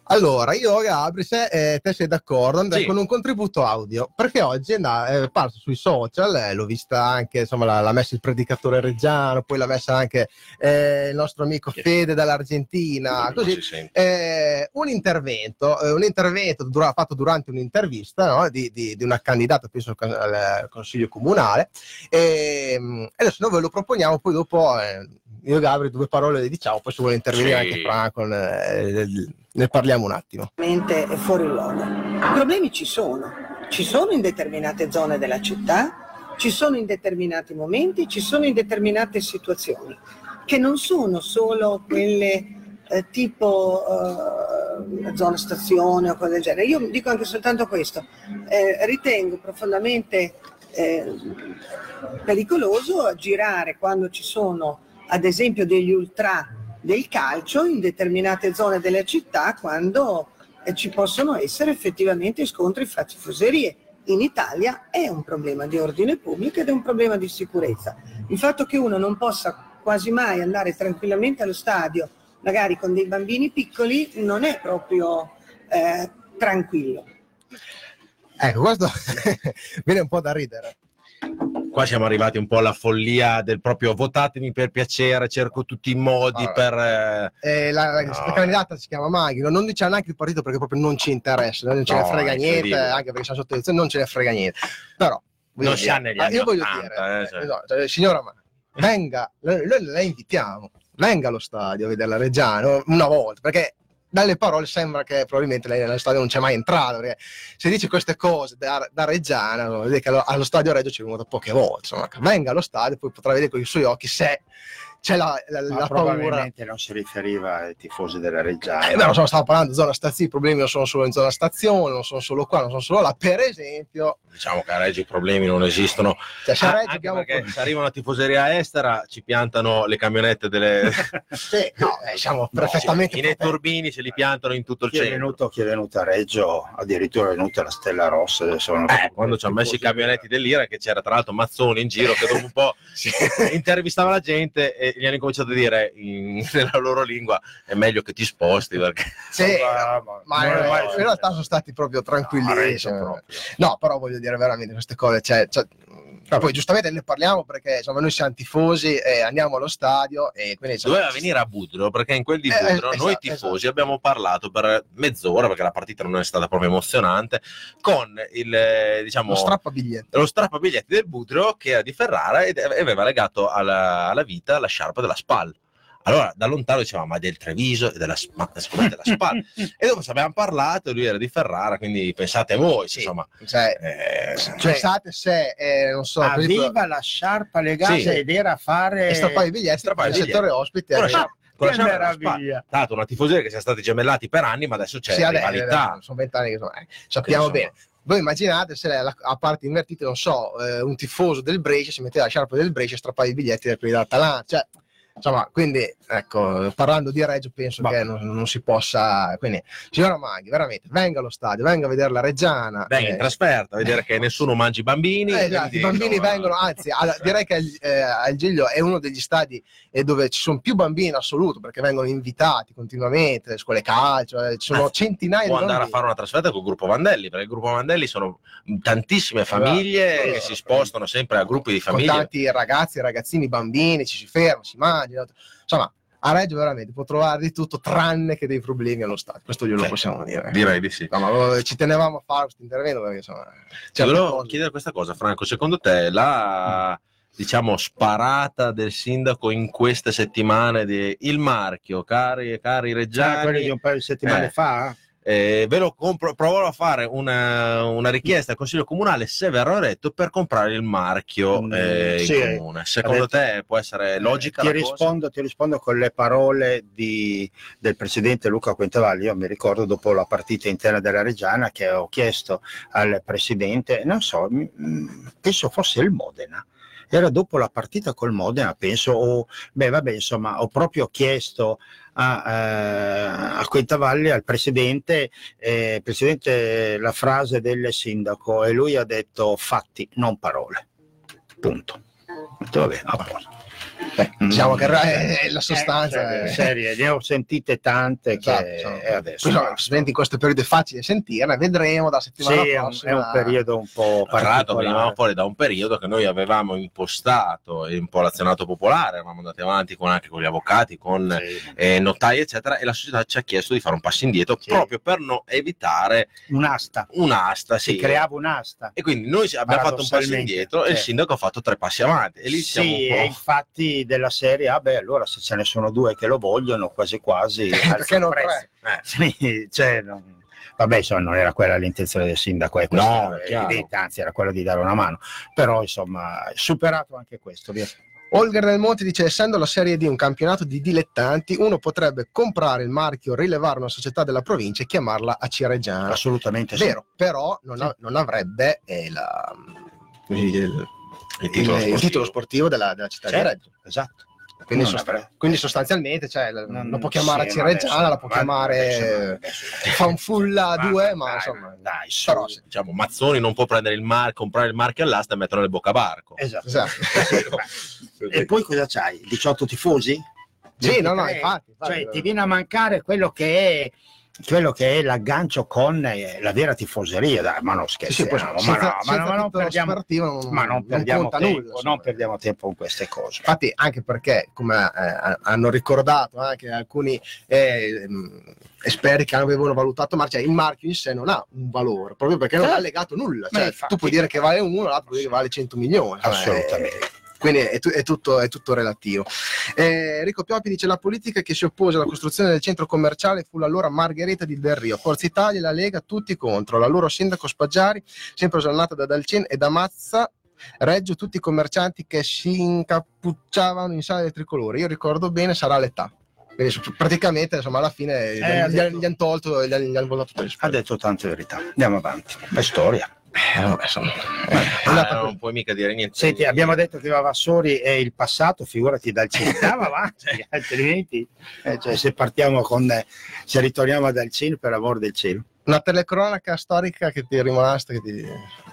Allora, io Gabri, se eh, te sei d'accordo, andrei Sì. con un contributo audio, perché oggi è na- è parso sui social, eh, l'ho vista anche, insomma, l'ha, l'ha messa il predicatore reggiano, poi l'ha messa anche eh, il nostro amico Fede dall'Argentina, Non così. si sente. Eh, un intervento, eh, un intervento dura- fatto durante un'intervista, no, di, di- di una candidata, penso al, al Consiglio Comunale, e, mm, adesso noi ve lo proponiamo, poi dopo eh, io e Gabri due parole le diciamo, poi se vuole intervenire Sì. anche Franco, eh, ne parliamo un attimo. È fuori luogo. I problemi ci sono, ci sono in determinate zone della città, ci sono in determinati momenti, ci sono in determinate situazioni, che non sono solo quelle eh, tipo eh, zona stazione o cose del genere. Io dico anche soltanto questo, eh, ritengo profondamente eh, pericoloso girare quando ci sono ad esempio degli ultra del calcio in determinate zone della città, quando eh, ci possono essere effettivamente scontri fra tifoserie. In Italia è un problema di ordine pubblico ed è un problema di sicurezza. Il fatto che uno non possa quasi mai andare tranquillamente allo stadio, magari con dei bambini piccoli, non è proprio eh, tranquillo. Ecco, questo viene un po' da ridere. Qua siamo arrivati un po' alla follia del proprio votatemi per piacere, cerco tutti i modi Allora, per... eh, Eh, la, la, No. la candidata si chiama Maghi, no? Non dice neanche il partito perché proprio non ci interessa, non ce No, ne frega è niente, incredibile. anche perché siamo sotto elezione, non ce ne frega niente. Però voglio Non si dire, ha negli ah, anni io voglio ottanta, dire, eh, cioè. eh, no, cioè, signora Maghi, venga, noi, noi la invitiamo, venga allo stadio a vedere la Reggiano una volta, perché dalle parole sembra che probabilmente lei nello stadio non c'è mai entrato, perché se dice queste cose da, da Reggiana, vuol dire che allo, allo stadio Reggio ci è venuto poche volte, insomma, venga allo stadio, poi potrà vedere con i suoi occhi se c'è la, la, Ma la paura. probabilmente non si riferiva ai tifosi della Reggiana. Eh, beh, non so, stavo parlando di zona stazione, i problemi non sono solo in zona stazione, non sono solo qua, non sono solo là. Per esempio, Diciamo che a Reggio i problemi non esistono. cioè, se a Ah, Reggio anche abbiamo... perché se arriva una tifoseria estera ci piantano le camionette delle... Sì, no, eh, siamo perfettamente... I netturbini ce li piantano in tutto il Chi è, centro. venuto, chi è venuto a Reggio, addirittura è venuta la Stella Rossa. Adesso non Eh, quando ci hanno messo i camionetti dell'Ira, che c'era tra l'altro Mazzoni in giro che dopo un po' intervistava la gente e gli hanno cominciato a dire in, nella loro lingua è meglio che ti sposti perché Sì, Ma- ma, ma- in, ma- in realtà sono stati proprio tranquilli. Reggio cioè, proprio. no, però voglio dire veramente queste cose. Cioè, cioè, poi giustamente ne parliamo perché insomma, noi siamo tifosi e andiamo allo stadio e quindi insomma, doveva venire a Budrio, perché in quel di Eh, Budrio esatto, noi tifosi esatto. abbiamo parlato per mezz'ora, perché la partita non è stata proprio emozionante, con il eh, diciamo lo strappabiglietti. lo strappabiglietti del Budrio che era di Ferrara ed aveva legato alla, alla vita la sciarpa della SPAL. Allora da lontano diceva ma del Treviso e della, ma, ma della SPAL e dopo ci abbiamo parlato e lui era di Ferrara, quindi pensate voi Sì. insomma Cioè, eh, pensate se, eh, non so, per esempio, Aveva la sciarpa legata Sì. ed era a fare... e strappare i biglietti strappare nel i settore ospite. con la eh, sciarpa, con la Che sciarpa della meraviglia. SPAL. Tra l'altro una tifoseria che siamo stati gemellati per anni, ma adesso c'è sì, adesso, rivalità. sono vent'anni che sono, eh, sappiamo Insomma. bene. Voi immaginate se lei, a parte invertite, non so, eh, un tifoso del Brescia si metteva la sciarpa del Brescia e strappava i biglietti da quelli dell'Atalanta, cioè, insomma, quindi, ecco, parlando di Reggio penso Ma- che non, non si possa, quindi, signora Maghi, veramente, venga allo stadio, venga a vedere la Reggiana. Venga eh, in trasferta a vedere che nessuno mangi i bambini. eh, esatto, quindi, i bambini insomma, vengono, anzi, alla- direi che il, eh, al Giglio è uno degli stadi eh, dove ci sono più bambini in assoluto perché vengono invitati continuamente, le scuole calcio, eh, ci sono Anzi, centinaia può di andare a bambini. fare una trasferta col gruppo Vandelli, perché il gruppo Vandelli sono tantissime famiglie Esatto. che si spostano sempre a gruppi di Con famiglie. tanti ragazzi, ragazzini, bambini, ci si ferma, si mangia. Insomma, a Reggio veramente può trovare di tutto tranne che dei problemi allo stadio. Questo glielo Sì, possiamo dire. Direi di sì. No, ma eh, ci tenevamo a fare questo intervento perché insomma, Ti certe volevo cose- chiedere questa cosa, Franco. Secondo te la diciamo sparata del sindaco in queste settimane di il marchio, cari cari Già reggiani, quelli di un paio di settimane Eh. fa? eh, ve lo compro, proverò a fare una, una richiesta al Consiglio Comunale se verrò eletto per comprare il marchio Mm, eh, in sì. comune. Secondo Ha detto- te può essere logica ti la cosa? rispondo, ti rispondo con le parole di- del presidente Luca Quintavalli. Io mi ricordo dopo la partita interna della Reggiana che ho chiesto al presidente, non so, mi- mm, penso fosse il Modena. Era dopo la partita col Modena, penso, o, beh vabbè, insomma, ho proprio chiesto a, eh, a Quintavalli, al presidente, eh, presidente, la frase del sindaco, e lui ha detto fatti, non parole. Punto. Ho detto, vabbè, a posto. Beh, diciamo che è la sostanza eh, è... serie, ne ho sentite tante Esatto, che insomma. e adesso Poi, no, senti, in questo periodo è facile sentirne, vedremo da settimana sì, è un, prossima. è un periodo un po' Tra l'altro venivamo particolare. fuori da un periodo che noi avevamo impostato un po' l'azionato popolare, eravamo andati avanti con, anche con gli avvocati, con Sì. eh, notai eccetera, e la società ci ha chiesto di fare un passo indietro Sì. proprio per non evitare Un'asta, un'asta. si Sì. creava un'asta. E quindi noi abbiamo fatto un passo Paradossalmente, indietro e il sì. sindaco ha fatto tre passi avanti e lì siamo Sì, un e po'... infatti della serie, ah beh, allora se ce ne sono due che lo vogliono, quasi quasi Perché non prezzo. tre? Eh. Sì, cioè, non- vabbè, insomma, non era quella l'intenzione del sindaco, è questo, No, è chiaro. evidente, anzi era quella di dare una mano, però insomma, superato anche questo, via. Olga del Monte dice: essendo la Serie D un campionato di dilettanti, uno potrebbe comprare il marchio, rilevare una società della provincia e chiamarla a Cireggiana. Assolutamente sì. Vero, però non, ha- non avrebbe eh, la, così, il, Il titolo il- il sportivo. titolo sportivo della, della città Certo, di Reggio. esatto. Quindi, Non sost- avrebbe. quindi sostanzialmente cioè, la- Non- lo può chiamare sì, a ma Cireggiana, adesso- la può ma chiamare adesso- adesso- Fanfulla ma- due, dai, ma insomma, dai, su. però sì. Diciamo, Mazzoni non può prendere il mar- comprare il marchio all'asta e metterlo nel boccabarco. Esatto. Esatto. E poi cosa c'hai? diciotto tifosi? Sì, no, no, ventitré? infatti, infatti. Cioè, ti viene a mancare quello che è quello che è l'aggancio con eh, la vera tifoseria, dai, ma non Sì, scherziamo, poi, ma, senza- no, ma, senza no, ma non titolo perdiamo, sportivo non- ma non non perdiamo conta tempo, nulla, insomma. non perdiamo tempo con queste cose. Infatti, anche perché, come eh, hanno ricordato anche alcuni eh, mh, esperti che avevano valutato marcia, il marchio in sé non ha un valore, proprio perché non Eh. ha legato nulla. Ma Cioè, infatti. tu puoi dire che vale uno, l'altro puoi dire che vale cento milioni. Cioè, Assolutamente. eh, quindi è, tu- è tutto, è tutto relativo. Eh, Enrico Pioppi dice: la politica che si oppose alla costruzione del centro commerciale fu l'allora Margherita di Del Rio. Forza Italia e la Lega tutti contro. La loro sindaco Spaggiari, sempre osannata da Dalcin e da Mazza, Reggio, tutti i commercianti che si incappucciavano in sala del tricolore. Io ricordo bene, sarà l'età. Quindi praticamente, insomma, alla fine gli, ha gli- detto- gli hanno tolto, gli, hanno- gli hanno votato per il Ha detto tante verità. Andiamo avanti. È storia. Eh, vabbè, insomma, è Ah, andata non così. puoi mica dire niente. Senti, abbiamo detto che Vavassori è il passato, figurati dal Cin. Andiamo avanti, altrimenti eh, cioè, se partiamo con eh, se ritorniamo dal Cin, per amor del cielo. Una telecronaca storica che ti è rimasta, che ti...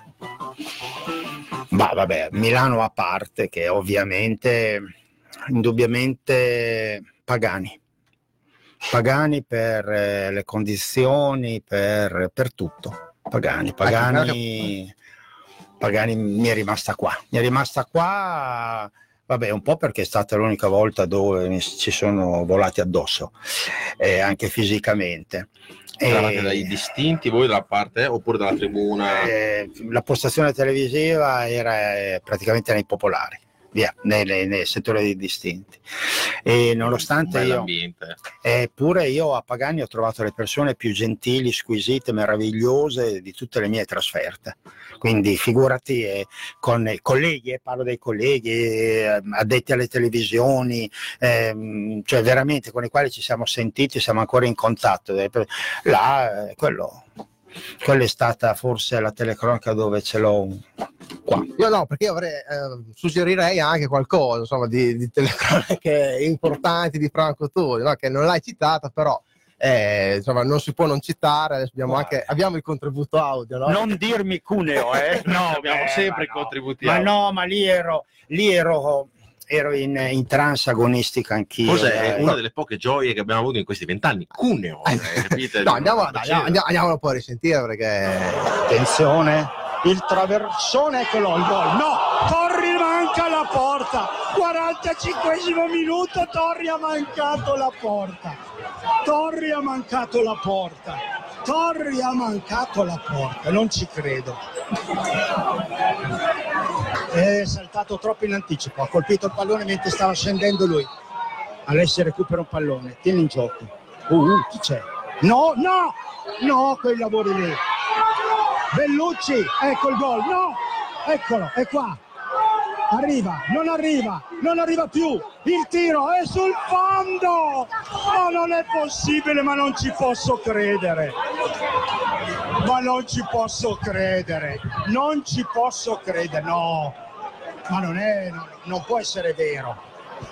Ma vabbè, Milano a parte, che ovviamente, indubbiamente Pagani. Pagani per eh, le condizioni, per, per tutto. Pagani, Pagani, Pagani mi è rimasta qua. Mi è rimasta qua, vabbè, un po' perché è stata l'unica volta dove mi- ci sono volati addosso, eh, anche fisicamente. Eravate E- dai distinti voi dalla parte oppure dalla tribuna? eh, la postazione televisiva era eh, praticamente nei popolari, via, nei, nei- nei settori dei distinti. E nonostante io, Bell'ambiente. eppure io a Pagani ho trovato le persone più gentili, squisite, meravigliose di tutte le mie trasferte. Quindi figurati eh, con i colleghi, eh, parlo dei colleghi, eh, addetti alle televisioni, ehm, cioè veramente con i quali ci siamo sentiti, siamo ancora in contatto. Eh, per- Là, eh, quello, quella è stata forse la telecronaca dove ce l'ho qua. Io no, perché io avrei, eh, suggerirei anche qualcosa, insomma, di, di telecronache importanti di Franco Toni, no? Che non l'hai citata, però eh, insomma, non si può non citare. Adesso abbiamo Guarda. anche abbiamo il contributo audio, no? Non dirmi Cuneo, eh? No, Abbiamo eh, sempre i ma no. contributi Ma audio. no, ma lì ero, lì ero, ero in, in trance agonistica anch'io. Forse è dai. una delle poche gioie che abbiamo avuto in questi vent'anni. Cuneo, Eh, eh, capite? No, andiamo, Non dai, c'era. andiamo, andiamolo poi a risentire perché Attenzione, il traversone, eccolo il gol. No, Torri manca la porta. quarantacinquesimo minuto, Torri ha mancato la porta. Torri ha mancato la porta. Torri ha mancato la porta, non ci credo. È saltato troppo in anticipo, ha colpito il pallone mentre stava scendendo lui. Alessi recupera un pallone, tieni in gioco. Uh, uh, chi c'è? No, no, no, quei lavori lì. Bellucci, ecco il gol, no, eccolo, è qua. Arriva, non arriva, non arriva più. Il tiro è sul fondo. Ma non è possibile, ma non ci posso credere. Ma non ci posso credere. Non ci posso credere, no. Ma non è, no, non può essere vero.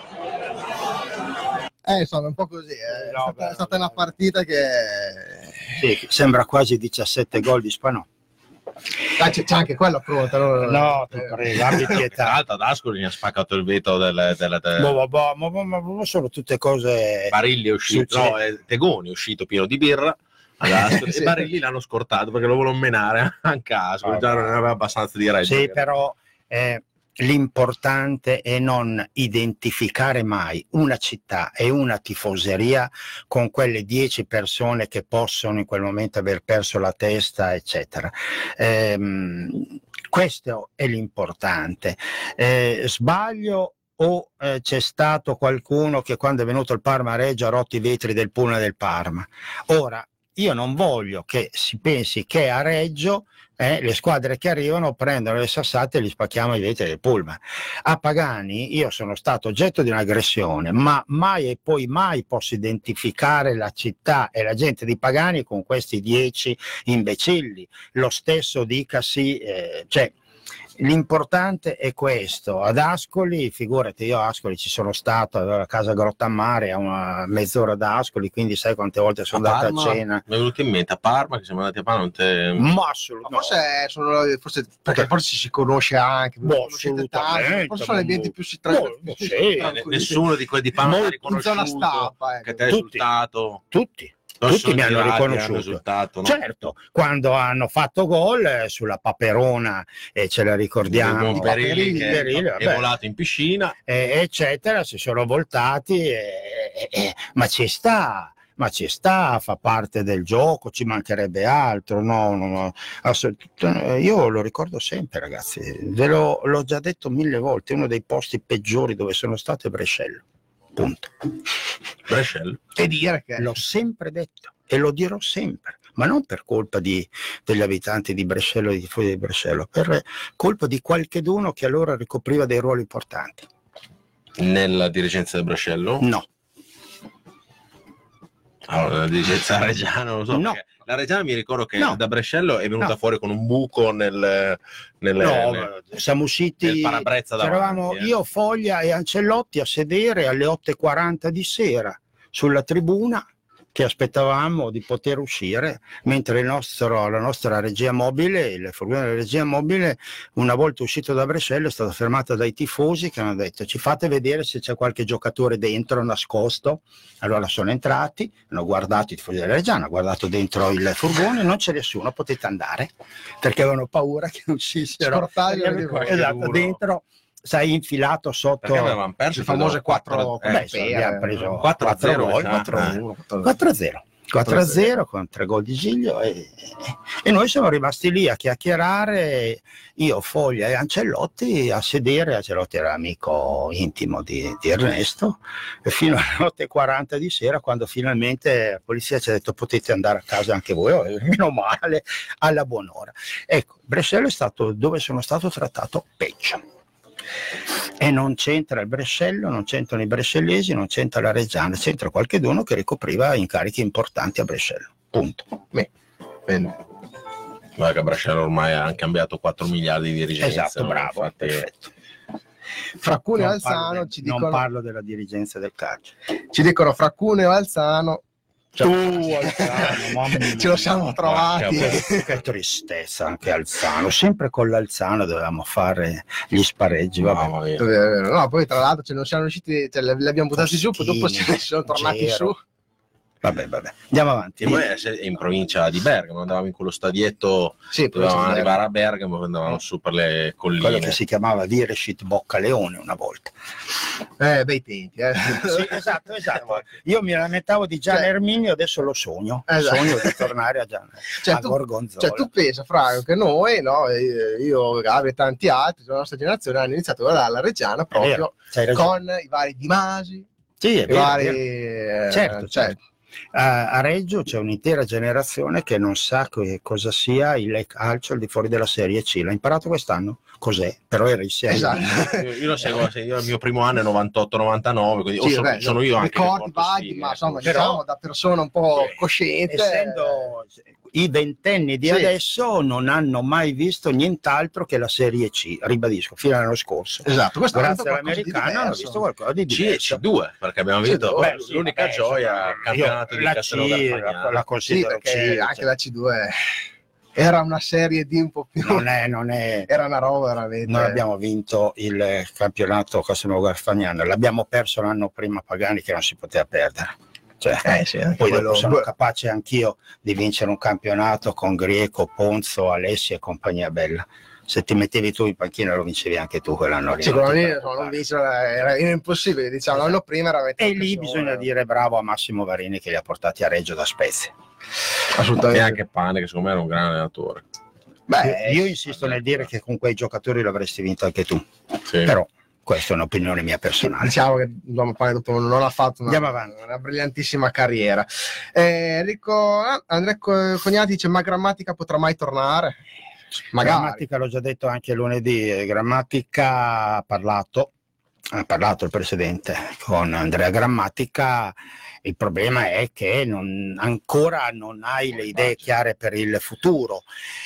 eh, insomma, è un po' così. eh. È, No, stata, beh, è stata una partita che Sì, sembra quasi diciassette gol di Spanò. Ah, c'è, c'è anche quello pronto. No, No, ti prego, abbi Tra pietà. l'altro ad Ascoli mi ha spaccato il vetro del, del, del- Ma, ma, ma, ma, ma, ma sono tutte cose. Barilli è uscito, Succede. no, è Tegoni è uscito pieno di birra ad Ascoli, Sì. e Barilli l'hanno scortato perché lo volevano menare anche a Ascoli, già non aveva abbastanza di reggio. Sì, però eh, l'importante è non identificare mai una città e una tifoseria con quelle dieci persone che possono in quel momento aver perso la testa, eccetera. Ehm, questo è l'importante. Eh, sbaglio o eh, c'è stato qualcuno che quando è venuto il Parma a Reggio ha rotto i vetri del pullman del Parma? Ora, io non voglio che si pensi che a Reggio eh, le squadre che arrivano prendono le sassate e gli spacchiamo i vetri del pullman. A Pagani io sono stato oggetto di un'aggressione, ma mai e poi mai posso identificare la città e la gente di Pagani con questi dieci imbecilli. Lo stesso dicasi, eh, cioè l'importante è questo. Ad Ascoli, figurati, io a Ascoli ci sono stato, avevo la casa Grottammare a una mezz'ora da Ascoli, quindi sai quante volte sono A andato Parma, a cena. mi è venuto in mente a Parma che siamo andati a Parma, non te... Ma assolutamente. Forse, sono, forse perché forse si conosce anche, Boh, conoscete tanto, assolutamente, forse sono gli ambienti boh, più si boh, tranquilli. sì, tranquilli. Nessuno di quelli di Parma Molto ha riconosciuto in zona stampa, ecco. che te hai Tutti. risultato. Tutti. Non Tutti sono mi hanno tirati, riconosciuto. risultato, no? Certo, quando hanno fatto gol eh, sulla Paperona, e ce la ricordiamo, Il Berilli che Berilli, è vabbè, volato in piscina. eh, eccetera, si sono voltati, eh, eh, ma ci sta, ma ci sta, fa parte del gioco, ci mancherebbe altro, no, no, no, assolut- io lo ricordo sempre, ragazzi, ve lo, l'ho già detto mille volte, uno dei posti peggiori dove sono stato è Brescello, punto. Brescello. E dire che L'ho sempre detto e lo dirò sempre, ma non per colpa di, degli abitanti di Brescello e dei tifosi di Brescello, per colpa di qualcheduno che allora ricopriva dei ruoli importanti. Nella dirigenza del Brescello? No, Allora, la dirigenza reggiana non lo so. No. perché La Reggiana mi ricordo che No. da Brescello è venuta No. fuori con un buco nel, nel, no, nel- siamo usciti, nel parabrezza davanti, c'eravamo eh. io, Foglia e Ancellotti a sedere alle otto e quaranta di sera sulla tribuna che aspettavamo di poter uscire, mentre il nostro, la nostra regia mobile, il furgone della regia mobile, una volta uscito da Brescello è stata fermata dai tifosi che hanno detto ci fate vedere se c'è qualche giocatore dentro nascosto. Allora sono entrati, hanno guardato i tifosi della Reggiana, hanno guardato dentro il furgone, non c'è nessuno, potete andare, perché avevano paura che uscissero. Sportaglio di qualche Esatto, uno. dentro, sai, infilato sotto. Perché avevamo perso le famose quattro eh, Beh, insomma, abbiamo preso quattro a zero, gol, mi sa. quattro a Eh. uno, quattro a zero quattro a zero con tre gol di Giglio e, e noi siamo rimasti lì a chiacchierare, io, Foglia e Ancellotti a sedere. Ancellotti era amico intimo di, di Ernesto, e fino alle otto e quaranta di sera, quando finalmente la polizia ci ha detto potete andare a casa anche voi, oh, meno male, alla buon'ora. Ecco, Brescello è stato dove sono stato trattato peggio. E non c'entra il Brescello, non c'entrano i brescellesi, non c'entra la Reggiana, c'entra qualcheduno che ricopriva incarichi importanti a Brescello. Punto. Beh, bene. Guarda che Brescello ormai ha cambiato quattro miliardi di dirigenza. Esatto, no? bravo, Infatti, perfetto. Fra Cuneo e Non parlo Alzano del- ci non dicono, parlo della dirigenza del calcio. ci dicono fra Cuneo e Alzano. Tu, Alzano, mamma mia. Ce lo siamo trovati. Che, che tristezza anche Alzano, sempre con l'Alzano dovevamo fare gli spareggi. Vabbè. mamma mia. È vero, è vero. No, poi tra l'altro ce non siamo riusciti, cioè, li abbiamo buttati giù, poi dopo Postini, ci sono tornati Gero. su. Vabbè, vabbè, andiamo avanti. E poi è in provincia di Bergamo, andavamo in quello stadietto, Sì, poi dovevamo c'è- arrivare a Bergamo, andavamo su per le Quello colline. che si chiamava Vireshit Boccaleone una volta. Eh, bei tempi, eh. Sì, esatto, esatto. Io mi lamentavo di Gian Cioè- Erminio, adesso lo sogno. Esatto. Sogno di tornare a Gian Cioè, a tu- Gorgonzola. Cioè, tu pensa, Franco, che noi, no, eh, io, Gabi e tanti altri della nostra generazione hanno iniziato a guardare la Reggiana È vero, proprio c'hai ragione. con i vari Di Masi, Sì, è i vero, è vari... vero. eh, Certo, cioè, certo. A, a Reggio c'è un'intera generazione che non sa che cosa sia il calcio al di fuori della Serie C. L'ha imparato quest'anno? Cos'è? Però era insieme. esatto. Io, io lo seguo, io il mio primo anno è novantotto novantanove, quindi o Sì, sono, vabbè, sono io anche che ricordi porto vaghi, sfighe, ma insomma, Però- diciamo da persona un po' cosciente. Essendo i ventenni di Sì. adesso non hanno mai visto nient'altro che la Serie C, ribadisco, fino all'anno scorso. Esatto, questo Grazie all'americano hanno visto qualcosa di C e diverso. C due, perché abbiamo C vinto due, beh, l'unica Beh, gioia insomma, il campionato io di la C Castelnuovo la, la Sì, considero perché C, anche cioè. la C due era una serie di un po' più... Non è, non è... Era una roba veramente... Noi abbiamo vinto il campionato Cosimo Garfagnano, l'abbiamo perso l'anno prima Pagani che non si poteva perdere. Cioè, eh sì, poi quello... dopo sono capace anch'io di vincere un campionato con Grieco, Ponzo, Alessi e compagnia bella. Se ti mettevi tu in panchina lo vincevi anche tu quell'anno lì. Sicuramente no, non vincere era, era impossibile, diciamo, l'anno prima era... E lì bisogna dire bravo a Massimo Varini che li ha portati a Reggio da Spezia. Assolutamente. E anche Pane, che secondo me era un gran allenatore. Beh, io insisto nel dire che con quei giocatori l'avresti vinto anche tu. Sì. Però questa è un'opinione mia personale. Diciamo che Pane dopo non ha fatto una, una brillantissima carriera. Eh, Enrico Andrea Cognati dice: ma Grammatica potrà mai tornare? Magari. Grammatica l'ho già detto anche lunedì. Grammatica ha parlato, ha parlato il presidente con Andrea Grammatica. Il problema è che non, ancora non hai le idee chiare per il futuro.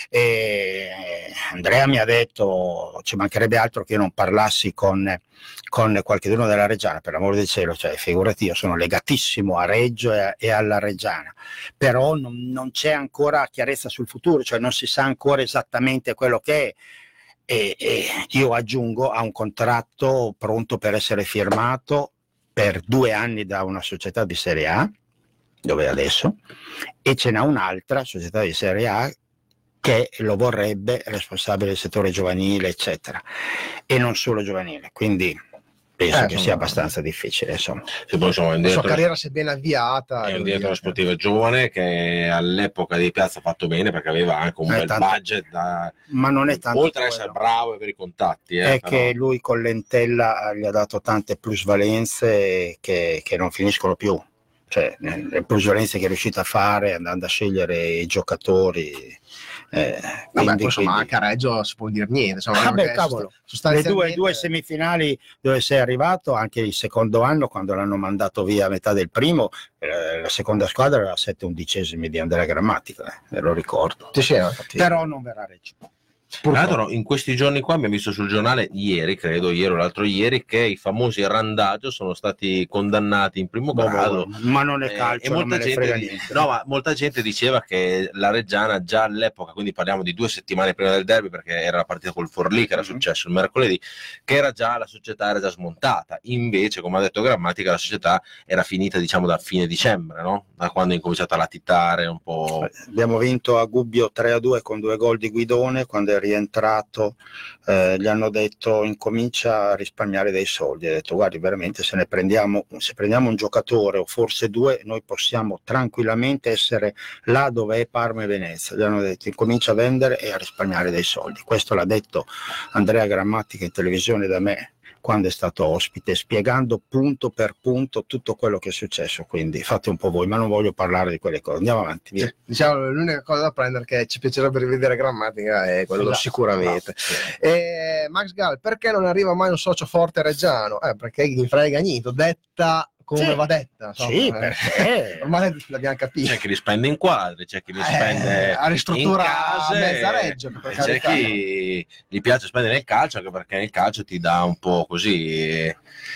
E Andrea mi ha detto: ci mancherebbe altro che io non parlassi con, con qualcuno della Reggiana, per l'amore del cielo, cioè, figurati, io sono legatissimo a Reggio e, e alla Reggiana, però non, non c'è ancora chiarezza sul futuro, cioè non si sa ancora esattamente quello che è. E, e io aggiungo, ha un contratto pronto per essere firmato per due anni da una società di Serie A, dove è adesso, e ce n'ha un'altra società di Serie A che lo vorrebbe responsabile del settore giovanile, eccetera, e non solo giovanile, quindi penso eh, che sia abbastanza difficile, insomma. Sì, poi, insomma, la sua carriera si è ben avviata. È un direttore sportivo giovane che all'epoca di Piazza ha fatto bene perché aveva anche un è bel tanto, budget da, ma non è tanto oltre ad quello. essere bravo e avere i contatti, eh, è però... che lui con Lentella gli ha dato tante plusvalenze che, che non finiscono più, cioè le plusvalenze che è riuscito a fare andando a scegliere i giocatori. Eh, Vabbè, quindi, poi, insomma, quindi... anche a Reggio si può dire niente, insomma, Vabbè, cavolo, sostanzialmente... le due, due semifinali dove sei arrivato, anche il secondo anno quando l'hanno mandato via a metà del primo, eh, la seconda squadra era a sette undicesimi di Andrea Grammatica, eh, me lo ricordo. Sì, sì, però non verrà Reggio. Tra l'altro in questi giorni qua abbiamo visto sul giornale, ieri credo, ieri o l'altro ieri, che i famosi Randagio sono stati condannati in primo Boh, grado. Ma non è calcio, eh, e molta non me ne gente, frega niente. no, ma molta gente diceva che la Reggiana già all'epoca, quindi parliamo di due settimane prima del derby, perché era la partita col Forlì che era Mm-hmm. successo il mercoledì, che era già la società era già smontata. Invece, come ha detto Grammatica, la società era finita, diciamo, da fine dicembre, no? Da quando è incominciata a latitare un po'. Abbiamo vinto a Gubbio tre a due con due gol di Guidone. Quando è rientrato eh, gli hanno detto: incomincia a risparmiare dei soldi. Ha detto: guardi, veramente se ne prendiamo, se prendiamo un giocatore o forse due, noi possiamo tranquillamente essere là dove è Parma e Venezia. Gli hanno detto: incomincia a vendere e a risparmiare dei soldi. Questo l'ha detto Andrea Grammatica in televisione da me quando è stato ospite, spiegando punto per punto tutto quello che è successo. Quindi fate un po' voi, ma non voglio parlare di quelle cose. Andiamo avanti, via. Diciamo, l'unica cosa da prendere che ci piacerebbe rivedere Grammatica è quello, esatto, sicuramente. No. E Max Gall, perché non arriva mai un socio forte reggiano? Eh, perché gli frega niente, detta come sì. va detta. So, sì, eh. perché ormai l'abbiamo capito. C'è chi li spende in quadri, c'è chi li spende eh, a ristruttura in case, mezza Reggio, e c'è chi gli piace spendere nel calcio, anche perché nel calcio ti dà un po' così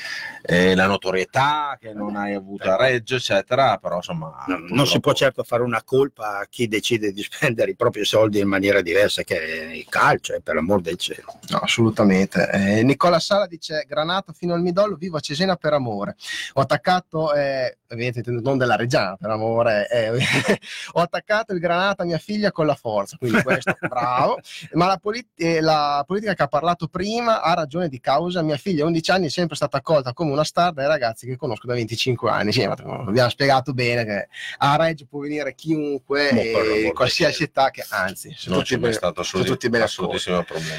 eh, la notorietà che non hai avuto a Reggio, eccetera, però insomma no, non si può certo fare una colpa a chi decide di spendere i propri soldi in maniera diversa che il calcio, eh, per l'amor del cielo. No, assolutamente. Eh, Nicola Sala dice: Granato fino al midollo, vivo a Cesena per amore. Ho attaccato, eh, non della Reggiana, per amore, eh, ho attaccato il Granata a mia figlia con la forza, quindi questo bravo. Ma la, polit- eh, la politica che ha parlato prima ha ragione di causa. Mia figlia a undici anni è sempre stata accolta come una star dai ragazzi che conosco da venticinque anni. Sì, ma abbiamo spiegato bene che a Reggio può venire chiunque e qualsiasi età, che anzi non c'è mai stato assolutissimo problema.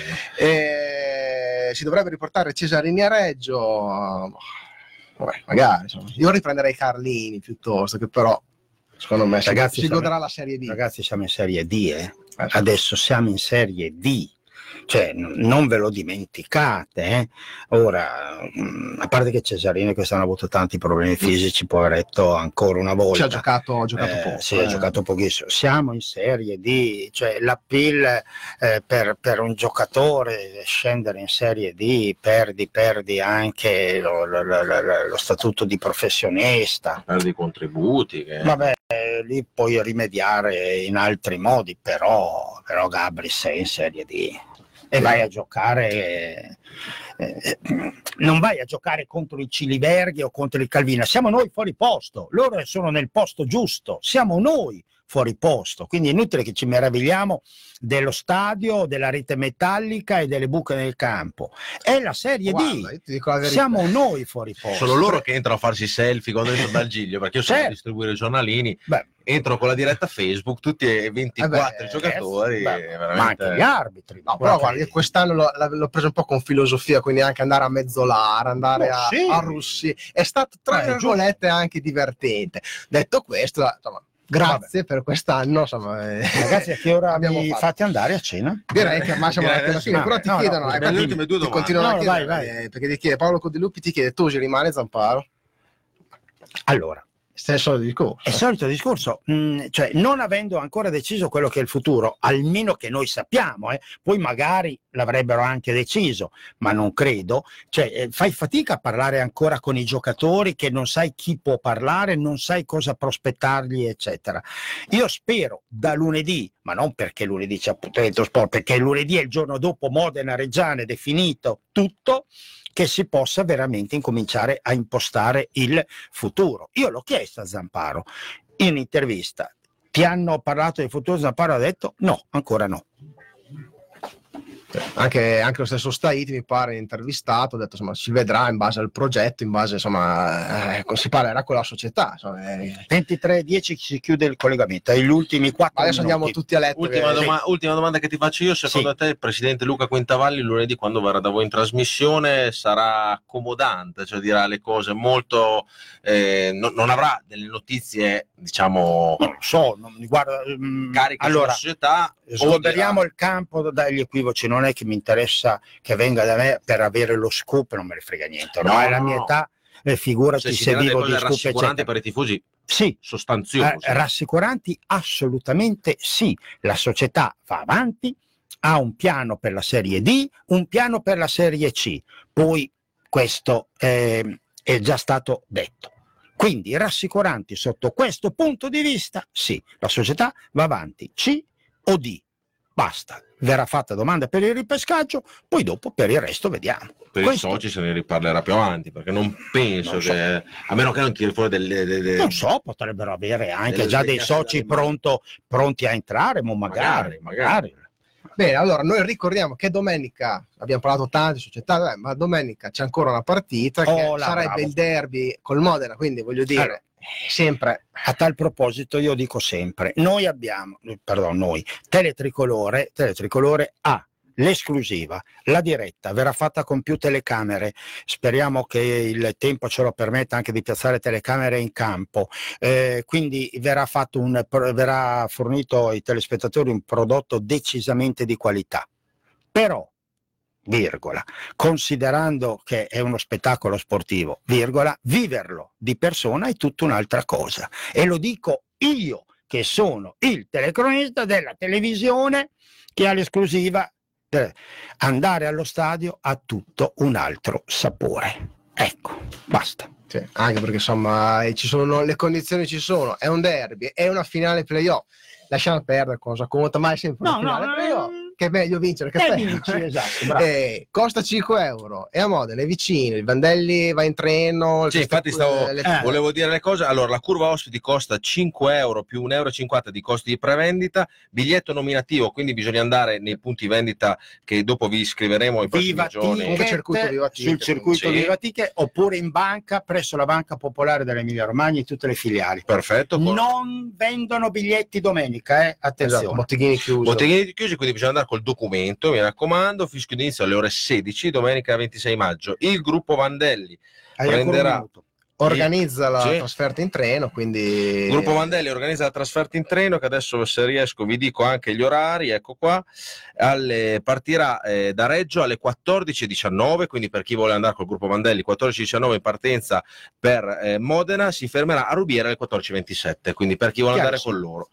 E si dovrebbe riportare Cesarini a Reggio. Vabbè, magari insomma. Io riprenderei Carlini piuttosto, che però secondo me ragazzi, si siamo, godrà la Serie D. Ragazzi, siamo in Serie D, eh? Adesso siamo in Serie D, cioè n- non ve lo dimenticate, eh? Ora, mh, a parte che Cesarini quest'anno ha avuto tanti problemi fisici, poveretto, ancora una volta. Ci ha giocato, ha giocato eh, poco. Sì, eh. ha giocato pochissimo. Siamo in Serie D, cioè l'appeal eh, per, per un giocatore scendere in Serie D, perdi, perdi anche lo, lo, lo, lo, lo statuto di professionista. Perdi i contributi. Che... Vabbè. eh, lì puoi rimediare in altri modi, però, però Gabri sei in Serie D e vai a giocare, eh, non vai a giocare contro il Ciliberghi o contro il Calvina, siamo noi fuori posto, loro sono nel posto giusto, siamo noi fuori posto, quindi è inutile che ci meravigliamo dello stadio, della rete metallica e delle buche nel campo. È la Serie Guarda, D, io ti dico la verità. siamo noi fuori posto. Sono loro che entrano a farsi selfie quando entro dal Giglio, perché io so Certo. distribuire i giornalini, Beh, entro con la diretta Facebook, tutti e ventiquattro Eh beh, giocatori, beh, veramente... ma anche gli arbitri. No, però guarda, io quest'anno l'ho, l'ho preso un po' con filosofia, quindi anche andare a Mezzolara, andare Oh, a, sì. a Russi, è stato tra Eh, virgolette anche divertente. Detto questo, insomma, grazie per quest'anno, insomma, eh, Ragazzi, a che ora abbiamo mi fatto. fate andare a cena? Direi che ma siamo Direi alla adesso- fine, però ti no, no, chiedono, no, eh, le ti- ultime due ti domande. continuano No, a no, chiedere, vai, vai. eh, perché ti chiede Paolo Codiluppi, ti chiede tu ci rimane Zamparo? Allora, Stesso discorso. è il solito discorso, mh, cioè non avendo ancora deciso quello che è il futuro, almeno che noi sappiamo, eh, poi magari l'avrebbero anche deciso, ma non credo, cioè eh, fai fatica a parlare ancora con i giocatori che non sai chi può parlare, non sai cosa prospettargli, eccetera. Io spero da lunedì, ma non perché lunedì c'è appuntamento sport, perché lunedì è il giorno dopo Modena Reggiane, definito tutto, che si possa veramente incominciare a impostare il futuro. Io l'ho chiesto a Zamparo in intervista, ti hanno parlato del futuro? Zamparo ha detto no, ancora no. Anche, anche lo stesso Staiti mi pare intervistato, ha detto insomma si vedrà in base al progetto, in base insomma eh, si parlerà con la società, insomma, eh. ventitré e dieci si chiude il collegamento, ai gli ultimi quattro Adesso minuti. andiamo tutti a letto. Ultima, che- doma- ultima domanda che ti faccio io, secondo Sì. te il presidente Luca Quintavalli lunedì quando verrà da voi in trasmissione sarà accomodante, cioè dirà le cose molto, eh, no- non avrà delle notizie diciamo Non lo so, non mi guarda, mm, cariche allora, sulla società, o sgomberiamo dirà- il campo dagli equivoci, non è che mi interessa che venga da me per avere lo scoop, non me ne frega niente, ormai No, è la no, mia no. età, eh, figurati cioè, si se dirà delle vivo di cose scoop, rassicuranti eccetera. per i tifosi Sì, sostanziose. Eh, rassicuranti assolutamente sì, la società va avanti, ha un piano per la Serie D, un piano per la Serie C, poi questo eh, è già stato detto. Quindi rassicuranti sotto questo punto di vista, sì, la società va avanti, C o D, basta. Verrà fatta domanda per il ripescaggio, poi dopo per il resto vediamo. Per Questo- i soci se ne riparlerà più avanti, perché non penso Non so. che, a meno che non tiri fuori delle, delle- Non so, potrebbero avere anche delle già dei svegliate soci dalle mani. pronto, pronti a entrare, ma magari, Magari, magari. Bene, allora noi ricordiamo che domenica abbiamo parlato tante società, eh, ma domenica c'è ancora una partita che Oh, là, sarebbe bravo. il derby col Modena, quindi voglio dire, Allora. eh, sempre A tal proposito io dico sempre, noi abbiamo, eh, pardon, noi, Teletricolore, Teletricolore ha l'esclusiva, la diretta verrà fatta con più telecamere, speriamo che il tempo ce lo permetta anche di piazzare telecamere in campo, eh, quindi verrà fatto un, verrà fornito ai telespettatori un prodotto decisamente di qualità, però virgola, considerando che è uno spettacolo sportivo, virgola, viverlo di persona è tutta un'altra cosa. E lo dico io, che sono il telecronista della televisione che ha l'esclusiva. Eh, andare allo stadio ha tutto un altro sapore. Ecco, basta. sì, anche perché insomma eh, ci sono le condizioni, ci sono, è un derby, è una finale playoff. Lasciamo perdere cosa conta, ma è sempre una No, no, finale no, playoff. no. Che è meglio vincere che Eh, perdere. vinci, esatto, bravo. Eh, costa cinque euro e a Modena è vicino, il Vandelli va in treno. Sì, infatti stavo, le- eh. volevo dire le cose. Allora, la curva ospiti costa cinque euro più un euro e cinquanta di costi di prevendita, biglietto nominativo, quindi bisogna andare nei punti vendita che dopo vi scriveremo ai prossimi Viva giorni. Comunque circuito Viva Ticket, Ticket, sul circuito sì. Viva Ticket, oppure in banca presso la Banca Popolare dell'Emilia Romagna in tutte le filiali. Perfetto. con- Non vendono biglietti domenica, eh? Attenzione. Esatto, botteghini chiusi. Botteghini chiusi, quindi bisogna andare col documento, mi raccomando, fischio d'inizio alle ore sedici, domenica ventisei maggio. Il gruppo Vandelli Hai ancora un prenderà minuto. Organizza la Sì. trasferta in treno, quindi Il gruppo Vandelli organizza la trasferta in treno, che adesso se riesco vi dico anche gli orari, ecco qua. Alle, partirà eh, da Reggio alle quattordici e diciannove, quindi per chi vuole andare col gruppo Vandelli quattordici e diciannove in partenza per eh, Modena, si fermerà a Rubiera alle quattordici e ventisette, quindi per chi vuole andare con loro.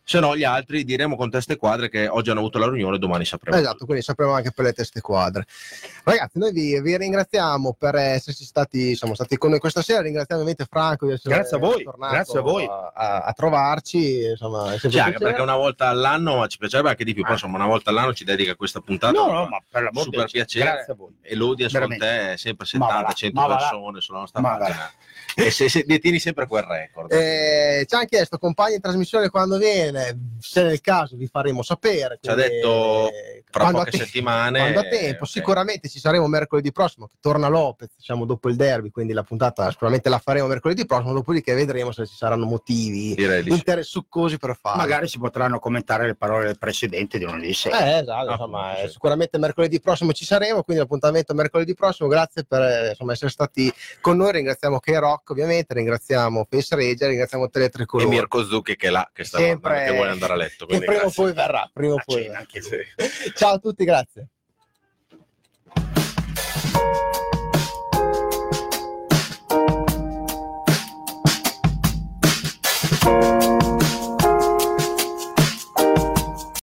Se no, gli altri diremo con teste quadre che oggi hanno avuto la riunione, domani sapremo. Esatto, quindi sapremo anche per le teste quadre. Ragazzi, noi vi, vi ringraziamo per esserci stati, siamo stati con noi questa sera. Ringraziamo ovviamente Franco di essere Grazie a voi, tornato grazie a voi. a, a- a trovarci. Insomma, è sempre Sì, un anche piacere. perché una volta all'anno ci piacerebbe anche di più, però Ah. insomma una volta all'anno ci dedica questa puntata. No, no, ma per l'amor di super Dio, piacere. grazie a voi. E l'audience con Veramente. te è sempre Ma va settanta là, cento ma va là. persone sulla nostra Ma va pagina. E se, se detieni sempre quel record. Eh, ci hanno chiesto compagni in trasmissione quando viene, se nel caso vi faremo sapere. Ci ha quindi, detto eh, fra quando poche a te- settimane. quando a tempo, ok. sicuramente ci saremo mercoledì prossimo, che torna Lopez, diciamo dopo il derby, quindi la puntata sicuramente la faremo mercoledì prossimo, dopodiché vedremo se ci saranno motivi Direi di sì. interessuccosi per farlo. Magari si potranno commentare le parole del presidente di lunedì sera. Eh, esatto, Ah, insomma, sì. eh, sicuramente mercoledì prossimo ci saremo, quindi l'appuntamento è mercoledì prossimo. Grazie per eh, insomma, essere stati con noi, ringraziamo K-Rock ovviamente, ringraziamo Face Rager, ringraziamo Tele E Tricolore. Mirko Zucchi che è là, che sta Sempre- guardando, che vuole andare a letto. che quindi prima o grazie. poi verrà, prima o A poi cena verrà. anche lui. Ciao a tutti, grazie.